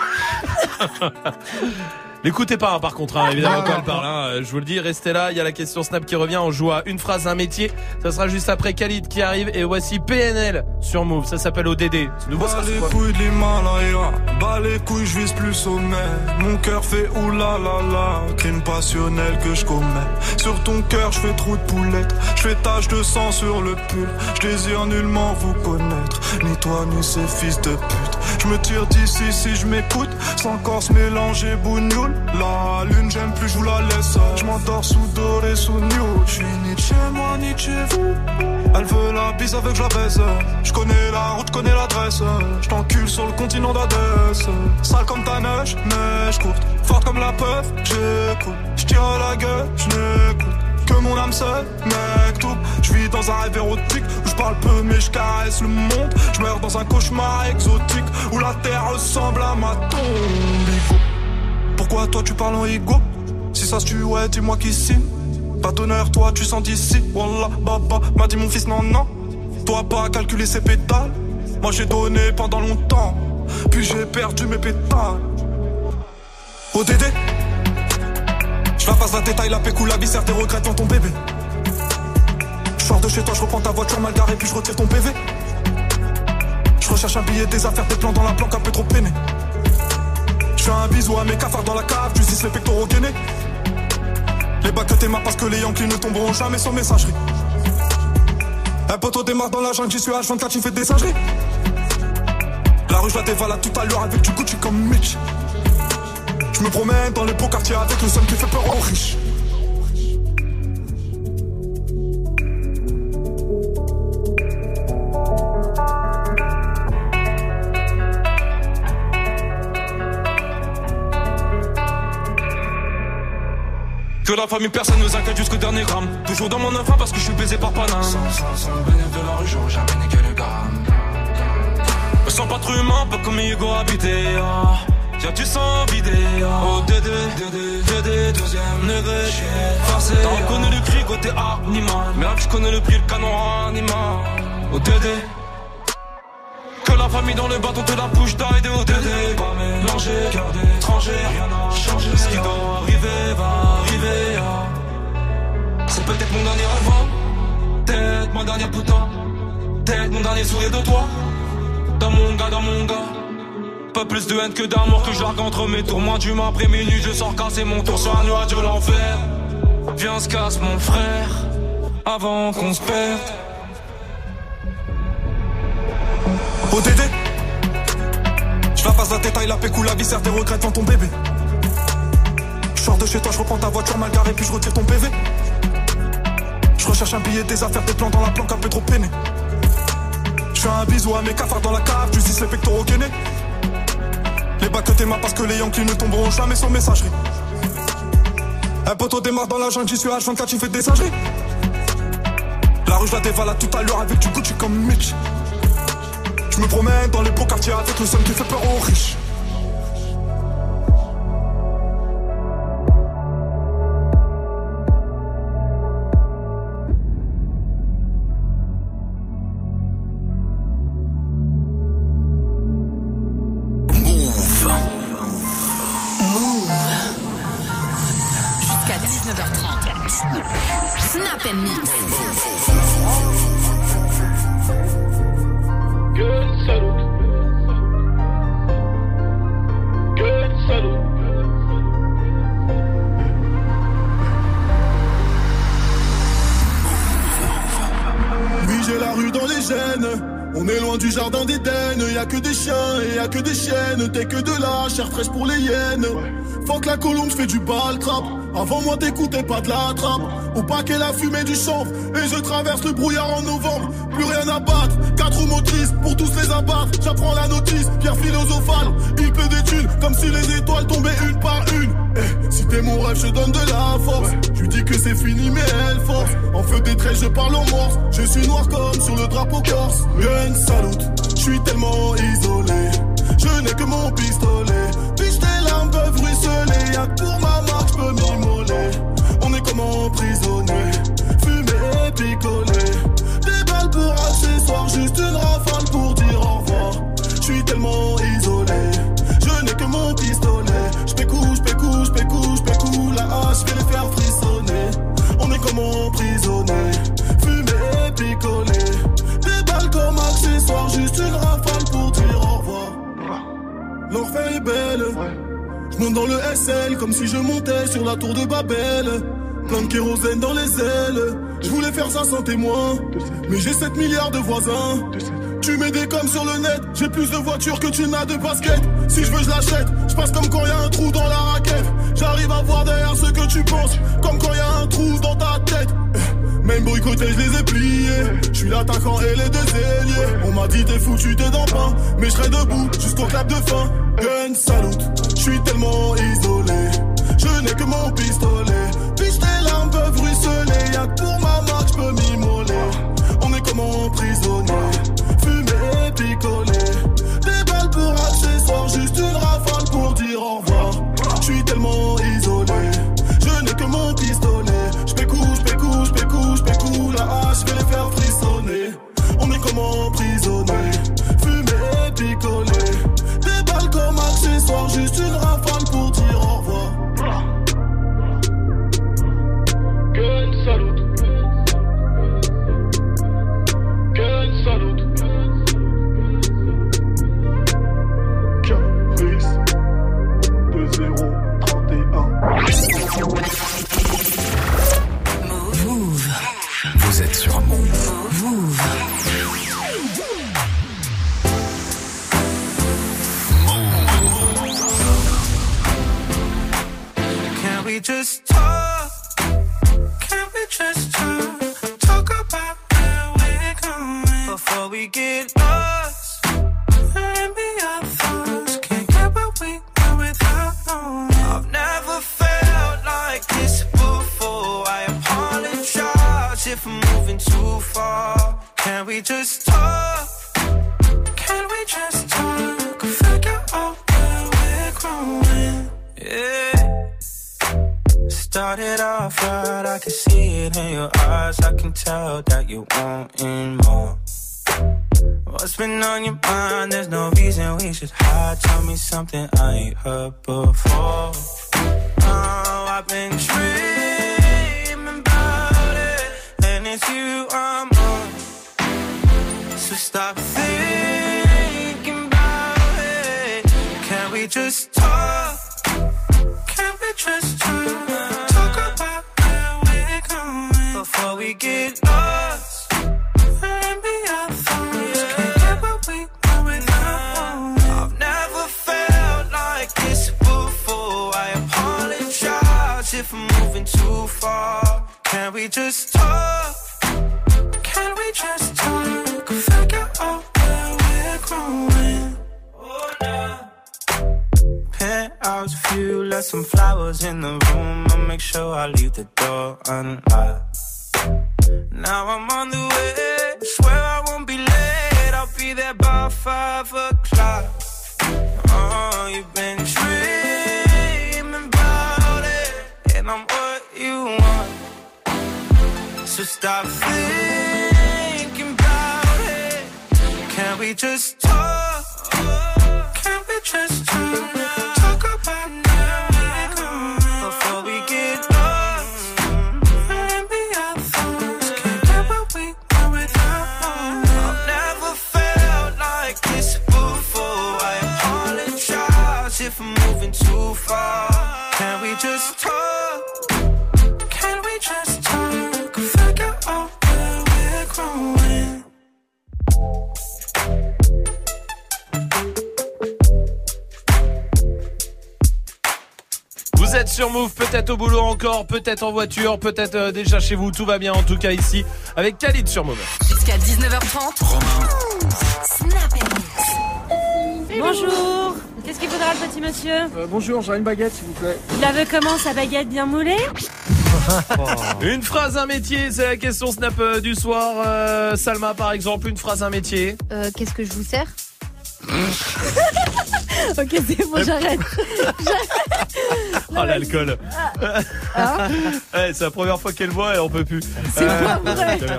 L'écoutez pas, hein, par contre, hein, évidemment, quand elle parle. Hein, euh, je vous le dis, restez là. Il y a la question Snap qui revient. On joue à une phrase, un métier. Ça sera juste après Khalid qui arrive. Et voici P N L sur Move. Ça s'appelle O D D. C'est nouveau, ça, Bas c'est les quoi? couilles de l'Himalaya, bas les couilles, je vise plus sommet. Mon cœur fait oulala, crime passionnel que je commets. Sur ton cœur, je fais trou de poulette, je fais tache de sang sur le pull. Je désire nullement vous connaître, ni toi ni ces fils de pute. Je me tire d'ici si je m'écoute, sans corps mélanger bougnoule. La lune, j'aime plus, je vous la laisse. Je m'endors sous doré, sous new. Je suis ni de chez moi, ni de chez vous. Elle veut la bise avec je la baisse. Je connais la route, connais l'adresse. Je t'encule sur le continent d'Adès. Sale comme ta neige, neige courte. Forte comme la peuf, j'écoute. Je tire à la gueule, je n'écoute que mon âme seule, mec tout. Je vis dans un rêve érotique où je parle peu mais je caresse le monde. Je meurs dans un cauchemar exotique où la terre ressemble à ma tombe. Igo. Pourquoi toi tu parles en ego? Si ça se tue, ouais, dis-moi qui signe. Pas d'honneur, toi tu sens d'ici. Wallah, baba, m'a dit mon fils, non, non. Toi pas calculer ses pétales. Moi j'ai donné pendant longtemps, puis j'ai perdu mes pétales. O D D, je la passe la détail, la pécou, la viscère, tes regrets dans ton bébé. Je sors de chez toi, je reprends ta voiture mal garée, puis je retire ton P V. Je recherche un billet, des affaires, des plans dans la planque, un peu trop peiné. Je fais un bisou à mes cafards dans la cave, tu dis les pectoraux gainés. Les bacs que t'aimes parce que les Yankees ne tomberont jamais sans messagerie. Un poteau démarre dans la jungle, j'y suis H vingt-quatre, j'y fais des singeries. La rue je la dévalade tout à l'heure avec du Gucci comme Mitch. Je me promène dans les beaux quartiers avec le seum qui fait peur aux riches. Que la famille, personne nous inquiète jusqu'au dernier gramme. Toujours dans mon enfant parce que je suis baisé par Paname. Sans, sans, sans le bénéfice de la rue, j'aurais jamais niqué le gramme. Me sens pas trop humain, pas comme Hugo habité. Ah. Y'a du sang vidé. Ah. Oh D D, D D, D D, deuxième degré. J'suis forcé. T'en connais le cri côté animal. Mais là, je connais le prix, le canon animal. Oh D D. Que la famille dans le bâton te la bouche d'aide de O D D. Pas mélangé, cœur d'étranger, rien n'a changé. Ce qui doit arriver va arriver. Ah. C'est peut-être mon dernier rêve, peut-être mon dernier putain, peut-être mon dernier sourire de toi. Dans mon gars, dans mon gars. Pas plus de haine que d'amour que je largue entre mes tours. Moins d'humain après minuit, je sors casser mon tour sur un nuage de l'enfer. Viens, se casse mon frère, avant qu'on se perde. O D D, je la passe la détail, la pécou, la viscère, tes regrets devant ton bébé. Je sors de chez toi, je reprends ta voiture mal garée, puis je retire ton P V. Je recherche un billet, des affaires, des plans dans la planque, un peu trop peiné. Je fais un bisou à mes cafards dans la cave, tu dis les pectoraux gainés. Les bacs que t'aimes parce que les Yankees ne tomberont jamais sans messagerie. Un poteau démarre dans la jungle, j'y suis H vingt-quatre, j'y fais des singeries. La rue je la dévalade tout à l'heure avec du Gucci comme Mitch. Je me promène dans les beaux quartiers avec le seul qui fait peur aux riches. dix-neuf heures trente. Snap and Mix. Good salute. Good salute. Oui, j'ai la rue dans les gènes. On est loin du jardin d'Éden. Y'a que des chiens et y'a que des chiennes. T'es que de la chair fraîche pour les hyènes. Faut que la colombe, j'fais du bal trap. Avant moi t'écoutais pas de la trappe. Au paquet la fumée du chanvre. Et je traverse le brouillard en novembre. Plus rien à battre, quatre roues motrices pour tous les abattre. J'apprends la notice, pierre philosophale. Il pleut des thunes comme si les étoiles tombaient une par une. Eh, si t'es mon rêve je donne de la force. Je lui dis que c'est fini mais elle force. En feu des traits je parle en morse. Je suis noir comme sur le drapeau corse. Gun salute, je suis tellement isolé. Je n'ai que mon pistolet. Puis tes larmes peuvent ruisseler. Y'a que pour ma marque j'peux m'immoler. On est comme emprisonnés, fumé et picolé. Des balles pour accessoires, juste une rafale pour dire au revoir. J'suis tellement isolé, je n'ai que mon pistolet. J'pécou, j'pécou, j'pécou, j'pécou. La hache, j'vais les faire frissonner. On est comme emprisonnés, fumé et picolé. Des balles comme accessoires, juste une rafale pour dire au revoir. L'enfer est belle. Je monte dans le S L comme si je montais sur la tour de Babel. Plein de kérosène dans les ailes. Je voulais faire ça sans témoin, mais j'ai sept milliards de voisins. Tu mets des coms sur le net. J'ai plus de voitures que tu n'as de baskets. Si je veux je l'achète. Je passe comme quand y a un trou dans la raquette. J'arrive à voir derrière ce que tu penses, comme quand y a un trou dans ta tête. Même boycotté, je les ai pliés. Je suis l'attaquant et les deux ailiers. On m'a dit t'es foutu, t'es dans le pain. Mais je serai debout jusqu'au clap de fin. Gun salute, je suis tellement isolé. Je n'ai que mon pistolet. Puis tes larmes peuvent ruisseler. Y'a que pour ma marque, j'peux m'immoler. On est comme emprisonnés, fumé et picolé. Des balles pour accessoires, juste une rafale pour dire au revoir. Je suis tellement isolé, je n'ai que mon pistolet. J'pécou, j'pécou, j'pécou, j'pécou. La hache, j'vais les faire frissonner. On est comme emprisonnés, fumé et picolé. Des balles comme accessoires, juste une rafale pour dire au revoir. Gun salute. Gun salute. Caprice deux zéro trente et un. Move. Vous êtes sur Move. Move. Can we just talk? Can we just talk? Talk about where we're going before we get lost. And be our thoughts. Can't get what we want without knowing. I've never felt like this before. I apologize if I'm moving too far. Can we just talk? Can we just talk? Figure out where we're growing. Yeah. Started off right, I can see it in your eyes. I can tell that you wanting more. What's been on your mind? There's no reason we should hide. Tell me something I ain't heard before. Oh, I've been dreaming about it, and it's you I'm on. So stop thinking about it. Can we just talk? Can we just talk? Talk about where we're going before we get lost. And be our thoughts. Can't get what we want without knowing. I've never felt like this before. I apologize if I'm moving too far. Can we just talk? Can we just talk? Figure out where we're growing. Oh, no. Penthouse view, left some flowers in the room. I'll make sure I leave the door unlocked. Now I'm on the way, swear I won't be late. I'll be there by five. five o'clock. Oh, you've been dreaming about it, and I'm what you want. So stop thinking about it. Can we just talk? Can we just talk? Talk about now before we get lost. And be our thoughts. Can't get what we want without. I've never felt like this before. I apologize if I'm moving too far. Can we just talk? Can we just talk? Figure out where we're growing. Vous êtes sur Move, peut-être au boulot encore, peut-être en voiture, peut-être euh, déjà chez vous, tout va bien en tout cas ici, avec Khalid sur Move. Jusqu'à dix-neuf heures trente. Bonjour. Qu'est-ce qu'il faudra le petit monsieur? euh, Bonjour, j'ai une baguette s'il vous plaît. Il la veut comment sa baguette, bien moulée? Une phrase, un métier, c'est la question Snap euh, du soir. Euh, Salma par exemple, une phrase, un métier. Euh, qu'est-ce que je vous sers? Ok, c'est bon, j'arrête. Oh l'alcool. Ah. Ouais, c'est la première fois qu'elle boit et on peut plus. C'est Euh, pas vrai. tout à l'heure.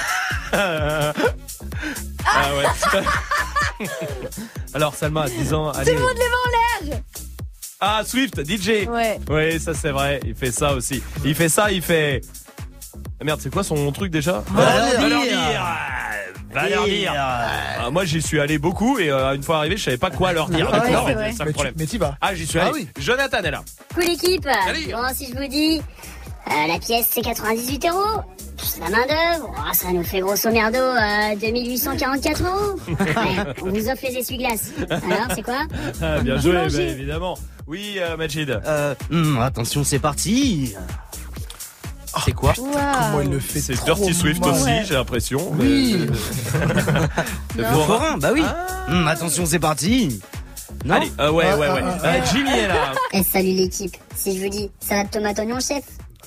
Ah ouais. Alors Salma, dix ans, Tout allez. le monde les mains en l'air. Ah Swift, D J. Ouais. Oui, ça c'est vrai, il fait ça aussi. Il fait ça, il fait... Ah, merde, c'est quoi son truc déjà? Va leur Va leur dire. dire. Va leur dire. Ah, moi j'y suis allé beaucoup et euh, une fois arrivé je savais pas quoi leur dire. Ah ouais, D'accord, c'est vrai. c'est ça le Mais problème. tu- mais t'y vas. Ah j'y suis Ah allé. oui. Jonathan est là. Cool équipe. Salut. Bon, si je vous dis, euh, la pièce c'est quatre-vingt-dix-huit euros. Plus la main d'œuvre, oh, ça nous fait grosso merdo euh, deux mille huit cent quarante-quatre euros. Ouais, on vous offre les essuie-glaces. Alors, c'est quoi? Ah, bien joué, bah, Boulanger. évidemment. Oui, euh, Majid. Euh, hum, attention, c'est parti. C'est quoi? Comment il le fait? C'est trop Dirty Swift mal. aussi, Ouais. j'ai l'impression. Oui. Le Le forain. forain, bah oui. Ah. Hum, attention, c'est parti. Non. Allez, euh, ouais, ouais, ouais. Ah, ah, Euh, Jimmy est là. Eh, salut l'équipe. Si je vous dis salade tomate oignon chef.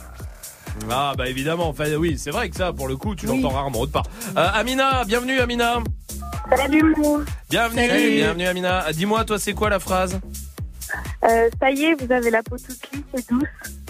Ah, bah évidemment. Enfin, oui, c'est vrai que ça, pour le coup, tu Oui. l'entends rarement autre part. Euh, Amina, bienvenue, Amina. Salut Mou. Bienvenue, Salut. bienvenue, Amina. Dis-moi, toi, c'est quoi la phrase? Euh, ça y est, vous avez la peau toute lisse et douce.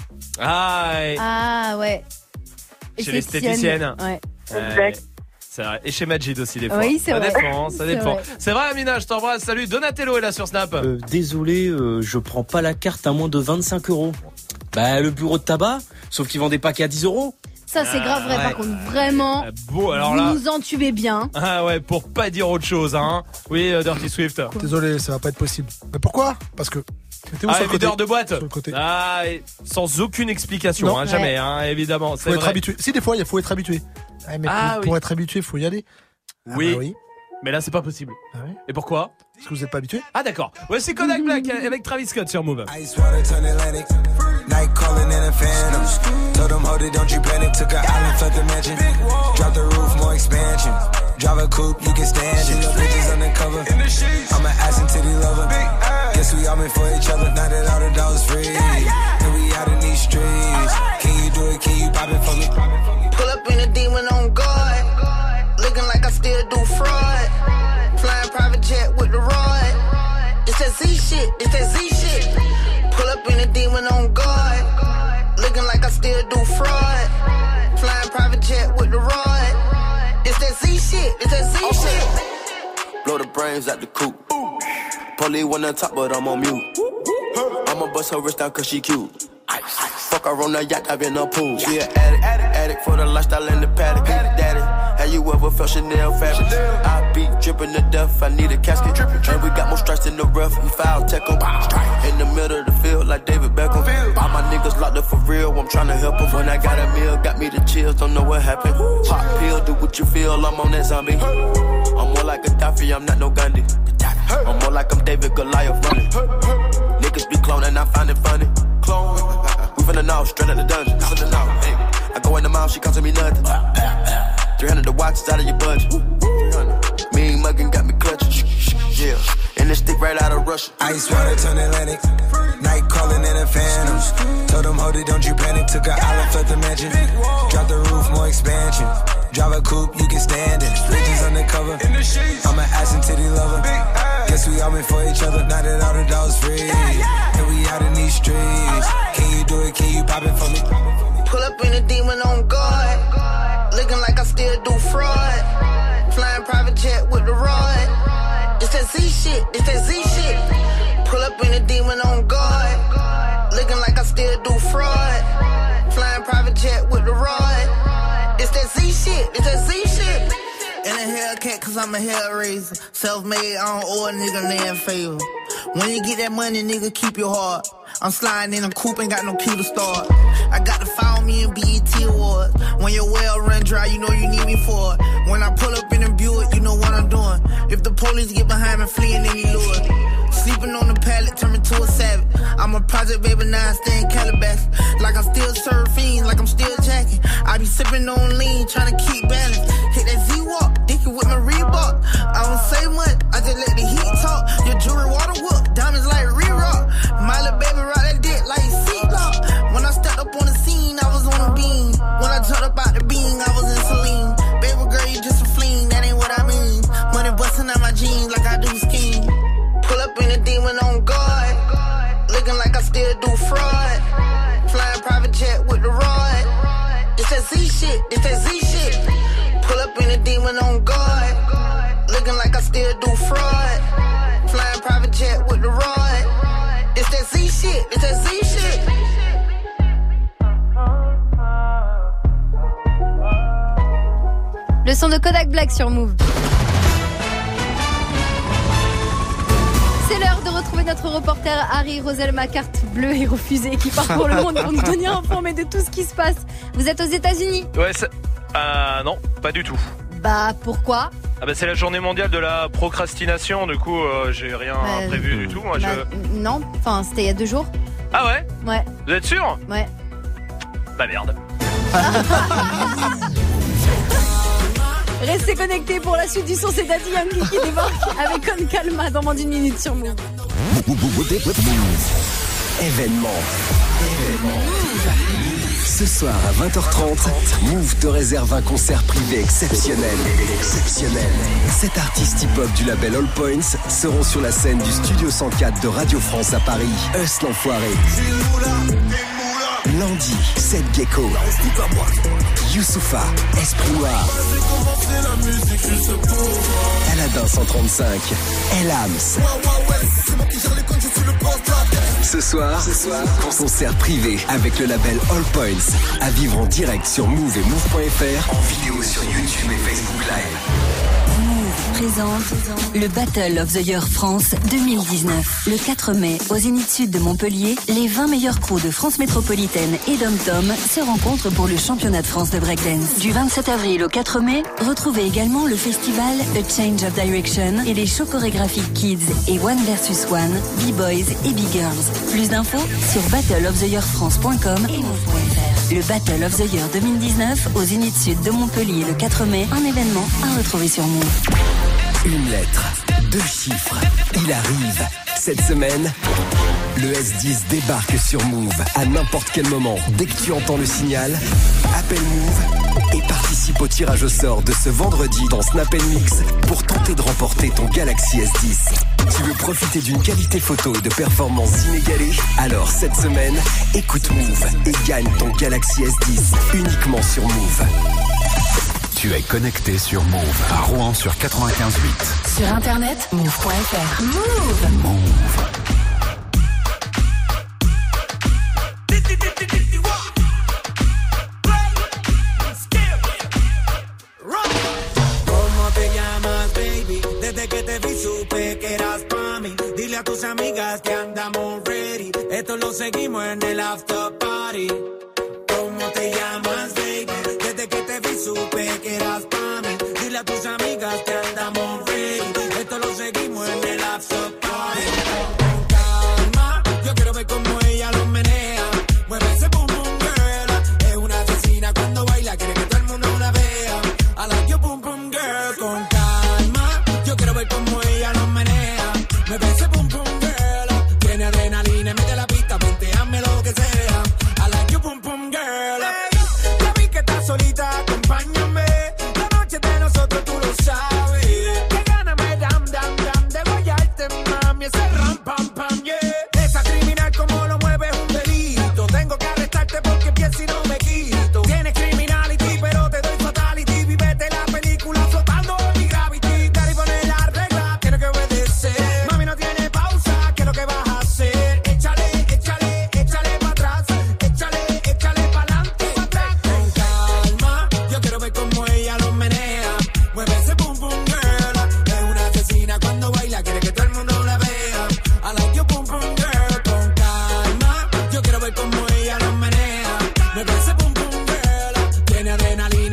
Ah, et- Ah ouais. chez l'esthéticienne. Ouais. Ouais. C'est vrai. Et chez Majid aussi, des fois. Oui, c'est ça vrai. dépend, ça C'est dépend. vrai. C'est vrai, Amina, je t'embrasse. Salut, Donatello est là sur Snap. Euh, désolé, euh, je prends pas la carte à moins de vingt-cinq euros. Bah, le bureau de tabac, sauf qu'ils vendent des paquets à dix euros. Ça c'est grave vrai ouais. par contre, vraiment. Ah, Bon, alors vous là. nous entubez bien. Ah ouais, pour pas dire autre chose, hein. Oui, euh, Dirty Swift. Désolé, ça va pas être possible. Mais pourquoi? Parce que. T'es où Ah, sur le côté? videur de boîte. Sur le côté. Ah, et sans aucune explication, Non. hein, jamais, hein, évidemment. C'est Faut être vrai. habitué. Si, des fois, il faut être habitué. Ah, mais Ah, pour, oui. pour être habitué, faut y aller. Ah, Oui. bah oui. Mais là, c'est pas possible. Ah oui. Et pourquoi? Parce que vous êtes pas habitué. Ah, d'accord. Ouais, c'est Kodak Black avec Travis Scott sur Move. Ice water turn Atlantic. Night calling in a phantom. Told them, hold it, don't you panic. Took an island, left the mansion. Drop the roof, more expansion. Drive a coupe, you can stand it. Bitches undercover. I'm an ass and titty lover. Guess we all meant for each other. Now that all the dogs free. And we out in these streets. Can you do it? Can you pop it for me? Pull up in a demon on guard. Looking like I still do fraud. Flying private jet with the rod. It's that Z shit, it's that Z shit. Pull up in a demon on guard. Looking like I still do fraud. Flying private jet with the rod. It's that Z shit, it's that Z shit. Blow the brains out the coop. Polly wanna talk, but I'm on mute. I'ma bust her wrist down cause she cute. Fuck her on the yacht, I've been a pool. She an addict, addict, addict for the lifestyle and the paddock. Daddy, have you ever felt Chanel fabric? I be dripping to death, I need a casket. And we got more strikes in the rough, we foul tech 'em. In the middle of the field like David Beckham. All my niggas locked up for real, I'm tryna help 'em. When I got a meal, got me the chills, don't know what happened. Pop pill, do what you feel, I'm on that zombie. I'm more like Gaddafi, I'm not no Gandhi. I'm more like I'm David Goliath running. Niggas be cloning, I find it funny. Clone, we finna know, straight out the dungeon. Finna know, hey. I go in the mouth, she costing me nothing. three hundred the watch is out of your budget. Mean muggin' got me clutching. Yeah, and this stick right out of Russia. Ice water turn Atlantic. Night calling in a phantom. Told them, hold it, don't you panic. Took an island, left the mansion. Drop the roof, more expansion. Drive a coupe, you can stand it. Bitches undercover. I'm an ass and titty lover. guess we all meant for each other. Now that all the dogs free, and we out in these streets. Can you do it? Can you pop it for me? Pull up in a demon on guard, looking like I still do fraud. Flying private jet with the rod. It's that Z shit, it's that Z shit. Pull up in a demon on guard, looking like I still do fraud. Flying private jet with the rod. It's that Z shit, it's that Z shit. In a Hellcat, cause I'm a hellraiser. Self-made, I don't owe a nigga land favor. When you get that money, nigga, keep your heart. I'm sliding in a coupe, ain't got no key to start. I got to follow me in B E T Awards. When your well run dry, you know you need me for it. When I pull up in a Buick, you know what I'm doing. If the police get behind me, fleeing any lure. Sleeping on the pallet, turn me to a savage. I'm a project baby, now I stay in Calabasas. Like I'm still serving fiends, like I'm still jacking. I be sipping on lean, trying to keep balance. Hit that Z-Walk, dick it with my Reebok. I don't say much, I just let the heat talk. Your jewelry water whoop, diamonds like re-rock. My little baby ride that dick like seatlock. When I stepped up on the scene, I was on a beam. When I jumped up out the beam, I was in Celine. Baby girl, you just a fling, that ain't what I mean. Money busting out my jeans like I do scheme. Pull up in a demon on guard, looking like I still do fraud. Flying private jet with the rod. It's that Z shit, it's that Z shit. Pull up in a demon on guard, looking like I still do fraud. Flying private jet with the rod. It's that Z shit, it's that Z shit. Le son de Kodak Black sur Move. C'est l'heure de retrouver notre reporter Harry Roselma, carte bleue et refusée, qui parcourt le monde pour nous tenir informés de tout ce qui se passe. Vous êtes aux États-Unis? Ouais, ça... Euh, non, pas du tout. Bah, pourquoi? Ah bah c'est la journée mondiale de la procrastination, du coup euh, j'ai rien bah, prévu du tout. Moi, bah, je... Non, enfin c'était il y a deux jours. Ah ouais? Ouais. Vous êtes sûr? Ouais. Bah merde. Restez connectés pour la suite du son, c'est Daddy Yankee qui débarque avec Con Calma dans moins d'une minute sur Move. Événement. Événement. Ce soir à vingt heures trente, Move te réserve un concert privé exceptionnel. Exceptionnel. Sept artistes hip-hop du label All Points seront sur la scène du Studio cent quatre de Radio France à Paris. Us l'enfoiré. Landy, Seth Gecko, Youssoupha, Esprit Noir, Aladin cent trente-cinq, Elams. Ce soir, ce soir, concert privé avec le label All Points. À vivre en direct sur Move et Move point F R, en vidéo sur YouTube et Facebook Live. Présente le Battle of the Year France deux mille dix-neuf. Le quatre mai, au Zénith Sud de Montpellier, les vingt meilleurs crews de France métropolitaine et Dom-Tom se rencontrent pour le championnat de France de breakdance. Du vingt-sept avril au quatre mai, retrouvez également le festival A Change of Direction et les shows chorégraphiques Kids et One versus One, B-Boys et B-Girls. Plus d'infos sur battle of the year france point com et move point F R. Le Battle of the Year deux mille dix-neuf au Zénith Sud de Montpellier le quatre mai, un événement à retrouver sur Move. Une lettre, deux chiffres, il arrive. Cette semaine, le S dix débarque sur Move à n'importe quel moment. Dès que tu entends le signal, appelle Move et participe au tirage au sort de ce vendredi dans Snap and Mix pour tenter de remporter ton Galaxy S dix. Tu veux profiter d'une qualité photo et de performances inégalées? Alors cette semaine, écoute Move et gagne ton Galaxy S dix uniquement sur Move. Tu es connecté sur Move à Rouen sur quatre-vingt-quinze virgule huit. Sur internet, move point F R. Move. Move. ¿Cómo te llamas, baby? Desde que te vi supe que eras pa' mí. Dile a tus amigas que andamos ready. Esto lo seguimos en el after party. ¿Cómo te llamas, baby? Desde que te vi supe que eras pa' mí. Dile a tus amigas que andamos ready. Esto lo seguimos en el after party. Con calma, yo quiero ver cómo ella lo menea. Mueve ese boom boom girl. Es una asesina cuando baila, quiere que todo el mundo la vea. I like your boom boom girl. Con calma, yo quiero ver cómo ella lo menea. Mueve ese boom boom girl. Tiene adrenalina, mete la pista, ponteame lo que sea. I like your boom boom girl. Hey, ya vi que estás solita, acompáñame. La noche de nosotros tú lo sabes. Que gana me dam dam dam de guayarte.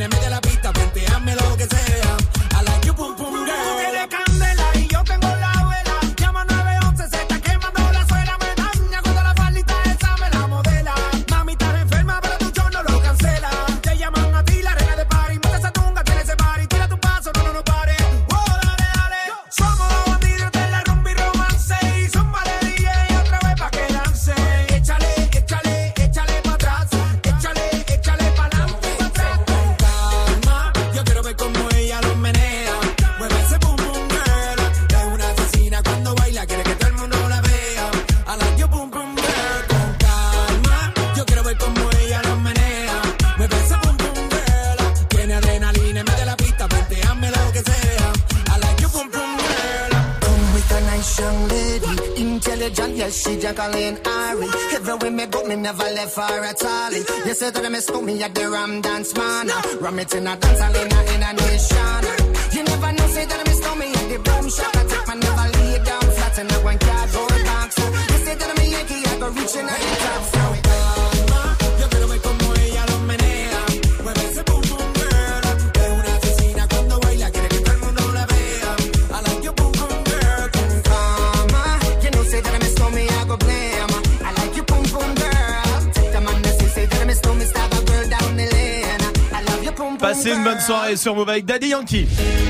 adrenalina, mete la pista, venteame lo que sea. I like you, pum, pum, girl. Tú tienes candela y yo tengo la vela. Llama nueve once, se está quemando la suela. Me daña cuando la faldita esa me la modela. Mami, estás enferma, pero tu show no lo cancela. Te llaman a ti, la reina de party. Mete esa tunga, tiene ese party. Tira tu paso, no, no, no pare. Oh, dale, dale. Somos los bandidos de la rumba y romance. Y son vale D J otra vez pa' que dance. Échale, échale, échale pa' atrás. Échale, échale pa' adelante y pa' atrás. Con calma, yo quiero ver cómo ella lo menea. Mueve ese boom boom girl. Es una asesina cuando baila, quiere que todo el mundo la vea. I like you boom boom girl. Con calma, yo quiero ver cómo ella lo menea. Mueve ese boom boom girl. Tiene adrenalina en vez de la pista, venteame lo que sea. I like you boom boom girl. Come with a nice young lady, intelligent, yes she Jacqueline Ari. Everywhere me go, me never left her at all. You say that I miss me at the Ram Dance Man. Ram it in a dance hall in a, in a nation. You never know, say that I miss me at the boom shop. I take my never lay down flat in a one cardboard box. You say that I'm a Yankee, I go reaching out the top. So calma, yo quiero ver cómo ella lo menea. Mueve ese boom boom girl. Es una asesina cuando baila, quiere que todo el mundo la vea. I like you boom boom girl. Con calma, you know say that I miss me, I go blame. I like you boom boom girl. Take the man that say that I miss me, stab a girl down the lane. I love you boom boom girl. Passez une bonne soirée sur Move avec Daddy Yankee.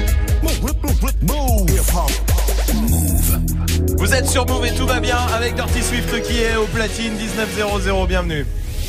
Vous êtes sur Move et tout va bien avec Dirty Swift qui est au platine dix-neuf zéro zéro. Bienvenue.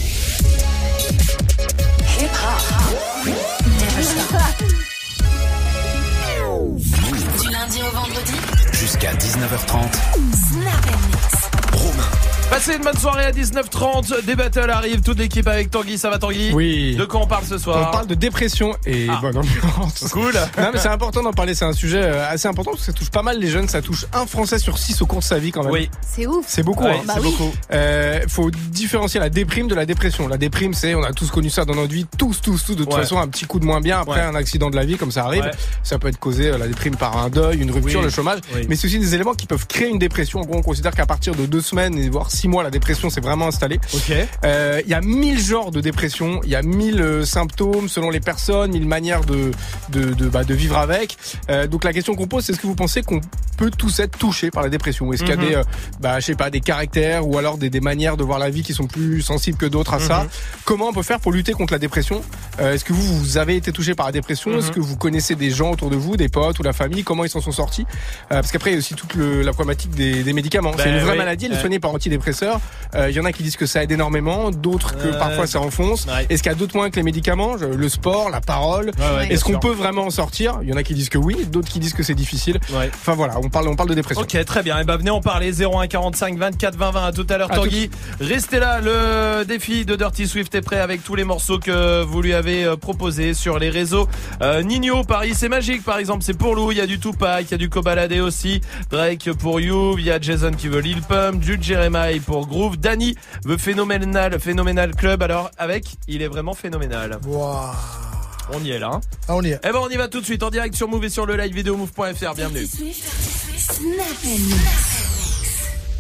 Du lundi au vendredi, Jusqu'à dix-neuf heures trente. Snap and Mix. Romain. Passez une bonne soirée à dix-neuf trente. Des battles arrivent. Toute l'équipe avec Tanguy. Ça va Tanguy? Oui. De quoi on parle ce soir? On parle de dépression et Ah. bonne ambiance. Cool. Non mais c'est important d'en parler, c'est un sujet euh, assez important parce que ça touche pas mal les jeunes, ça touche un Français sur six au cours de sa vie quand même. Oui. C'est ouf. C'est beaucoup, Ouais, hein. Bah c'est oui. beaucoup. Euh, faut différencier la déprime de la dépression. La déprime, c'est, on a tous connu ça dans notre vie, tous, tous, tous. De toute Ouais. façon, un petit coup de moins bien après Ouais. un accident de la vie, comme ça arrive. Ouais. Ça peut être causé, euh, la déprime, par un deuil, une rupture, Oui. le chômage. Oui. Mais c'est aussi des éléments qui peuvent créer une dépression. En gros, on considère qu'à partir de deux semaines et voire six mois, la dépression s'est vraiment installée. Ok. Euh, Il y a mille genres de dépression, il y a mille euh, symptômes selon les personnes, mille manières de de de, bah, de vivre avec. Euh, donc la question qu'on pose, c'est est-ce que vous pensez qu'on peut tous être touchés par la dépression? Est-ce qu'il y a Mhm. des, euh, bah, je sais pas, des caractères ou alors des, des manières de voir la vie qui sont plus sensibles que d'autres à ça? Mhm. Comment on peut faire pour lutter contre la dépression? Euh, Est-ce que vous, vous avez été touché par la dépression? Mhm. Est-ce que vous connaissez des gens autour de vous, des potes ou la famille? Comment ils s'en sont sortis? Euh, Parce qu'après, il y a aussi toute le, la problématique des, des médicaments. Ben c'est une vraie oui. maladie, elle est Ouais. soignée par antidépresseurs. Euh, Il y en a qui disent que ça aide énormément, d'autres que Ouais. parfois ça enfonce. Ouais. Est-ce qu'il y a d'autres moyens que les médicaments? Je- Le sport, la parole. Ouais, ouais, bien Est-ce qu'on sûr. peut vraiment en sortir? Il y en a qui disent que oui, d'autres qui disent que c'est difficile. Ouais. Enfin voilà, on parle, on parle de dépression. Ok, très bien. Et ben venez en parler. zéro un quarante-cinq vingt-quatre vingt vingt. À tout à l'heure, À Tanguy. Restez là. Le défi de Dirty Swift est prêt avec tous les morceaux que vous lui avez euh, proposés sur les réseaux. Euh, Nino, Paris, c'est magique. Par exemple, c'est pour Lou. Il y a du Tupac, il y a du Kobalade aussi. Drake pour You. Il y a Jason qui veut Lil Pump. Jude Jeremiah pour Groove. Danny veut Phénoménal, Phénoménal Club. Alors avec, il est vraiment phénoménal. Waouh. On y est là. Hein. Ah, on y est. Eh ben on y va tout de suite en direct sur Move et sur le live vidéo move point f r. Bienvenue. Snap and Mix.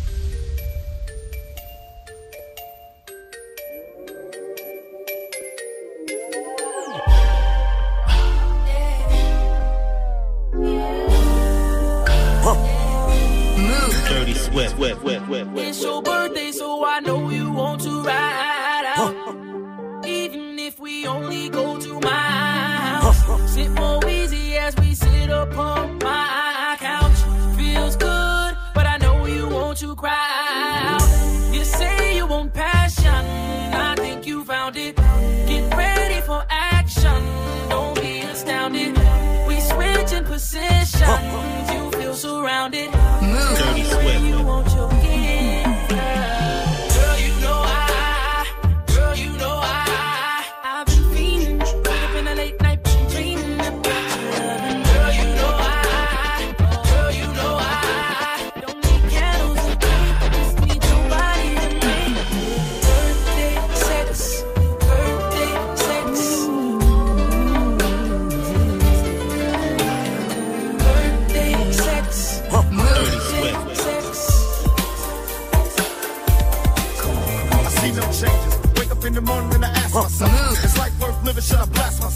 Dirty Swift. It's your birthday, so I know you want to ride out. Even if we only go to my house. Sit more easy as we sit upon my couch. Feels good, but I know you want to cry out. You say you want passion, I think you found it. Get ready for action, don't be astounded. We switch in positions, you feel surrounded. Dirty Swift. You want your gift.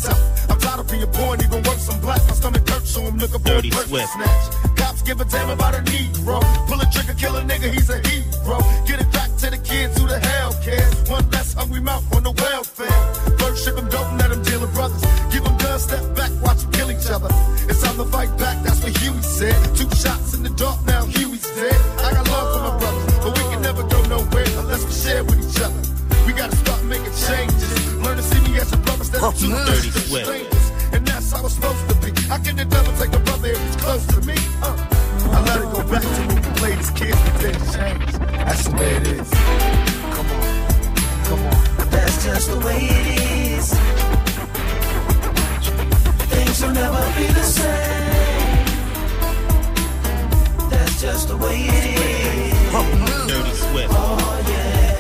tough. I'm tired of being poor and even worse, I'm black. My stomach hurts, so I'm looking for Dirty a person Swift. to snatch. Cops give a damn about a Negro. Pull a trigger, kill a nigga, he's a hero. Get it back to the kids who the hell cares. One less hungry mouth on the welfare. First ship them, don't let them deal with brothers. Give them guns, step back, watch them kill each other. It's time to fight back, that's what Huey said. Two shots in the dark, now Huey's dead. I got love for my brothers, but we can never go nowhere unless we share with each other. We gotta start making changes. Learn to see me as a brother instead of two Dirty distant Swift. strangers. And that's how it's supposed to be. How can the devil take a brother if he's close to me? Uh, I let it go back to when we played as kids and things change. That's the way it is. Come on, come on. That's just the way it is. Things will never be the same. That's just the way it is. Dirty Swift. Oh yeah.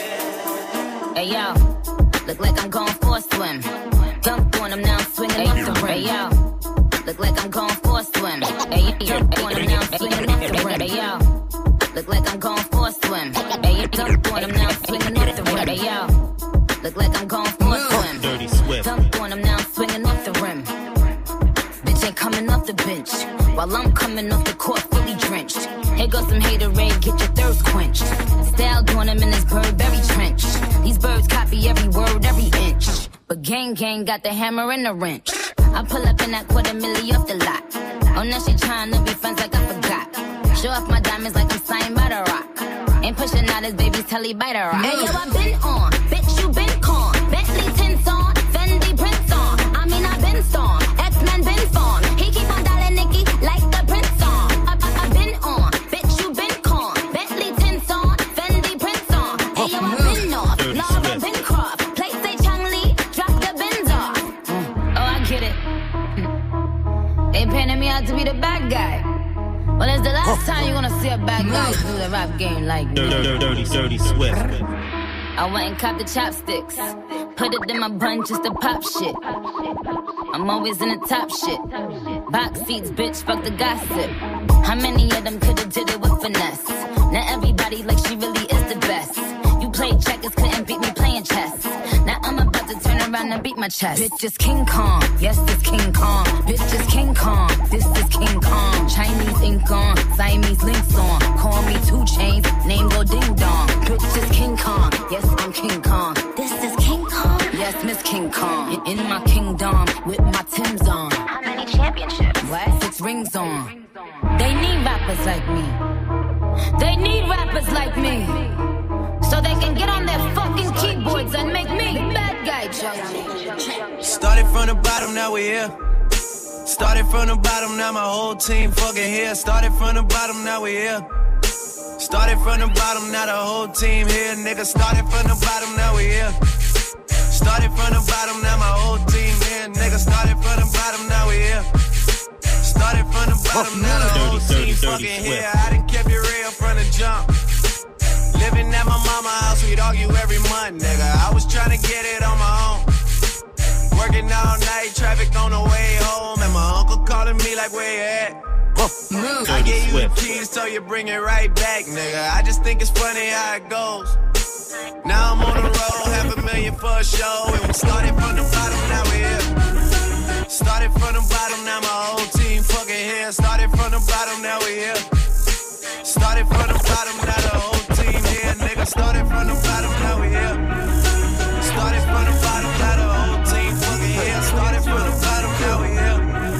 Hey yo, look like I'm going for a swim. Dunked on him, now I'm swinging off the rim. Hey yo, look like I'm going for a swim. Hey yo, dunked on him, now I'm swinging off the rim. Hey yo, look like I'm going for a swim. Hey yo, dunked on him, now I'm swinging off the rim. Hey yo, look like I'm going for a swim. Dirty Swift. Dunked on him, now I'm swinging off the rim. Bitch ain't coming off the bench, while I'm coming off the court fully drenched. Here goes some haterade, get your thirst quenched. Style doing him in this Burberry trench. These birds copy every word, every inch. But gang gang got the hammer and the wrench. I pull up in that quarter milli off the lot. Oh, now she tryna be friends like I forgot. Show off my diamonds like I'm signed by the rock. Ain't pushing out his baby's telly by the rock. Hey yo, I been on, bitch you been con. Bentley tints on, Fendi prints on. I mean I been storm, X-Men been formed. He keep on dialing Nicki like the Prince on. I, I, I been on, bitch you been con. Bentley tints on, Fendi prints on. Hey yo, I been off, Laura Bancroft. Play say Chang Lee, drop the Benz off. Mm. Oh, I get it. They painted me out to be the bad guy. Well, it's the last time you're gonna see a bad guy do the rap game like me. Dirty, dirty, dirty, dirty Swift. I went and copped the chopsticks. Put it in my bun just to pop shit. I'm always in the top shit. Box seats, bitch, fuck the gossip. How many of them could've did it with finesse? Now everybody like she really is the best. You played checkers, couldn't beat me playing chess. Now I'm about to turn around and beat my chest. Bitch is King Kong, yes it's King Kong. Bitch is King Kong, this is King Kong. Chinese ink on, Siamese links on. Call me two chains, name go ding dong. Bitch is King Kong, yes I'm King Kong. This is King Kong, yes Miss King Kong. In my kingdom with my Timbs on. How many championships? What? Six rings on. They need rappers like me. They need rappers like me. So they can get on their fucking keyboards and make me the bad guy, Joe. Started from the bottom, now we here. Started from the bottom, now my whole team fucking here. Started from the bottom, now we here. Started from the bottom, now the whole team here. Nigga, started from the bottom, now we here. Started from the bottom, now my whole team here. Nigga, started from the bottom, now we here. Started from the bottom, now the whole team fucking here. I done kept it real from the jump. Living at my mama's house, we'd argue every month, nigga. I was trying to get it on my own. Working all night, traffic on the way home. And my uncle calling me like, where you at? I gave you the keys, so you bring it right back, nigga. I just think it's funny how it goes. Now I'm on the road, half a million for a show. And we started from the bottom, now we here. Started from the bottom, now my whole team fucking here. Started from the bottom, now we here. Started from the bottom, now the whole team here. Nigga, started from the bottom, now we here. Started from the bottom, now the whole team fucking here. Started from the bottom, now we here.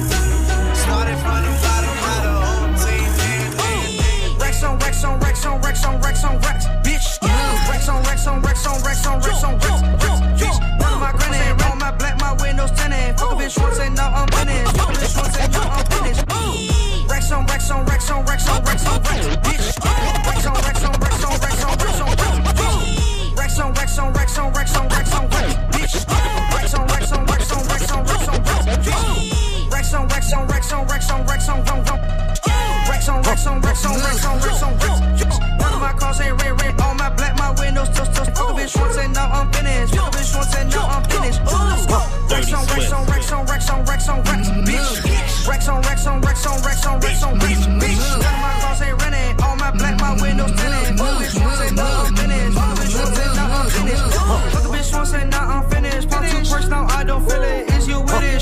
Started from the bottom, now the whole team here. Rex on Rex on Rex on Rex on Rex on Rex, bitch. Rex on Rex on Rex on Rex on Rex on Rex, bitch. None of my granny, roll my black, my windows tinted. Fuck a bitch, short say now I'm finished. Fuck a bitch, short say now I'm finished. Rex on Rex on Rex on Rex on Rex on Rex, bitch. Rex on Rex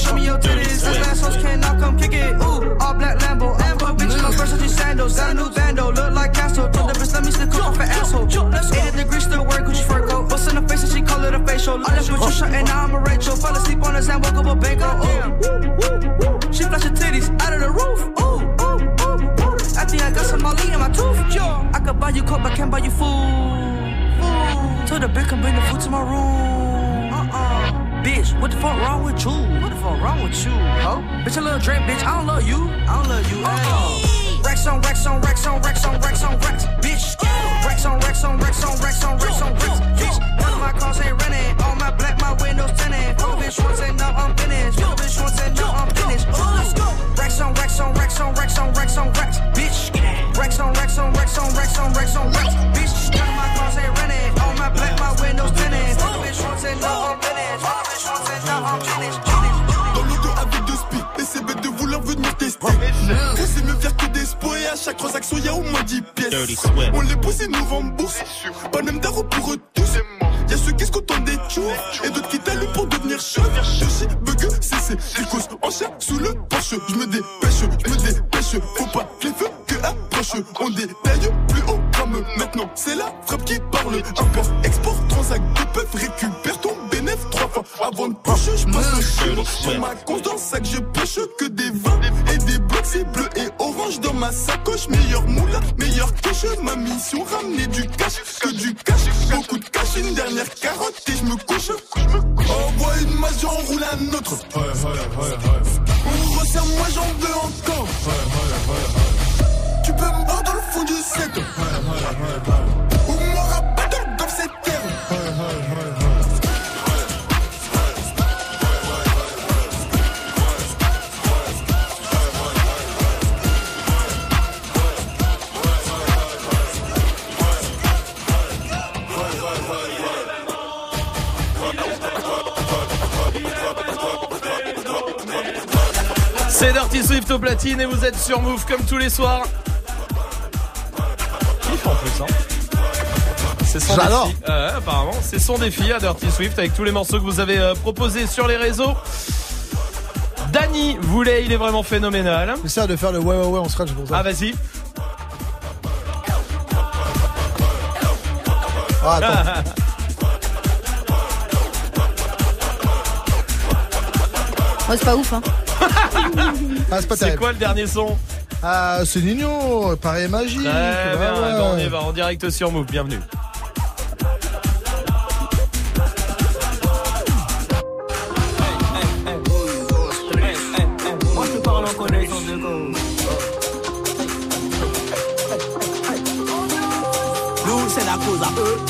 show me your titties. Since last host came, now come kick it. Ooh, all black Lambo. I'm a bitch in my Versace sandals. Got a new bando, look like Castro. Tell the bitch, let me stick off an asshole. eighty degrees, still wear Gucci fur coat. Bust in the face and she call it a facial. I left with you shot and now I'm a Rachel. Fell asleep on the sand, woke up a bango. Ooh, she flash her titties out of the roof. Ooh, ooh, ooh, ooh. I think I got some Molly in my tooth. I could buy you coke, but can't buy you food. Ooh, told the bitch come bring the food to my room. Uh-uh. Bitch, what the fuck wrong with you? What the fuck wrong with you, ho? Bitch, a little drink, bitch, I don't love you. I don't love you, uh-uh. Racks on, racks on, racks on, racks on, racks on, racks, bitch. Racks on, racks on, racks on, racks on, racks on, racks, bitch. None of my cars ain't renting. All my black, my windows tinted. Fuck bitch, once and now I'm finished. Fuck bitch, once and now I'm finished. Racks on, racks on, racks on, racks on, racks on, racks, bitch. Racks on, racks on, racks on, racks on, racks on, racks, bitch. None of my cars ain't renting. All my black, my windows tinted. Fuck bitch, once and now I'm finished. Fuck bitch, once and now I'm finished. Dans le dos avec deux spies, et c'est bête de vouloir venir tester. On sait mieux faire que des spots et à chaque transaction y'a au moins dix pièces. On les pousse et nous rembourse. Pas même d'arro pour eux tous. Y'a ceux qui se contentent des tours et d'autres qui t'allument pour devenir chef. Je suis bug, c'est c'est cause en chair sous le porche. Je me dépêche, je me dépêche. Faut pas que les feux que approche. On détaille plus haut comme maintenant. C'est la frappe qui parle. Import, export, transac, deux peuvent récupère ton bénéf trois fois avant de poche. Je passe le chemin sur ma compte dans sac. Je pêche que des vins et des blocs. C'est bleu et orange dans ma sacoche. Meilleur moula, meilleur cache. Ma mission ramener du cash que du cash. Beaucoup de cash, une dernière carotte et je me couche. Envoie une masse, j'en roule un autre. On resserre, moi j'en veux encore. Tu peux me voir dans le fond du set. Ou m'aura pas dans cette terre. C'est Dirty Swift au platine et vous êtes sur Move comme tous les soirs. Kiff en plus, hein. C'est son J'adore. défi. Euh, apparemment, c'est son défi à Dirty Swift avec tous les morceaux que vous avez euh, proposés sur les réseaux. Dany voulait, il est vraiment phénoménal. J'essaie de faire le ouais ouais ouais en scratch pour ça. Ah vas-y. Ah, attends. Oh, c'est pas ouf, hein. Ah, c'est pas C'est terrible. quoi le dernier son? Ah, c'est Nino, pareil magique. Très Ouais, bien, ouais. bah, on y va en direct sur Move, bienvenue. Moi je te parle en connaissance de cause. Nous c'est la cause à eux.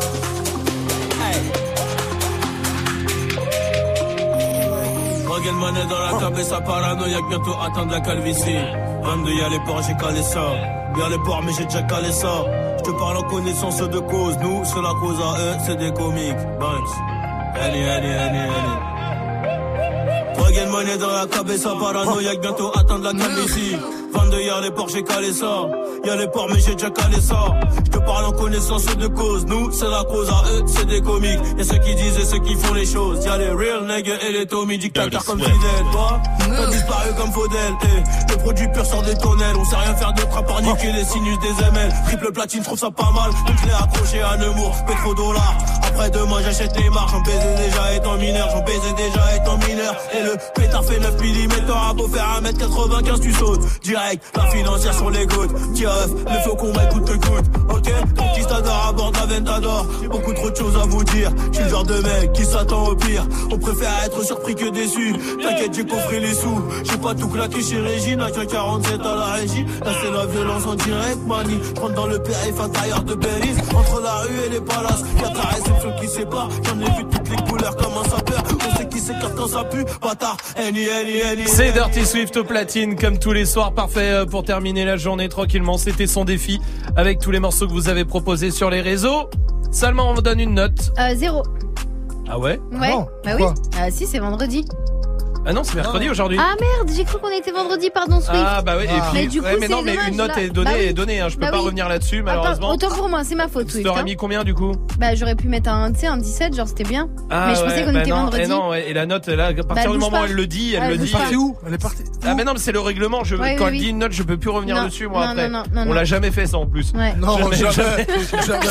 Regarde monnaie dans la table et ça paranoïaque, bientôt atteindre la calvitie. vingt-deux y'a les ports, j'ai calé ça. Y'a les ports mais j'ai déjà calé ça. Je te parle en connaissance de cause. Nous c'est la cause à eux, c'est des comiques. Banks. Allez, allez, allez, allez. Regarde monnaie dans la table et ça paranoïaque, bientôt atteindre la calvitie. vingt-deux y'a les ports, j'ai calé ça. Y'a les ports mais j'ai déjà calé ça. Je te parle en connaissance de cause. Nous c'est la cause à eux, c'est des comiques. Y'a ceux qui disent et ceux qui font les choses. Y'a les real niggas et les Tommy, dictateurs comme Fidel. Toi, t'as disparu comme Faudel. Eh, le produit pur sort des tonnelles. On sait rien faire d'autre à part niquer les sinus des M L. Triple platine, j'trouve ça pas mal. Donc je l'ai accroché à Nemours, pétrodollars. Après demain j'achète les marques. J'en baisais déjà étant mineur, j'en baisais déjà étant mineur. Et le pétard fait neuf millimètres. T'auras beau faire un mètre quatre-vingt-quinze, tu sautes direct. La financière sur les gouttes. Le faux combat coûte que coûte. Ok, conquistador à bord d'Aventador. J'ai beaucoup trop de choses à vous dire. Je suis le genre de mec qui s'attend au pire. On préfère être surpris que déçu. T'inquiète, j'ai coffré les sous. J'ai pas tout claqué chez Régine. À quarante-sept à la régie. Là c'est la violence en direct, mani. Je rentre dans le périph' intérieur de Belize. Entre la rue et les palaces. Y'a ta réception qui sépare. J'en ai vu toutes les couleurs comme un sapeur. On sait qui s'écarte quand ça pue. Bâtard, any, any, any. C'est Dirty Swift au platine comme tous les soirs. Parfait pour terminer la journée tranquillement. C'était son défi avec tous les morceaux que vous avez proposés sur les réseaux. Salma, on vous donne une note. Euh, zéro. Ah ouais? Ouais. non, Bah oui. pourquoi Euh, si, c'est vendredi. Ah non, c'est mercredi non. aujourd'hui. Ah merde, j'ai cru qu'on était vendredi, pardon Swift. Ah bah oui, et puis mais du coup, ouais, mais non, mais dommage, une note là. est donnée, bah oui. est donnée. Hein. Je peux bah pas oui. revenir là-dessus, malheureusement. Attends, autant pour moi, c'est ma faute. Tu t'aurais mis combien du coup? Bah j'aurais pu mettre un, tu sais, un dix-sept, genre c'était bien. Ah, mais je ouais, pensais qu'on bah était non, vendredi. Et non, ouais, et la note là, à partir bah, du moment pas. où elle le dit, elle ah, le dit. Elle est partie où? Elle est partie. Ah mais non, mais c'est le règlement. Je, ouais, quand oui, elle oui. dit une note, je peux plus revenir non, dessus moi non, après. Non, non, non, On non. l'a jamais fait ça en plus. Ouais. Non, jamais, jamais. jamais.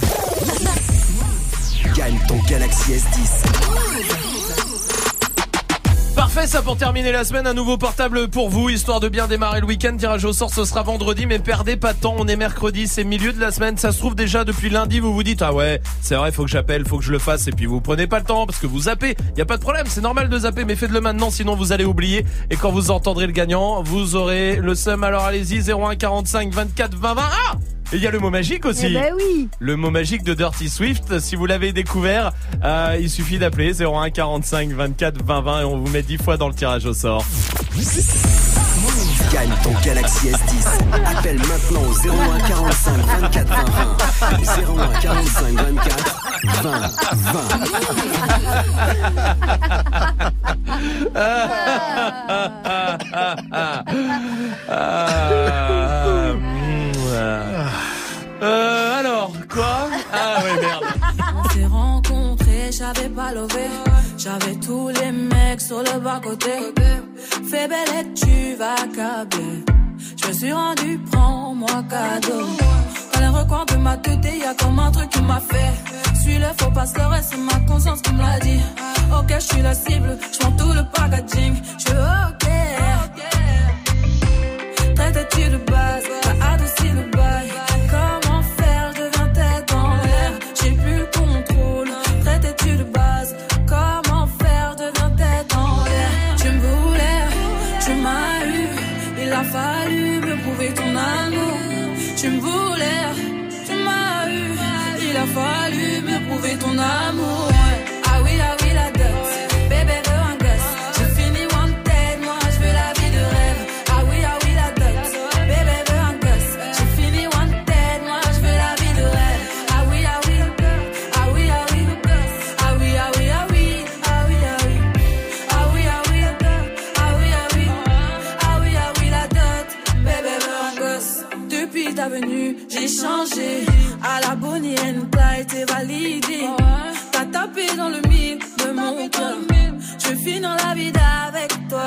Gagne ton Galaxy S dix. Parfait, ça pour terminer la semaine, un nouveau portable pour vous, histoire de bien démarrer le week-end. Tirage au sort, ce sera vendredi, mais perdez pas de temps, on est mercredi, c'est milieu de la semaine. Ça se trouve déjà depuis lundi, vous vous dites ah ouais, c'est vrai, faut que j'appelle, faut que je le fasse, et puis vous prenez pas le temps parce que vous zappez. Y a pas de problème, c'est normal de zapper, mais faites-le maintenant, sinon vous allez oublier. Et quand vous entendrez le gagnant, vous aurez le seum. Alors allez-y, zéro un quarante-cinq vingt-quatre vingt vingt. Ah! Et il y a le mot magique aussi. Eh ben oui. Le mot magique de Dirty Swift. Si vous l'avez découvert, euh, il suffit d'appeler zéro un quarante-cinq vingt-quatre vingt vingt et on vous met dix fois dans le tirage au sort. Gagne ton Galaxy S dix. Appelle maintenant au zéro un quarante-cinq vingt-quatre vingt vingt. zéro un quarante-cinq vingt-quatre vingt vingt. Euh, alors, quoi? Ah ouais, merde. On s'est rencontrés, j'avais pas levé. J'avais tous les mecs sur le bas-côté. Fais belle et tu vas câbler. Je me suis rendu, prends-moi cadeau. Dans les recoins de ma tête, y'a comme un truc qui m'a fait. Suis-le, faut pas se leurrer, c'est ma conscience qui me l'a dit. Ok, je suis la cible, je prends tout le packaging. Je suis ok. Traite-tu de base, t'as adouci le bail. Comment faire, je deviens tête en l'air. J'ai plus le contrôle, traite-tu de base. Comment faire, je deviens tête en l'air. Tu me voulais, tu m'as eu. Il a fallu me prouver ton amour. Tu me voulais, tu m'as eu. Il a fallu me prouver ton amour. Ah oui, ah oui, la dot. Bébé veut un gosse. J'ai fini wanted, moi je veux la vie de rêve. Ah oui, ah oui, la dot. Bébé veut un gosse. J'ai fini wanted, moi je veux la vie de rêve. Ah oui, ah oui, ah oui, ah oui, ah oui, ah oui, ah oui, ah oui, ah oui, ah oui, ah oui, ah oui, ah oui, ah oui, ah oui, la dot. Bébé veut un gosse. Depuis ta venue, j'ai changé. À la Bonnie and Clyde, t'es validé. T'as tapé dans le mille de mon cœur. Je veux finir la vie avec toi.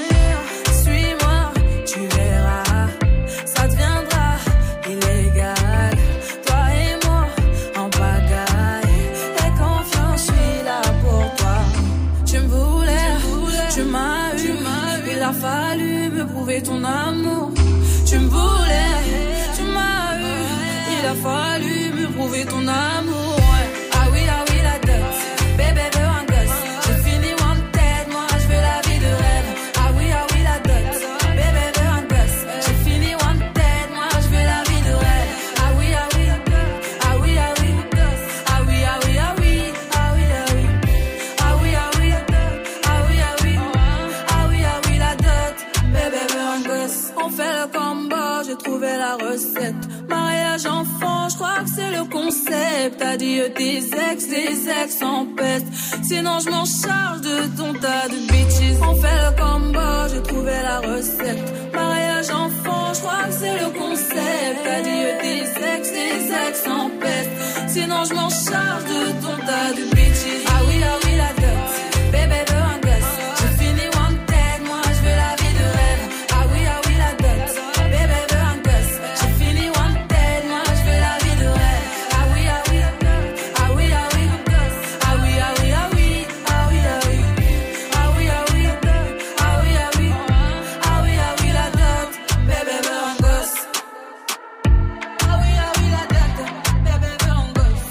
Suis-moi, tu verras. Ça deviendra illégal. Toi et moi, en pagaille. Aie confiance, je suis là pour toi. Tu me voulais, tu m'as eu. Il a fallu me prouver ton amour. Tu me voulais, tu m'as eu. Il a fallu me prouver ton amour. Ah oui, ah oui, la dot. Bébé veut un gosse. J'ai fini wanted, moi je veux la vie de rêve. Ah oui, ah oui, la dot. Bébé veut un gosse. J'ai fini wanted, moi je veux la vie de rêve. Ah oui, ah oui, ah oui, ah oui, ah oui, ah oui, ah oui, ah oui, ah oui, ah oui, ah oui, ah oui, ah oui, ah oui, ah oui, la dot. Bébé veut un gosse. On fait le combo, j'ai trouvé la recette. Mariage enfant, je crois que c'est le concept. Adieu tes ex, tes ex en peste. Sinon je m'en charge de ton tas de bitches. On fait le combo, j'ai trouvé la recette. Mariage enfant, je crois que c'est le concept. Adieu tes ex, tes ex en peste. Sinon je m'en charge de ton tas de bitches. Ah oui, ah oui, la dot. Bébé veut un gosse. J'ai fini wanted, moi je veux la vie de rêve. Ah oui, ah oui, la dot. Bébé veut un gosse. J'ai fini wanted, moi je veux la vie de rêve. Ah oui, ah oui, ah oui, ah oui, ah oui, ah oui, ah oui, ah oui, ah oui, ah oui, ah oui, ah oui, ah oui, ah oui, ah oui, la dot. Bébé veut un gosse. Ah oui, ah oui, la dot. Bébé veut un gosse.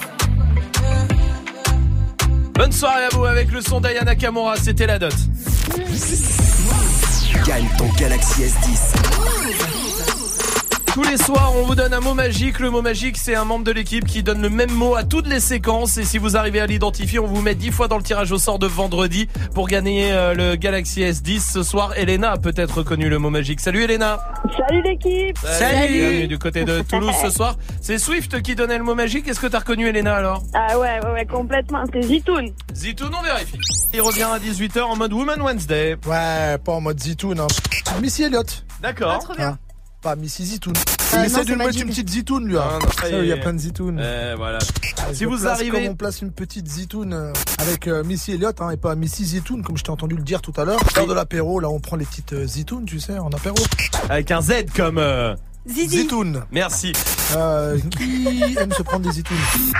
Bonne soirée à vous avec le son d'Aya Nakamura, c'était la dot. Gagne ton Galaxy S dix. Tous les soirs, on vous donne un mot magique. Le mot magique, c'est un membre de l'équipe qui donne le même mot à toutes les séquences. Et si vous arrivez à l'identifier, on vous met dix fois dans le tirage au sort de vendredi pour gagner euh, le Galaxy S dix. Ce soir, Elena a peut-être reconnu le mot magique. Salut Elena. Salut l'équipe. Salut. Bienvenue du côté de Toulouse ce soir. C'est Swift qui donnait le mot magique. Est-ce que t'as reconnu Elena alors? Ah ouais, ouais, ouais, complètement. C'est Zitoun. Zitoun, on vérifie. Il revient à dix-huit heures en mode Woman Wednesday. Ouais, pas en mode Zitoun. Hein. Missy Elliott. D'accord. Ah, trop bien. Hein. Pas Missy Zitoun. Euh, Il essaie non, de c'est me mettre Majid. une petite Zitoun lui. Hein. Ah, non, ça y Il y a est. plein de Zitoun. Euh, voilà. Ah, Si je vous place arrivez- Comme on place une petite Zitoun euh, avec euh, Missy Elliott hein, et pas Missy Zitoun comme je t'ai entendu le dire tout à l'heure. Lors de l'apéro, là on prend les petites euh, Zitoun, tu sais, en apéro. Avec un Z comme... Euh... Zizi. Zitoun. Merci. Euh, qui aime se prendre des Zitoun?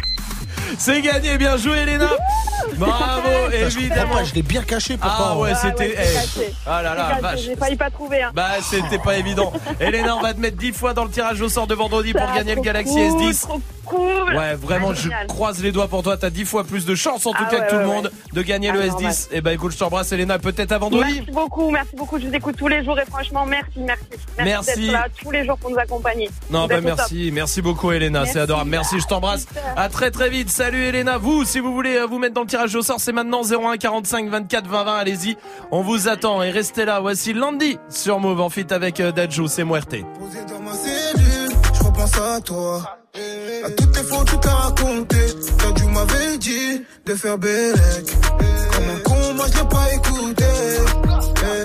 C'est gagné, bien joué Elena. Bravo, Bah, je évidemment. comprends pas, je l'ai bien caché pourtant. Ah ouais, Ah c'était... ouais, c'est eh. caché. Ah là là, C'est caché, vache. J'ai failli pas trouver. Hein. Bah c'était pas évident. Elena, on va te mettre dix fois dans le tirage au sort de vendredi pour Ah, gagner le trop Galaxy cool, S dix. Trop cool. Ouais, vraiment, Ah, je génial. croise les doigts pour toi. T'as dix fois plus de chance en tout Ah cas ouais, que tout ouais, le ouais. monde de gagner Ah, le S normal. dix. Et bah écoute, je t'embrasse Elena, peut-être à vendredi. Merci beaucoup, merci beaucoup. Je vous écoute tous les jours et franchement, merci, merci. Merci. d'être là tous les jours pour nous accompagner. Non, Vous bah êtes au top. merci, merci beaucoup Elena, Merci. c'est adorable. Merci, je t'embrasse. À très très vite. Salut Elena. Vous, si vous voulez euh, vous mettre dans le tirage au sort, c'est maintenant zéro un quarante-cinq vingt-quatre vingt vingt. Allez-y, on vous attend et restez là. Voici Landy sur Move en feat avec euh, Dadju, c'est Muerte. Posé dans ma cellule, je repense à toi. À toutes les fois où tu t'as raconté, quand tu m'avais dit de faire bellec. Comme un con, moi je l'ai pas écouté. Eh.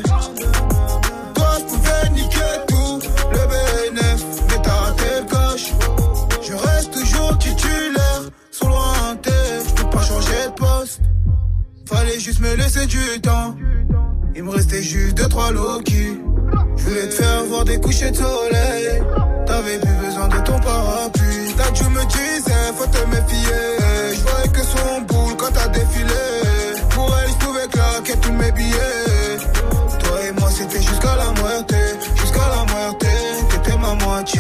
Toi je pouvais niquer tout, le B N F, mais t'as raté le coche. Je reste toujours titulaire, sur lointain, je peux pas changer de poste. Fallait juste me laisser du temps. Il me restait juste deux trois Loki. Je voulais te faire voir des couchers de soleil. T'avais plus besoin de ton parapluie. T'as dû me disais faut te méfier. Je voyais que son boule quand t'as défilé. Pour elle je pouvais claquer tous mes billets. Toi et moi c'était jusqu'à la moitié. Jusqu'à la moitié, t'étais ma moitié.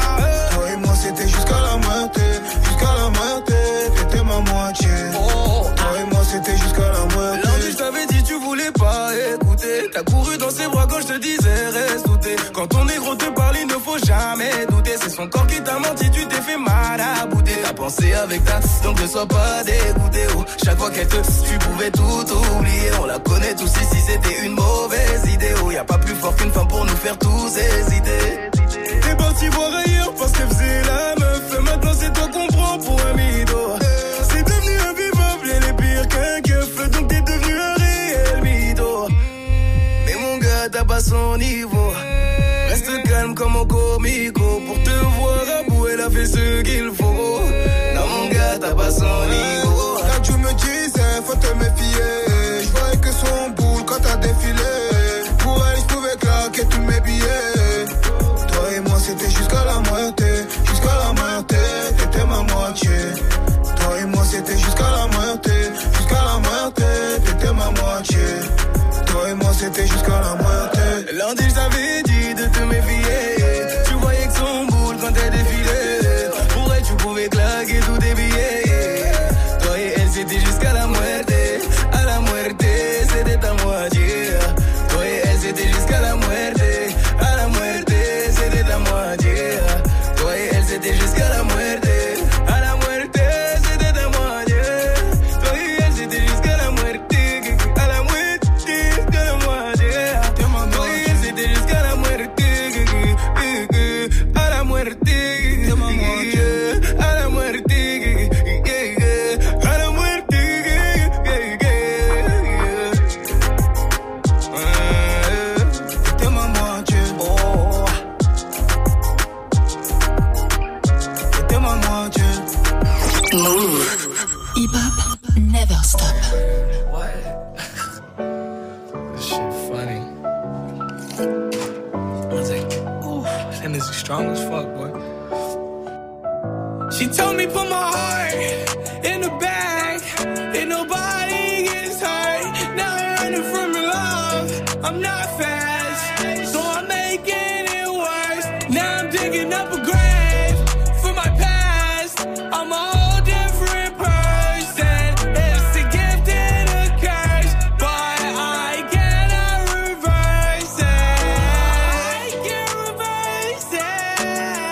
Toi et moi c'était jusqu'à la moitié. Jusqu'à la moitié, t'étais ma moitié. Toi et moi c'était jusqu'à la moitié. Lundi je t'avais dit tu voulais pas écouter. T'as couru dans ses bras quand je te disais reste douté. Quand ton négro te parle il ne faut jamais douter. C'est son corps qui t'a menti, tu t'es fait mal à bouter. T'as pensé avec ta, donc ne sois pas dégoûté. Oh, chaque fois qu'elle te, tu pouvais tout oublier. On la connaît tous ici, c'était une mauvaise idée. Oh, y a pas plus fort qu'une femme pour nous faire tous hésiter. T'es parti voir ailleurs parce qu'elle faisait la meuf. Et maintenant c'est toi qu'on prend pour un mytho. C'est devenu invivable, elle est pire qu'un keuf. Donc t'es devenu un réel mytho. Mais mon gars, t'as pas son niveau. Reste calme comme un comico. Pour te voir à bout, elle a fait ce qu'il faut. Non mon gars, t'as pas son niveau. Quand tu me disais, faut te méfier. Je voyais que son boule quand t'as défilé. Pour elle, je pouvais claquer tous mes billets. Toi et moi, c'était jusqu'à la moitié. Jusqu'à la moitié, t'étais ma moitié. Toi et moi, c'était jusqu'à la moitié. Jusqu'à la moitié, t'étais ma moitié. Toi et moi, c'était jusqu'à la moitié. Lundi, je t'avais dit de te méfier. Tu voyais que son boule quand elle défilait. Pour elle, tu pouvais claquer tous tes billets. Toi et elle, c'était jusqu'à la moitié. À la moitié, c'était ta moitié. Toi et elle, c'était jusqu'à la moitié. À la moitié, c'était ta moitié. Toi et elle, c'était jusqu'à la moitié. À la moitié, c'était ta moitié. Toi et elle, c'était jusqu'à la moitié. À la moitié, jusqu'à la moitié. Toi et elle, c'était jusqu'à la moitié. À la moitié, à la moitié. À la moitié. T'es ma moitié. Oh. T'es ma moitié. Move. Hip-hop never stop. This shit funny. I was like, ooh, that nigga strong as fuck, boy. She told me put my heart in the bag, and nobody gets hurt. Now I'm running from your love. I'm not fast, so I'm making it worse. Now I'm digging up a grave for my past. I'm a whole different person. It's a gift and a curse, but I cannot reverse it. I can't reverse it.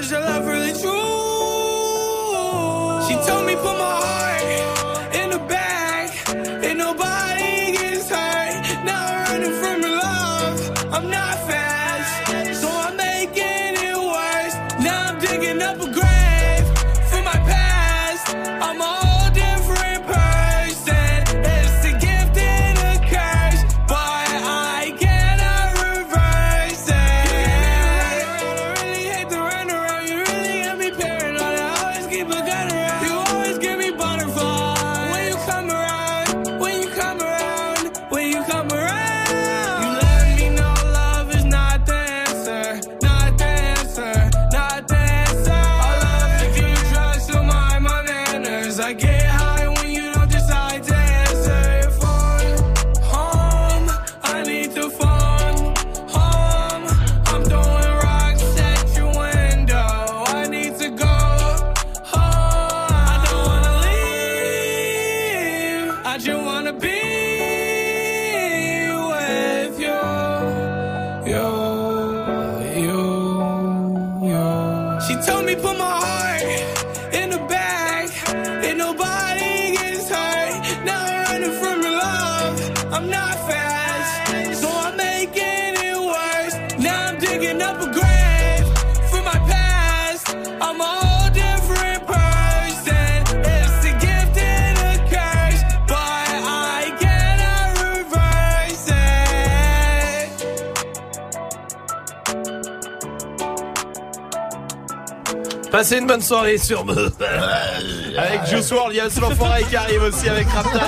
is your love really true? She told me put my heart in the bag, and nobody gets hurt. Now I'm running from your love. I'm not fast, so I'm making it worse. Now I'm digging up a grave for my past. I'm a whole different person. It's a gift and a curse, but I cannot reverse it. I really hate to run around. You really got me paranoid. I always keep a gun around. You always give me butterflies when you come around. When you come around. When you come around. You let me know love is not the answer. Not the answer. Not the answer. I love to keep drugs to mind my manners. I get high when you don't decide to answer your phone. Home, I need to phone. Home, I'm throwing rocks at your window. I need to go home. I don't wanna leave. I just wanna be with you. You, you, you. She told me put my heart in the bag, and nobody gets hurt. Now I'm running from your love. I'm not fast, so I'm making it worse. Now I'm digging up a grave for my past. I'm a whole different person. It's a gift and a curse, but I cannot reverse it. Passez une bonne soirée sur Move. Avec Juice world, il y a l'enfoiré qui arrive aussi avec Rapta.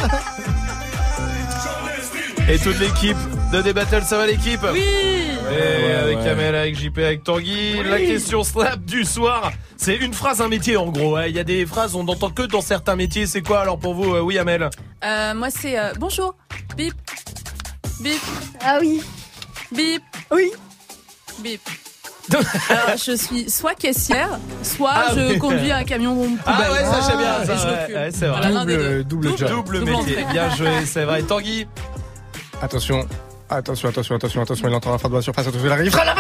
Et toute l'équipe de D-Battle, ça va l'équipe? Oui. Et avec Kamel, avec J P, avec Tanguy. Oui. La question slap du soir, c'est une phrase, un métier en gros. Il y a des phrases, on n'entend que dans certains métiers. C'est quoi alors pour vous? Oui, Amel. Euh, moi, c'est euh, bonjour. Bip. Bip. Ah oui. Bip. Oui. Bip. Alors, je suis soit caissière, soit Ah je oui. conduis un camion poubelle. Ah ouais, ça j'aime bien. Et Ça, je ouais, recule. ouais, c'est vrai. Voilà, l'un des deux. Double, double job. Double Double métier. entrée. Bien joué, c'est vrai. Tanguy. Attention. Attention, attention, attention, attention, il entend la fin de la surface, attention, il arrive. Putain,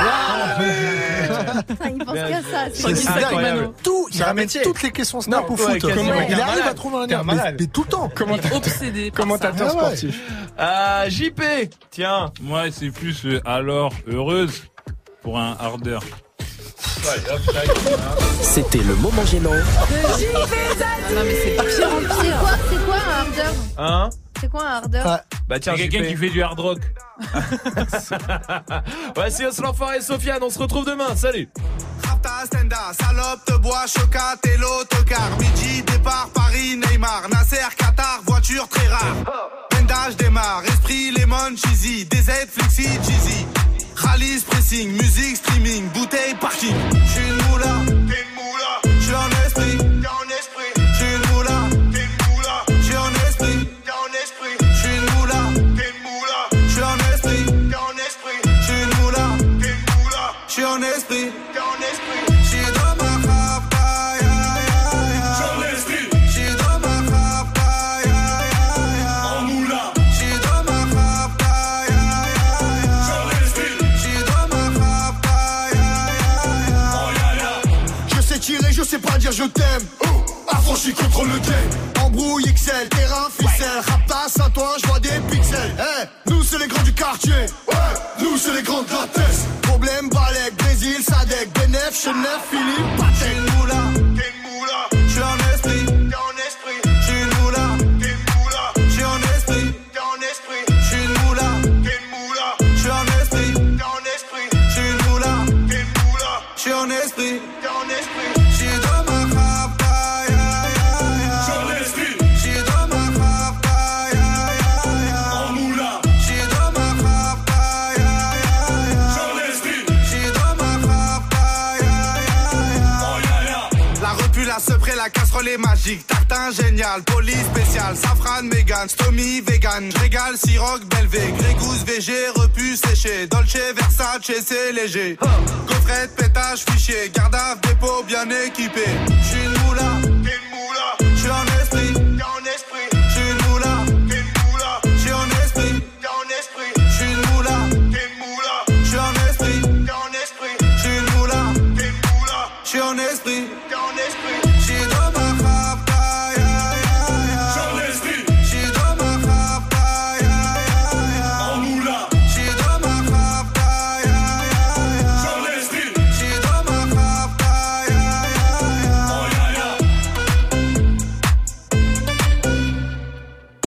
il pense qu'à ça. C'est incroyable. Tout, il ramène toutes les questions snap au ouais, foot. quasiment. Comment Ouais, il t'es un arrive malade. à trouver un T'es un lien, mais, malade. mais tout le temps. Comment Obsédé. par Commentateur ça. Ah ouais. sportif. Euh, J P. Tiens. Moi, c'est plus euh, alors heureuse pour un hardeur. C'était le moment gênant. Non, mais c'est pire en C'est pire. quoi, c'est quoi un hardeur? Hein? C'est quoi un hardeur? Ah, Bah tiens, C'est quelqu'un J P. qui fait du hard rock. Voici Os l'enfoiré et Sofiane, on se retrouve demain. Salut. Rapta, Stenda, salope, te bois, chocat et l'autocar. Midi, départ, Paris, Neymar, Nasser, Qatar, voiture très rare. Bendage démarre, esprit, lemon, cheesy, D Z, flexi, cheesy. Rallye, pressing, musique, streaming, bouteille, parking. J'suis une moula, t'es une moula. J'suis en esprit, t'es en esprit. J'suis une moula, t'es une moula. J'suis en esprit, t'es en esprit. J'suis une moula, t'es une moula. J'suis en esprit, t'es en esprit. J'suis une moula, t'es une moula. J'suis en esprit, t'es en esprit. J'suis dans ma rapta, ya ya ya. J'suis en esprit. J'suis dans ma rapta, ya ya ya. En moula. J'suis dans ma rapta, ya ya ya. J'suis en esprit. J'suis dans ma rapta, ya ya ya. Oh ya ya. Je sais tirer, je sais pas dire je t'aime. Affranchi contre le game. Embrouille X L, terrain ficelle. Rapta, Saint-Ouen, je vois des pixels. Eh, nous c'est les grands du quartier. Ouais, nous c'est les grands de la tête. Problème, Balek, Brésil, Sadek, Benef, Chenef, Philippe, Patek. J'suis une moula, t'es une moula. J'suis en esprit, t'es en esprit. J'suis une moula, t'es une moula. J'suis en esprit, t'es en esprit. J'suis une moula, t'es une moula. J'suis en esprit, t'es en esprit. J'suis une moula, t'es une moula. J'suis en esprit, t'es en esprit. J'suis dans ma rapta, ya ya ya. J'suis en esprit. J'suis dans ma rapta, ya ya ya. En moula. J'suis dans ma rapta, ya ya ya. J'suis en esprit. J'suis dans ma rapta, ya ya ya. Oh ya ya. La repu, la sepré, la casserole est magique. Tartin génial, police spécial. Safran, mégan, stomy, vegan. Régal, siroc, belvé. Grégousse, V G, repu, séché. Dolce, Versace, c'est léger. Gaufrette, pétage, fichier. Garde à dépôt bien équipé. J'suis une